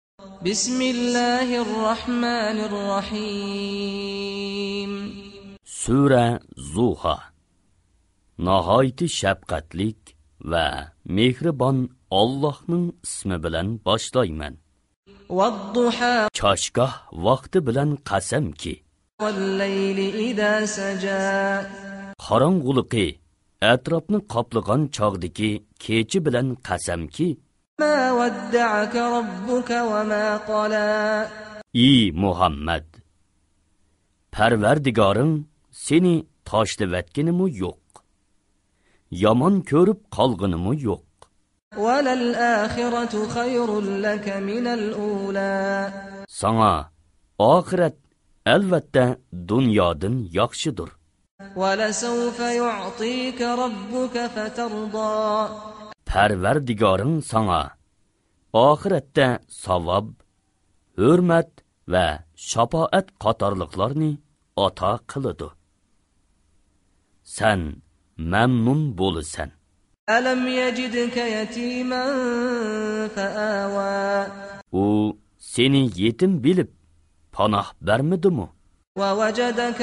Bismillahirrahmanirrahim.
Sura Zuha. Nihoyat shafqatlik va mehribon Allohning ismi bilan boshlayman.
وَالضُّحَى
Choshgoh vaqti bilan qasamki,
وَاللَّيْلِ إِذَا سَجَى
qorong'uliqi atrofni qoplagan chog'dagi kechi bilan qasamki,
مَا وَدَّعَكَ رَبُّكَ وَمَا قَلَى
ey Muhammad, Parvardigoring seni tashlavatganimi yo'q. Yomon ko'rib qolganimi yo'q.
وَلَلْآخِرَةُ خَيْرٌ لَكَ مِنَ الْأُولَى
Sana oxirat albatta dunyodan yaxshidir.
وَلَسَوْفَ يُعْطِيكَ رَبُّكَ فَتَرْضَى
Parvardigoring sana oxiratda savob, hurmat va shafoat qatorliqlarni ato qiladi. Sen mamnun bo'lasan.
أَلَمْ يَجِدْكَ يَتِيمًا فَآوَى
U seni yetim bilib panoh bermidimi?
وَوَجَدَكَ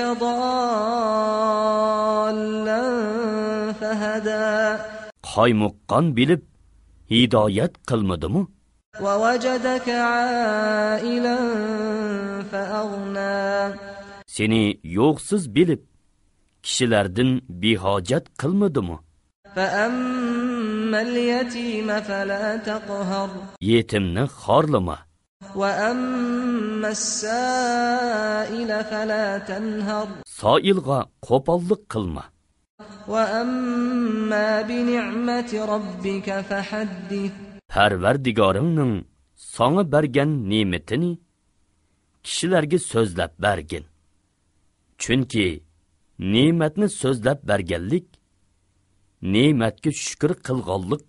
ضَالًّا فَهَدَى
Qaymuqqan bilib hidoyat qilmadimi?
وَوَجَدَكَ عَائِلًا فَأَغْنَى
Seni yo'qsiz bilib kishilardan behojat qilmadimi?
فَأَمَّا الْيَتِيمَ فَلَا تَقْهَرْ
Yetimni xorlama.
وَأَمَّا السَّائِلَ فَلَا تَنْهَرْ
Soilga qo'pollik qilma.
وَأَمَّا بِنِعْمَةِ رَبِّكَ فَحَدِّثْ
Parvardigoringning sana bergan ne'matini kishilarga so'zlab bergin. Chunki ne'matni so'zlab berganlik ne'matga shukr qilganlik.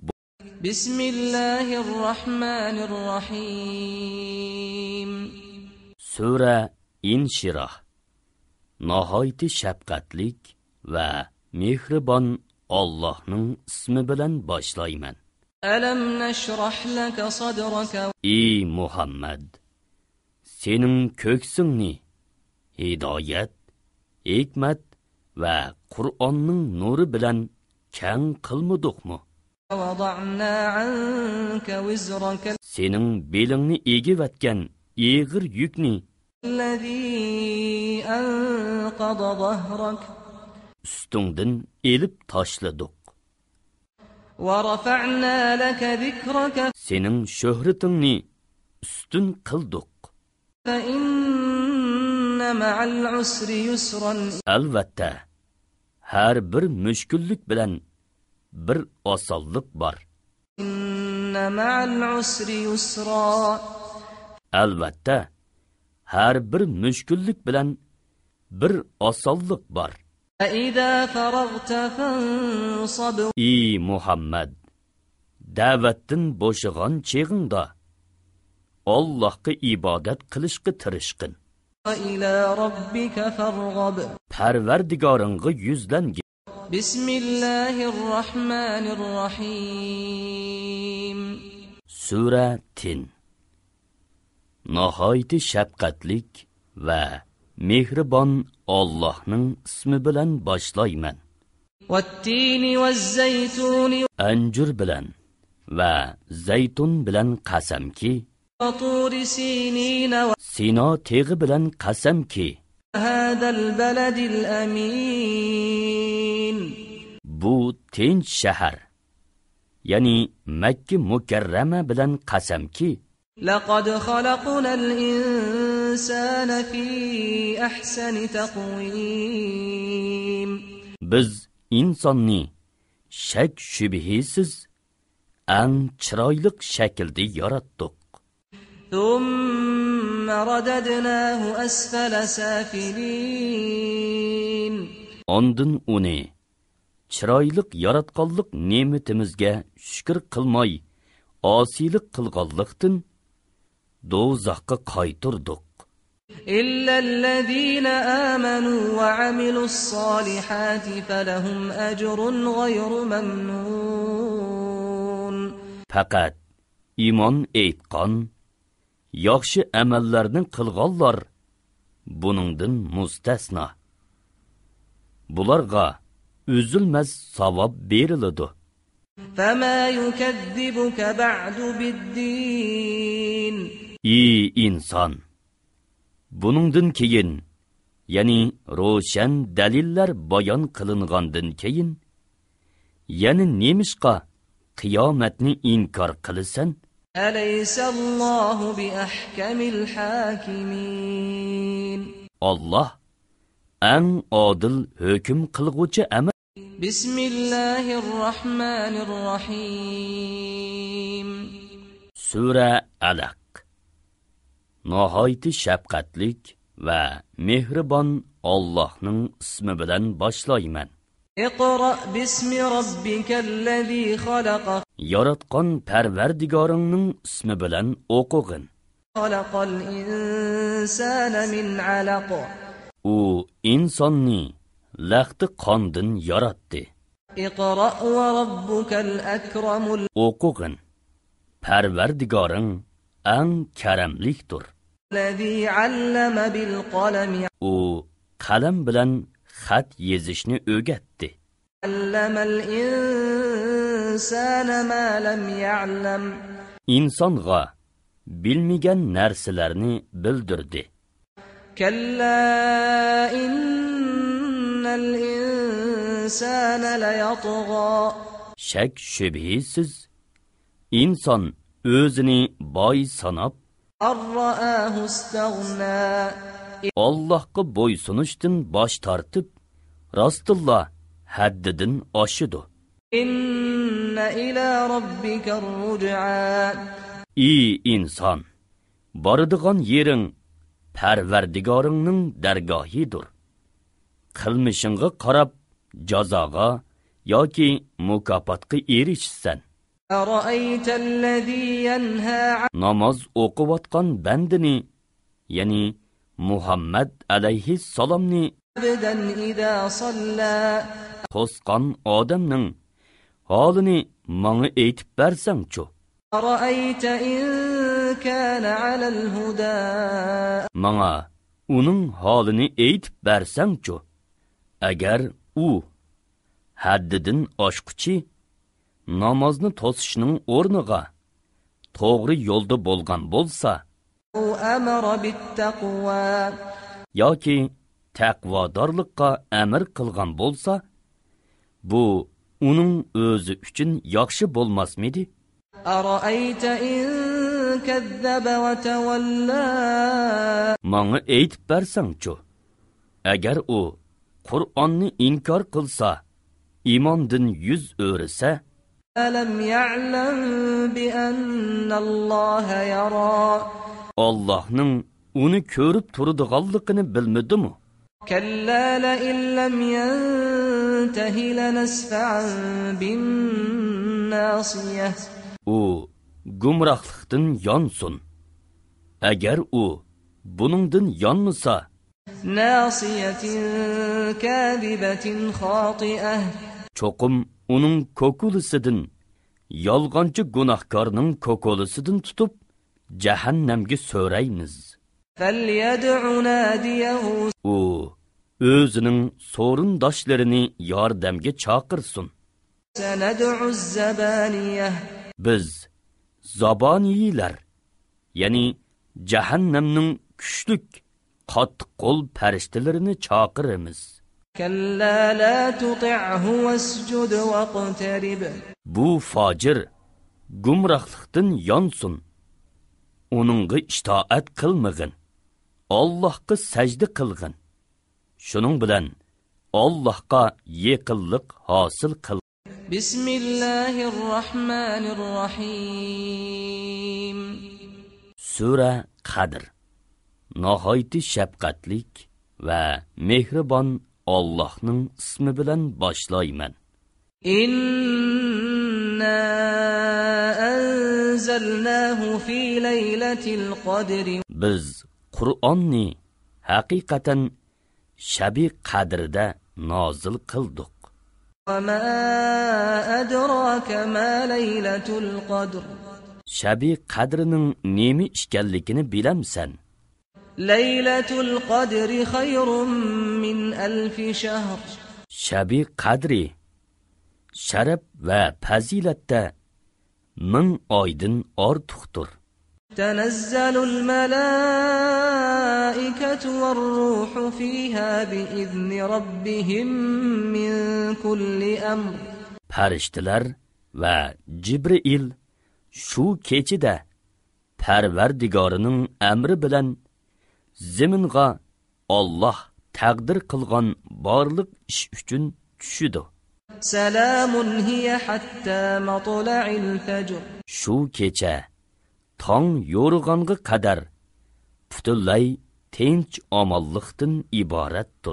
Bismillahirrahmanirrahim.
Sura Inshirah. Nihoyat shafqatlik va mehribon Allohning ismi bilan boshlayman.
Alam nashrah laka sadraka
Ey Muhammad, sening ko'ksingni hidoyat, hikmat va Qur'onning nuri bilan keng qilmadikmi?
وَوَضَعْنَا عَنْكَ وِزْرَكَ
Sening belingni egivatgan eg'ir yukni
الَّذِي أَنْقَضَ ظَهْرَكَ
ustingdan elib tashladik.
وَرَفَعْنَا لَكَ ذِكْرَكَ
Sening shuhratingni ustun qildik.
فَإِنَّ مَعَ الْعُسْرِ يُسْرًا
Albatta, har bir mushkullik bilan bir osonlik bor.
إِنَّ مَعَ الْعُسْرِ يُسْرًا
Albatta, har bir mushkullik bilan bir osonlik bor.
فَإِذَا فَرَغْتَ فَانصَبْ
Ey Muhammad, da'vatdan bo'shigan cheg'ingda Allohga ibodat qilishga tirishqin.
وَإِلَى رَبِّكَ فَارْغَب
Parvardigoringga yuzlangin.
بسم الله الرحمن الرحيم
Sura Tin. Nihoyat shafqatlik va mehribon Allohning ismi bilan boshlayman.
والتين والزيتون
Anjur bilan va zaytun bilan qasamki,
وطور سينين
Sino teg'i bilan qasamki,
وهذا البلد الأمين
bu tinch shahar, ya'ni Makka mukarrama bilan qasamki,
لقد خلقنا الإنسان في أحسن تقويم
biz insonni shak shubhisiz ang chiroyli shaklda yaratdik.
ثم رددناه أسفل سافلين
Ondan uni chiroyli yaratganlik ne'matimizga shukr qilmay, osiylik qilganlikdan do'zaxga qaytirdik.
إلا الذين آمنوا وعملوا الصالحات فلهم أجر غير ممنون
Faqat iymon etgan, yaxshi amallarni qilganlar buningdan mustasno. Bularga üzülmez savob beriladi.
فما يكذبك بعد بالدين
Ey inson, buningdan keyin, ya'ni ro'shan dalillar bayon qilingandan keyin, yana nemishqa qiyomatni inkor qilasan?
أليس الله بأحكم الحاكمين
Allah eng odil hukm qilguvchi emas.
Bismillahirrahmanirrahim.
Sura Alaq. Nihoyatda shafqatlik va mehribon Allohning ismi bilan boshlayman.
Iqra bismi robbikallazi xalaq.
Yaratgan Parvardigoringning ismi bilan o'qig'in.
Xalaqal insana min alaq.
U insonni laxti qondan yaratdi.
Iqra va robbukal akramul.
O'qig'in. Parvardigoring eng karamlikdir.
Allazi allama bil qalami.
U qalam bilan xat yezishni o'rgatdi.
Allamal insana ma lam ya'lam.
İnsonga bilmagan narsalarni bildirdi.
Kalla innal insana layatgha.
Shak shubhisiz inson o'zini boy sanab
Ar-ra'ahu istaghna.
Allohga bo'ysunishdan bosh tortib, rostulloh haddidan oshidi.
Inna ila robbika ar-ruj'a.
Ey inson, boradigan yering Parvardigoringning dargohidir. Qilmishingga qarab jazoga yoki mukofotga erishsan.
Ara'ayta allazi yanha.
Namoz o'qiyotgan bandini, ya'ni Muhammad alayhissalomni
Abdan idha salla.
to'sqan odamning holini menga aytib bersang-chu.
Ara'ayta in kana 'ala al-huda.
Menga uning holini aytib bersang-chu. Agar u haddidan oshquchi namozni to'sishning o'rniga to'g'ri yo'lda bo'lgan bo'lsa,
U amara bit-taqwa.
yoki taqvodorlikqa amr qilgan bo'lsa, bu uning o'zi uchun yaxshi bo'lmasmidi?
Ara'ayta in kazzaba wa tawalla.
Menga aytib bersang-chu. Agar u Qur'onni inkor qilsa, iymondan yuz o'risa,
Alam ya'lam bi anna Alloha yara.
Allohning uni ko'rib turadiganligini bilmadimi?
Kalla la illam yantahi lanasfa'an bin nasiyah.
U gumrohlikdan yonsun. Agar u buningdan yonmasa,
Nasiyatin kadibatin khati'ah.
cho'qim uning ko'kulisidan, yolg'onchi gunohkorning ko'kulisidan tutib jahannamga so'raymiz.
Falyad'u nadiyahu.
U o'zining so'rindoshlarini yordamga chaqirsin.
Sanad'u az-zabaniyah.
Biz zaboniylar, ya'ni jahannamning kuchlik qattiq qo'l farishtalarini chaqiramiz.
Kalla la tuti'hu wasjud waqtarib.
Bu fojir gumrohlikdan yonsin. Uningga itoat qilmag'in. Allohga sajda qilg'in. Shuning bilan Allohga yaqinlik hosil qil.
Bismillahirrahmanirrahim.
Sura Qadr. Nihoyatda shafqatlik va mehribon Allohning ismi bilan boshlayman.
Inna anzalnahu fi laylatil qadri.
Biz Qur'onni haqiqatan Shabi Qadrda nozil qildik.
Va ma adraka ma laylatul qadr.
Shabi Qadrining nima ekanligini bilamsan?
Laylatul qadri khayrun min alf shahr.
Shabi Qadri sharaf va fazilatda 1000 oydan ortiqdir.
Tanazzalul malaikatu var-ruhu fiha bi'izni rabbihim min kulli amr.
Farishtalar va Jibril shu kechida Parvardigorining amri bilan zaminga Alloh taqdir qilgan barliq ish uchun tushidi.
Salamun hiya hatta matla'il fajr.
Shu kecha tong yo'rg'onga qadar butunlay tinch omonlikdan iboratdir.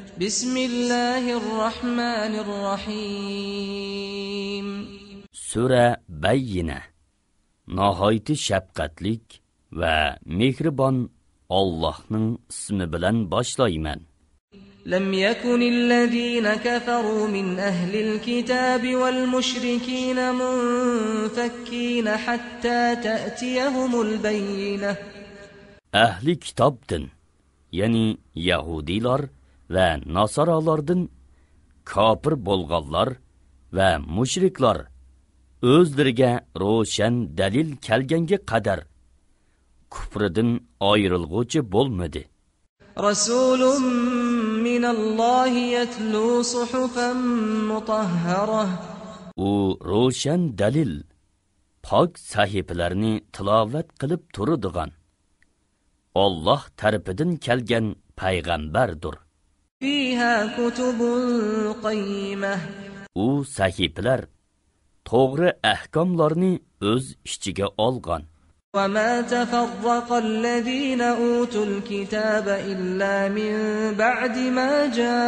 Bismillahirrahmanirrahim.
Sura Bayyina. Nihoyat shafqatlik va mehribon Allohning ismi bilan boshlayman.
لم يكن الذين كفروا من أهل الكتاب والمشركين منفكين حتى تأتيهم البينة.
Ahli kitobdan, yani Yahudilar ve Nasaralardan kafir bo'lganlar va mushriklar o'zlariga ro'shan dalil kelganga qadar kufridan ayrilg'uchi bo'lmadi.
Rasulun minallohi yatlu suhufan mutahharah.
U ro'shan dalil pok sahifalarni tilovat qilib turadigan Allah tarafidan kelgan payg'ambardir.
Fiha kutubun qayyimah.
U sahifalar to'g'ri ahkomlarni o'z ichiga olgan.
وما تفرق الذين أوتوا الكتاب إلا من بعد ما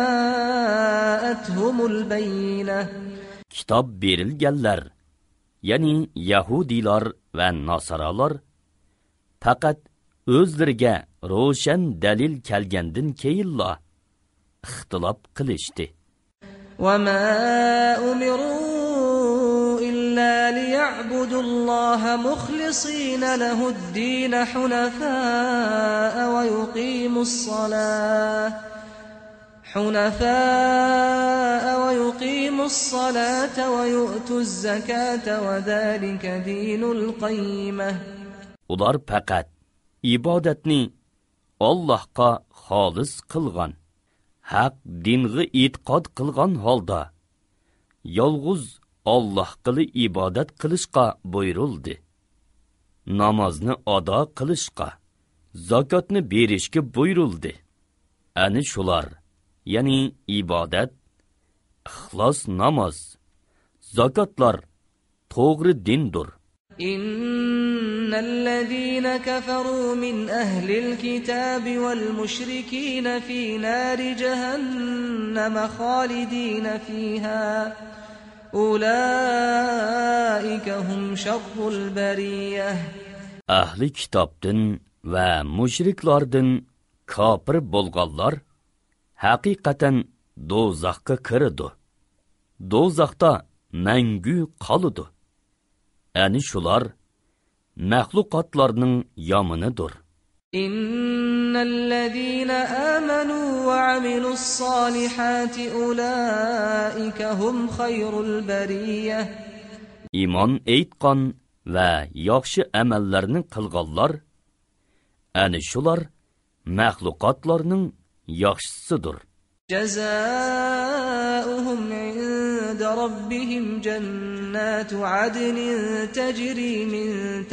جاءتهم البينة.
Kitap berilganlar, yani Yahudilar ve Nasaralar faqat o'zlariga ro'shan dalil kelgandan keyinla ixtilof qilishdi.
وما أمروا إلا ليعبدوا الله مخلصين له الدين حنفاء ويقيموا الصلاة ويؤتوا الزكاة وذلك دين القيمة.
Ular faqat ibodatni Allohga xolis qilgan, haq dinga e'tiqod qilgan holda yolg'iz Allohga ibodat qilishga buyurildi. Namozni ado qilishga, zakotni berishga buyurildi. Ani shular, ya'ni ibodat, ixlos namoz, zakotlar to'g'ri dindir.
إن الذين كفروا من أهل الكتاب والمشركين في نار جهنم خالدين فيها أولئك هم شر البرية.
Ahli kitobdan va mushriklardan kafir bo'lganlar haqiqatan do'zaxga kiradi. Do'zaxda mangu qoladi. Ani shular mahluqotlarning yomonidir.
Innallazina amanu va amilus solihati ulaika hum khayrul bariyah.
Iymon aytgan va yaxshi amallarni qilganlar ani shular mahluqotlarning yaxshisidir.
Jazaohum inda rabbihim jannatu adnin tajri min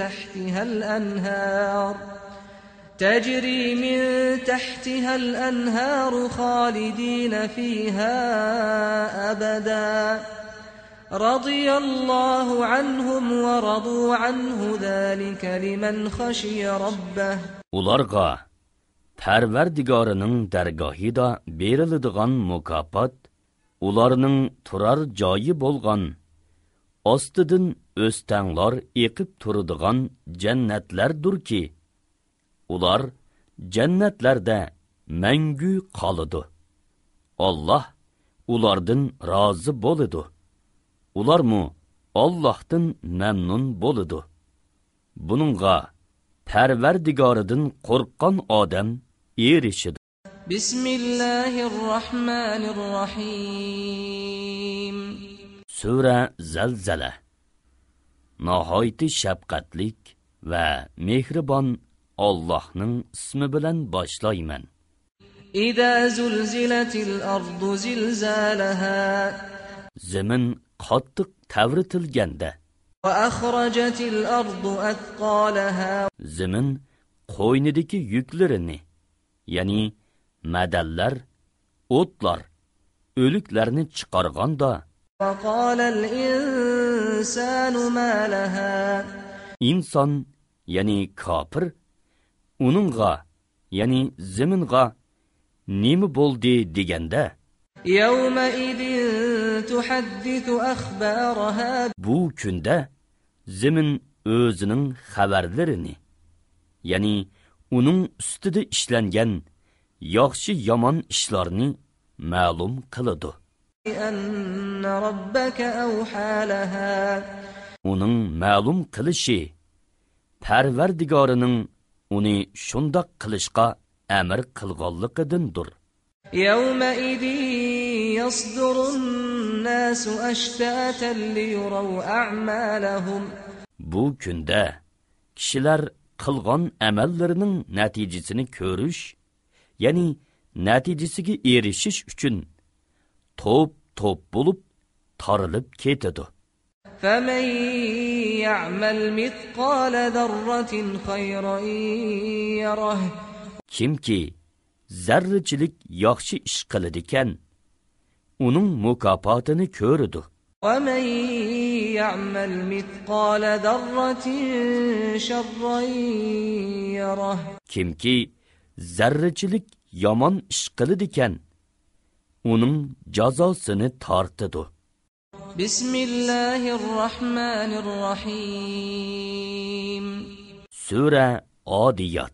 tahtiha al-anhar khalidina fiha abada. Radiyallahu anhum wa radu anhu zalika liman khashiya rabbah.
Ularga Parvardigorining dargohida beriladigan mukofot ularning turar joyi bo'lgan ostidan o'stanglar eqib turadigan jannatlardirki, ular jannatlarda mangu qoladi. Alloh ulardan rozi bo'ladi. Ularmu Allohdan mamnun bo'ladi. Buningga Parvardigoridan qo'rqqan odam erishidi.
Bismillahirrahmanirrahim.
Sura Zalzala. Nihoyat shafqatlik va mehribon Allohning ismi bilan boshlayman.
Idza zulzilatil ardu zilzalaha.
Zamin qattiq tavritilganda
va akhrajatil ardu athqalaha.
Zamin qo'ynidagi yuklarini, ya'ni madallar, o'tlar, o'liklarni chiqarganda
وقال الإنسان ما لها
inson, ya'ni kofir, uningga, ya'ni zaminga nima bo'ldi deganda
يومئذ تحدث أخبارها
bu kunda zamin o'zining xabarlarini, ya'ni uning ustida ishlangan yaxshi yomon ishlarni ma'lum qiladi.
أن ربك أوحى لها
Uning ma'lum qilishi Parvardigorining uni shundoq qilishga amr qilganligidandir.
يومئذ يصدر الناس أشتاتا ليروا أعمالهم
Bu kunda kishilar qilgan amallarining natijasini ko'rish, ya'ni natijasiga erishish uchun to'p bo'lib tarilib ketadi.
فمن يعمل مثقال ذرة خيرا يره
Kimki zarrachilik yaxshi ish qiladi ekan, uning mukofotini ko'radi.
ومن يعمل مثقال ذرة شرا يره
Kimki zarrachilik yomon ish qiladi ekan, uning jazosini tortadi.
بسم الله الرحمن الرحيم
Sura Adiyat.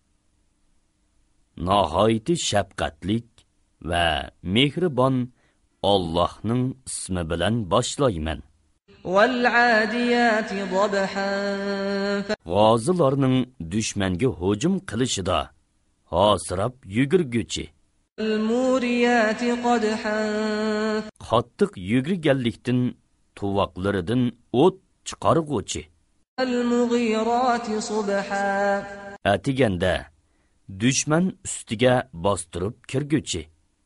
Nihoyatda shafqatlik va mehribon Allohning ismi bilan boshlayman.
والعاديات ضبحا
G'ozilarning dushmanga hujum qilishida hosirab yugurguchi,
فالموريات قدحا
qattiq yugurganlikdan tuvoqlaridan o't chiqarg'uchi,
فالمغيرات صبحا
atiganda dushman ustiga bostirib kirguchi,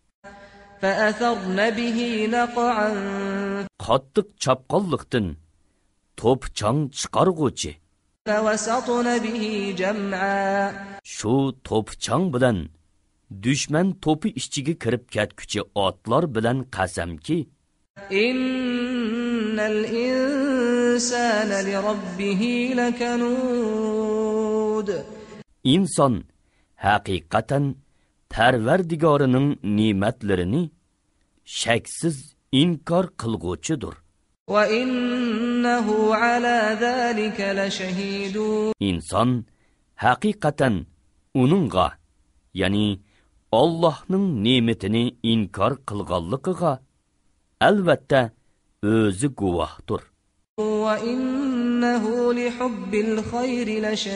فأثرن به نقعا
qattiq chapqonlikdan to'pchang chiqarg'uchi,
فوسطن به جمعا
shu to'pchang bilan dushman to'pi ichiga kirib ketguchi otlar bilan qasamki,
إن الإنسان لربه لكنود
inson haqiqatan Parvardigorining ne'matlarini shaksiz inkor qilg'uchidir.
وإنه على ذلك لشهيد
Inson haqiqatan uningga, ya'ni Allohning ne'matini inkor qilganligiga albatta o'zi guvohdir.
وإنه لحب الخير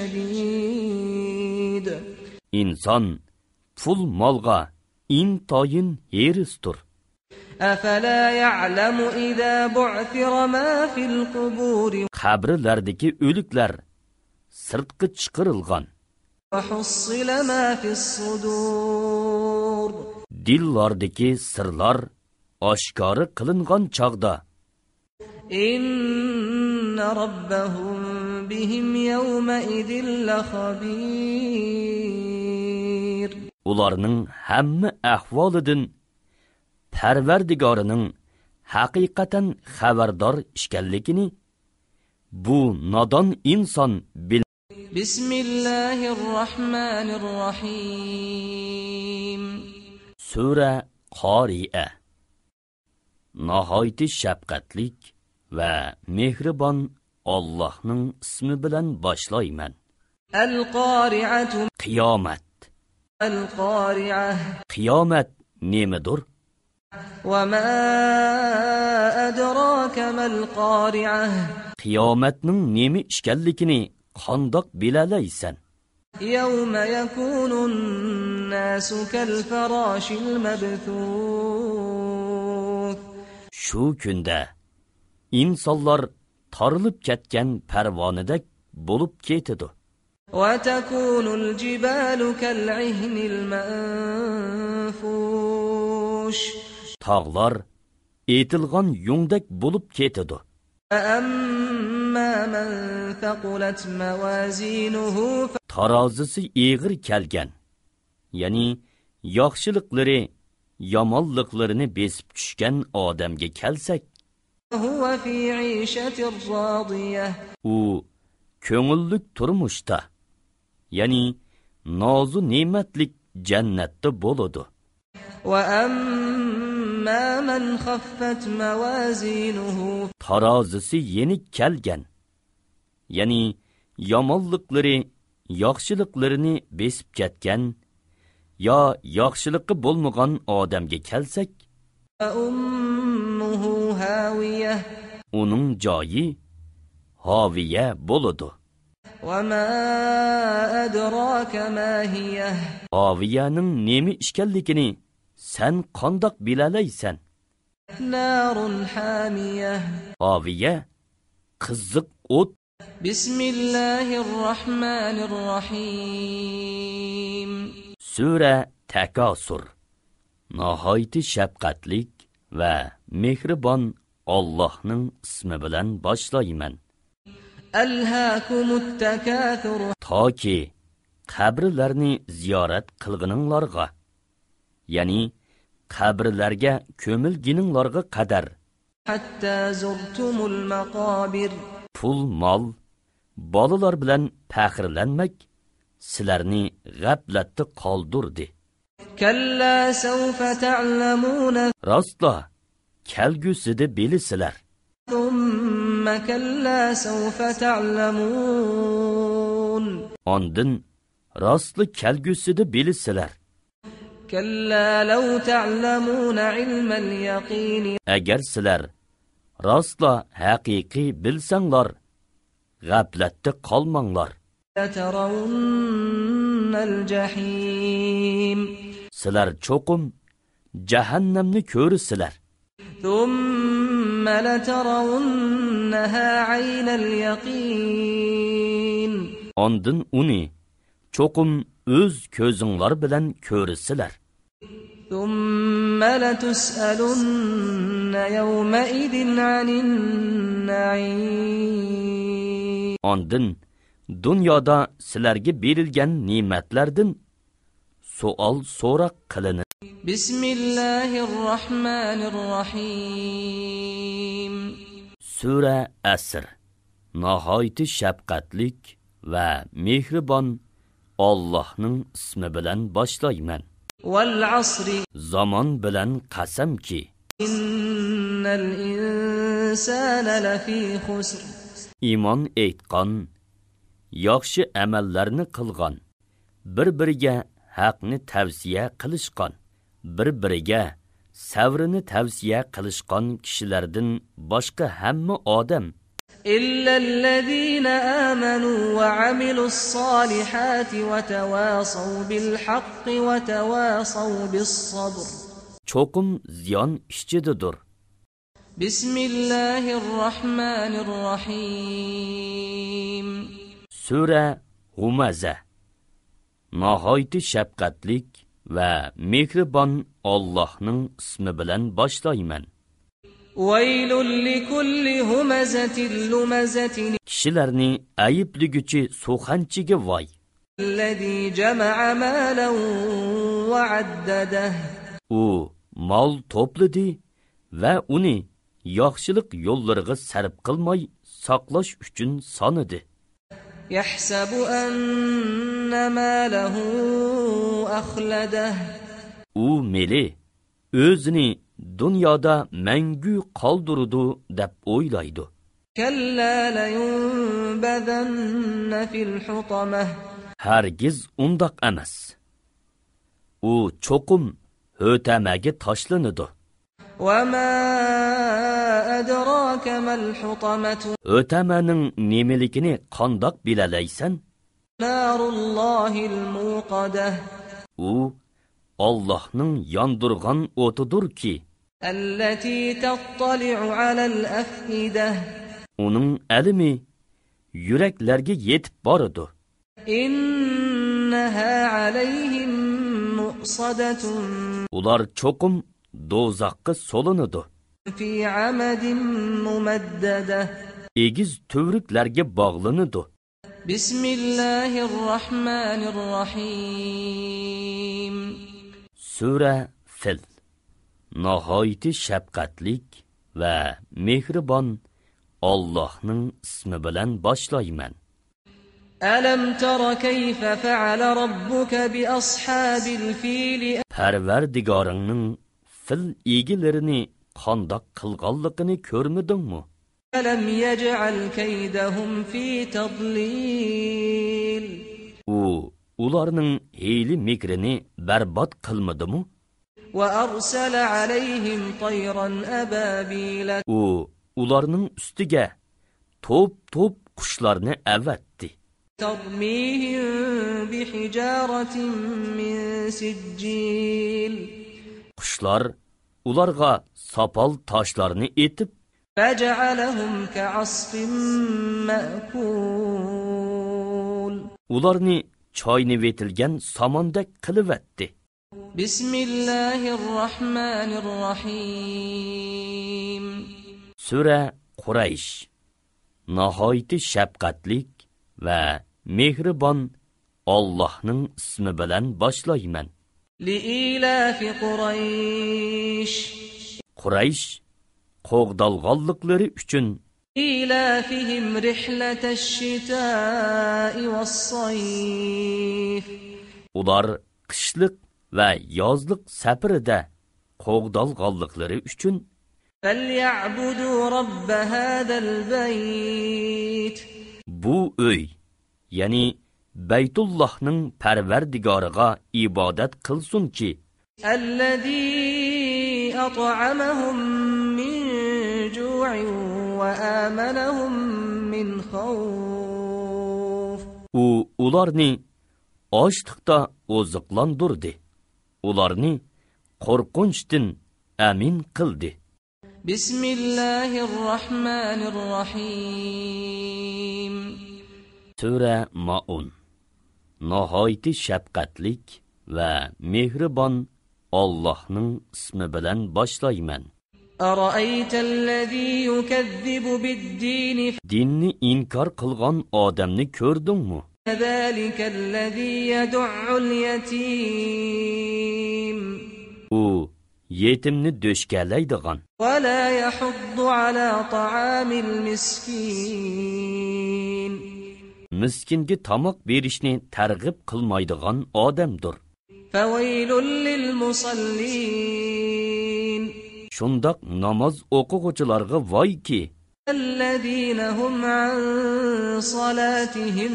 لشديد
Inson pul molga intoyin herisdir.
أفلا يعلم إذا بعثر ما في القبور
Qabrlardagi o'liklar sirtqi chiqarilgan,
وحصل ما في الصدور
dillardagi sirlar oshkora qilingan chog'da
إن ربهم بهم يومئذ لخبير
ularning hamma ahvolidan Parvardigorining haqiqatan xabardor ekanligini bu nodon inson bil.
بسم الله الرحمن الرحيم
Sura Qori'a. Nihoyatda shafqatlik va mehribon Allohning ismi bilan boshlayman.
القارعة
Qiyomat.
القارعة
Qiyomat nemadir?
وما أدراك ما القارعة
Qiyomatning nima ekanligini qandoq bilalaysan?
يوم يكون الناس كالفراش المبثوث
Shu kunda insonlar tarilib ketgan parvonadek bo'lib ketadi.
وتكون الجبال كالعهن المنفوش
Tog'lar etilgan yungdek bo'lib ketadi.
فأما من ثقلت موازينه
Tarozisi eg'ir kelgan, ya'ni yaxşılıqları, yomonliqlarini besib tushgan odamga kelsak,
huwa fi 'ishatir radiyah.
u ko'ngillik turmushda, ya'ni nozu ne'matlik jannatda bo'ladi.
Wa amma man khaffat mawazinuhu,
tarozisi yenik kelgan, ya'ni yomonliqlari, yaxshiliqlarini besib ketgan yo yaxshiliqi bo'lmagan odamga kelsak,
ummuhu hawiyah,
uning joyi haviya bo'ladi.
Wa ma adraka ma hiyah,
haviyaning nemi ishkanligini sen qandoq bilalaysan?
narun hamiyah,
haviya qiziq o't.
Bismillahirrahmanirrahim.
Sura Takasur. Nihoyat shafqatlik va mehribon Allohning ismi bilan boshlayman.
Alhaakumut takathur,
toki qabrlarni ziyorat qilgininglarga, ya'ni qabrlarga ko'milgininglarga qadar,
hatta zurtumul maqabir,
pul, mol, bolalar bilan faxrlanmak sizlarni g'aflatda qoldirdi.
kalla sawfa ta'lamuna,
rostla kelgusida bilisizlar.
thumma kalla sawfa ta'lamun,
ondin rostli kelgusida bilisizlar.
kalla law ta'lamuna ilmal yaqin,
agar sizlar rostla haqiqiy bilsanglar, g'aflatda qolmanglar.
latarawunnal jahim,
sizlar cho'qim jahannamni ko'rsizlar.
thumma latarawunnaha 'aynal yaqin,
ondin uni cho'qim o'z ko'zinglar bilan ko'rsizlar.
thumma latus'alunna yawma idin 'anin na'im,
ondin dunyoda sizlarga berilgan ne'matlardan savol so'roq qilinadi.
Bismillahirrahmanirrahim.
Sura Asr. Nihoyat shafqatlik va mehribon Allohning ismi bilan boshlayman.
Wal 'asri,
Zamon bilan qasamki,
innal insana lafi khusr,
iymon etgan, yaxshi amallarni qilgan, bir-biriga haqni tavsiya qilishgan, bir-biriga savrini tavsiya qilishgan kishilardan boshqa hamma odam,
illa allazina amanu wa 'amilus solihati wa tawasaw bil haqqi wa tawasaw bis sabr,
cho'qim ziyon ishchididir.
Bismillahirrahmanirrahim.
Sura Humaza. Nihoyat shafqatlik va mehribon Allohning ismi bilan boshlayman.
Waylul likulli humazatin lumazatin,
kishilarni ayibligüchi so'xanchiga voy.
allazi jama'a malan wa 'addadah,
u mol to'pladi va uni yaxshilik yo'llariga sarf qilmay saqlash uchun sonidi.
yahsabu anna malahu akhladah,
u meli o'zini dunyoda mangu qoldirdi deb o'ylaydi.
kalla layunbadanna fil hutamah,
hargiz undoq emas. u cho'qim ho'tamaga tashlanadi.
wa ma adraka mal hutamatu,
ho'tamaning nemeligini qandoq bilalaysan?
narullohil muqadah,
u Allohning yondirgan o'tidir ki,
allati tattali'u 'alal af'idah,
uning alimi yuraklarga yetib boradi.
innaha 'alayhim muqsadatun,
ular cho'qim do'zaxga solinadi.
fi 'amadin mumaddadah.
egiz tövriklarga bog'lanadi.
Bismillahirrahmanirrahim.
Sura Fil. Nihoyat shafqatlik va mehribon Allohning ismi bilan boshlayman.
Alam tara kayfa fa'ala rabbuka bi ashabil fil?
Parvardigoringning fil egilarini qandoq qilganligini ko'rmidingmi?
Alam yaj'al kaydahum fi tadlil?
Ularning hiyli mikrini barbod qilmadimi?
Wa arsala alayhim tayran ababila?
Ularning ustiga top qushlarni avatdi.
Tarmihim bihijaratin min sijjil? Qushlar
ularga sopol toshlarni etib,
faj'alahum ka'asfin ma'kul? Ularni
choyni vetilgan samondek qilivatdi.
Bismillahirrahmanirrahim.
Sura Quraysh. Nihoyat shafqatlik va mehribon Allohning ismi bilan boshlayman.
Liilafi Quraysh.
Quraysh qo'g'dalg'onliklari uchun
إيلافهم رحلة الشتاء والصيف.
Ular qishliq va yozliq safarida qo'g'dalg'onliklari uchun
فليعبدوا رب هذا البيت.
Bu uy, ya'ni Baytullohning Parvardigoriga ibodat qilsunki,
الذي أطعمهم من جوع وآمنهم من خوف.
ularni ochliqda oziqlantirdi. Ularni qo'rqinchdan amin qildi.
Bismillahirrahmanirrahim.
Sura Maun. Nihoyat shafqatlik va mehribon Allohning ismi bilan boshlayman.
أرأيت الذي يكذب بالدين؟
Dinni inkor qilgan odamni ko'rdingmi?
ذلك الذي يدع اليتيم.
yetimni do'shkalaydigan.
ولا يحض على طعام المسكين.
Miskinga tomoq berishni targ'ib qilmaydigan odamdir.
فويل للمصلين.
Shundoq namoz o'quvchilarga voyki,
الذين هم عن صلاتهم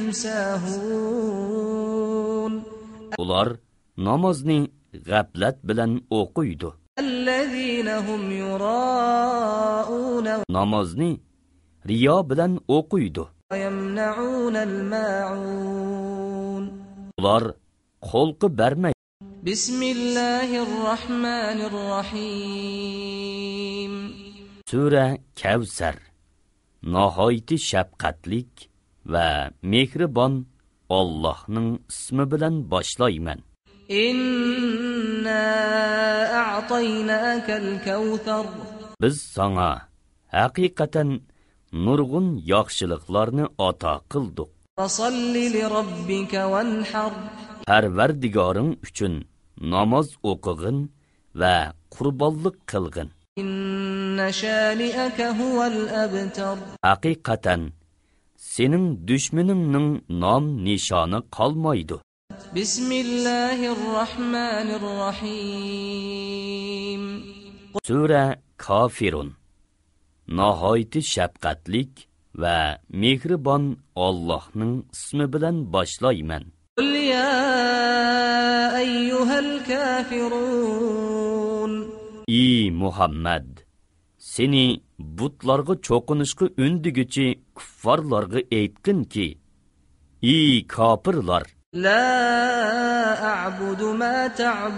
ساهون.
ular namozni g'aflat bilan o'qiydi.
الذين هم يراءون
namozni riyo bilan o'qiydi.
ويمنعون الماعون.
ular qo'lqi bermaydi.
بسم الله الرحمن الرحيم.
Sura Kavsar. Nihoyat shafqatlik va mehribon Allohning ismi bilan boshlayman.
إنا أعطيناك الكوثر.
Biz sana haqiqatan nurg'un yaxshiliklarni ato qildik.
فصل لربك وانحر.
Parvardigoring uchun namoz o'qig'in va qurbonlik qilg'in.
إن شانئك هو الأبتر.
Haqiqatan sening dushmaningning nom nishoni qolmaydi.
بسم الله الرحمن الرحيم.
Sura Kafirun. Nihoyat shafqatlik va mehribon Allohning ismi bilan boshlayman.
قل يا أيها الكافرون.
Ey Muhammad, seni butlarga cho'qinishga undigichi kuffarlarga aytqinki, ey kofirlar,
لا أعبد ما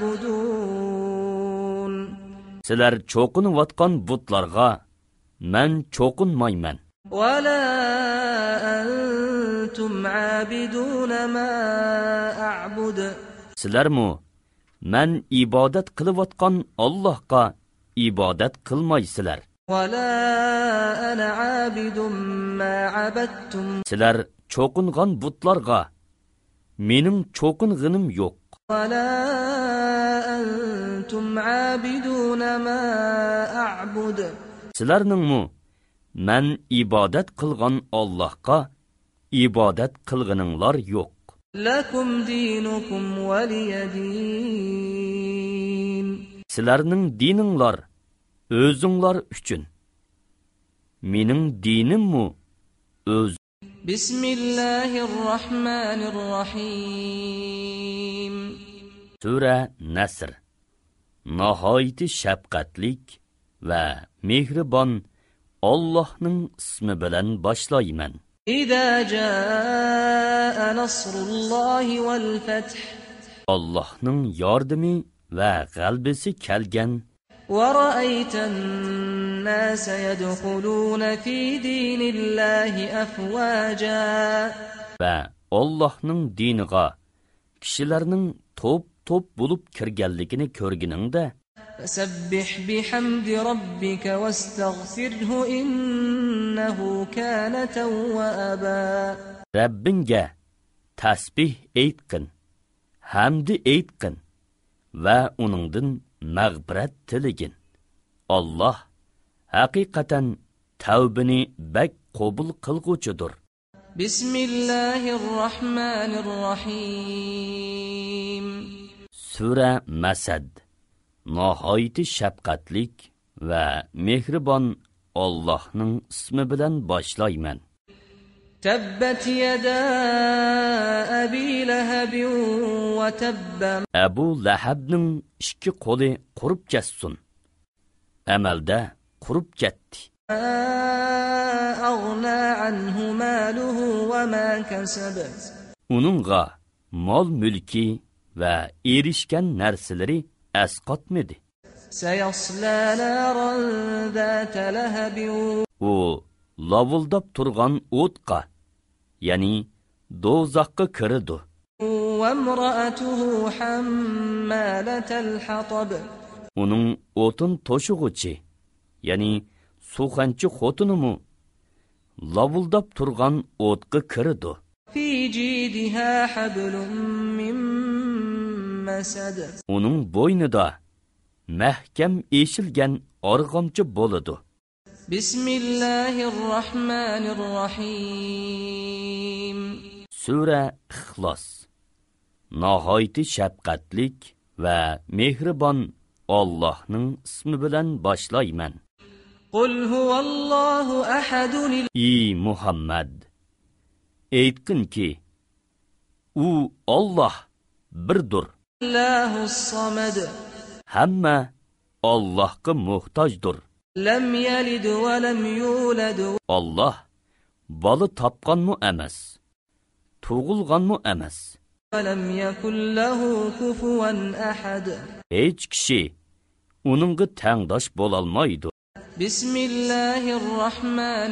تعبدون.
sizlar cho'qinayotgan butlarga men cho'qinmayman.
ولا أنتم عابدون ما أعبد.
Sizlarmi men ibodat qilayotgan Allohga ibodat qilmaysizlar.
ولا أنا عابد ما عبدتم.
Sizlar cho'qingan butlarga mening cho'qing'inim yo'q.
ولا أنتم عابدون ما أعبد
Sizlarningmi men ibodat qilgan Allohga ibodat qilganinglar yo'q.
لكم دينكم ولي دين
Sizlarning dininglar o'zinglar uchun. Mening dinimmi o'z.
بسم الله الرحمن الرحيم
Sura Nasr. Nihoyat shafqatlik va mehribon Allohning ismi bilan boshlayman.
إذا جاء نصر الله والفتح
Allohning yordami va g'alabasi kelgan
ورأيت الناس يدخلون في دين الله أفواجا
va Allohning diniga kishilarning to'p bo'lib kirganligini ko'rganingda
فسبح بحمد ربك واستغفره إنه كان توابا
Rabbingga tasbih aytqin, hamd aytqin va uningdan mag'firat tiligin. Allah haqiqatan tavbini bak qabul qilguvchidir.
بسم الله الرحمن الرحيم
Sura Masad. Nihoyat shafqatlik va mehribon Allohning ismi bilan boshlayman.
تبت يدا أبي لهب وتب
Abu Lahabning ikki qo'li qurib ketsin. Amalda qurib ketdi.
أغنى عنه ماله وما كسب
Uningga mol mulki va erishgan narsalari asqotmadi.
سيصلى نارا ذات لهب
U lavuldab turgan o'tqa, ya'ni do'zaxga kirdi.
وامرأته حمالة الحطب
Uning o'tin to'shug'ichi, ya'ni suxanchi xotinimi lavuldab turgan o'tga kirdi.
في جيدها حبل من مسد
Uning bo'ynida mahkam eshilgan arg'amchi bo'ladi.
بسم الله الرحمن الرحيم
Sura Ixlos. Nihoyat shafqatlik va mehribon Allohning ismi bilan boshlayman.
قل هو الله أحد
Ey Muhammad, aytqinki, u Alloh birdir.
الله الصمد
Hamma Allohga muhtojdir.
لم يلد ولم يولد
Alloh bola topganmi emas, tug'ilganmi emas.
ولم يكن له كفوا أحد
Hech kishi uningga tengdosh bo'lolmaydi.
بسم الله الرحمن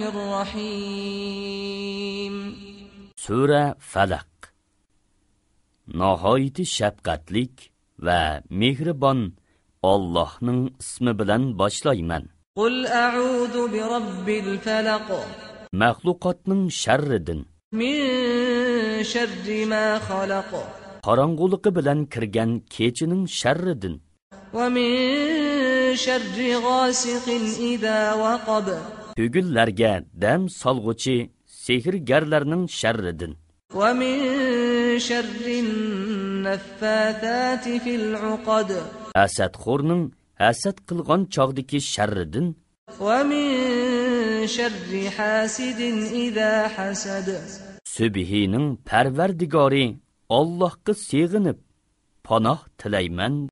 الرحيم
Sura Falaq. Nihoyat shafqatlik va mehribon Allohning ismi bilan boshlayman.
قل أعوذ برب الفلق
Maxluqotning sharridan,
من شر ما خلق
qorong'uligi bilan kirgan kechining sharridan,
ومن شر غاسق إذا وقب
tugullarga dam solg'uchi sehrgarlarning sharridan,
ومن شر النفاثات في العقد
hasadxo'rning hasad qilgan chog'dagi sharridan,
ومن شر حاسد إذا حسد
Subhining Parvardigori Allohga sig'inib panoh tilayman.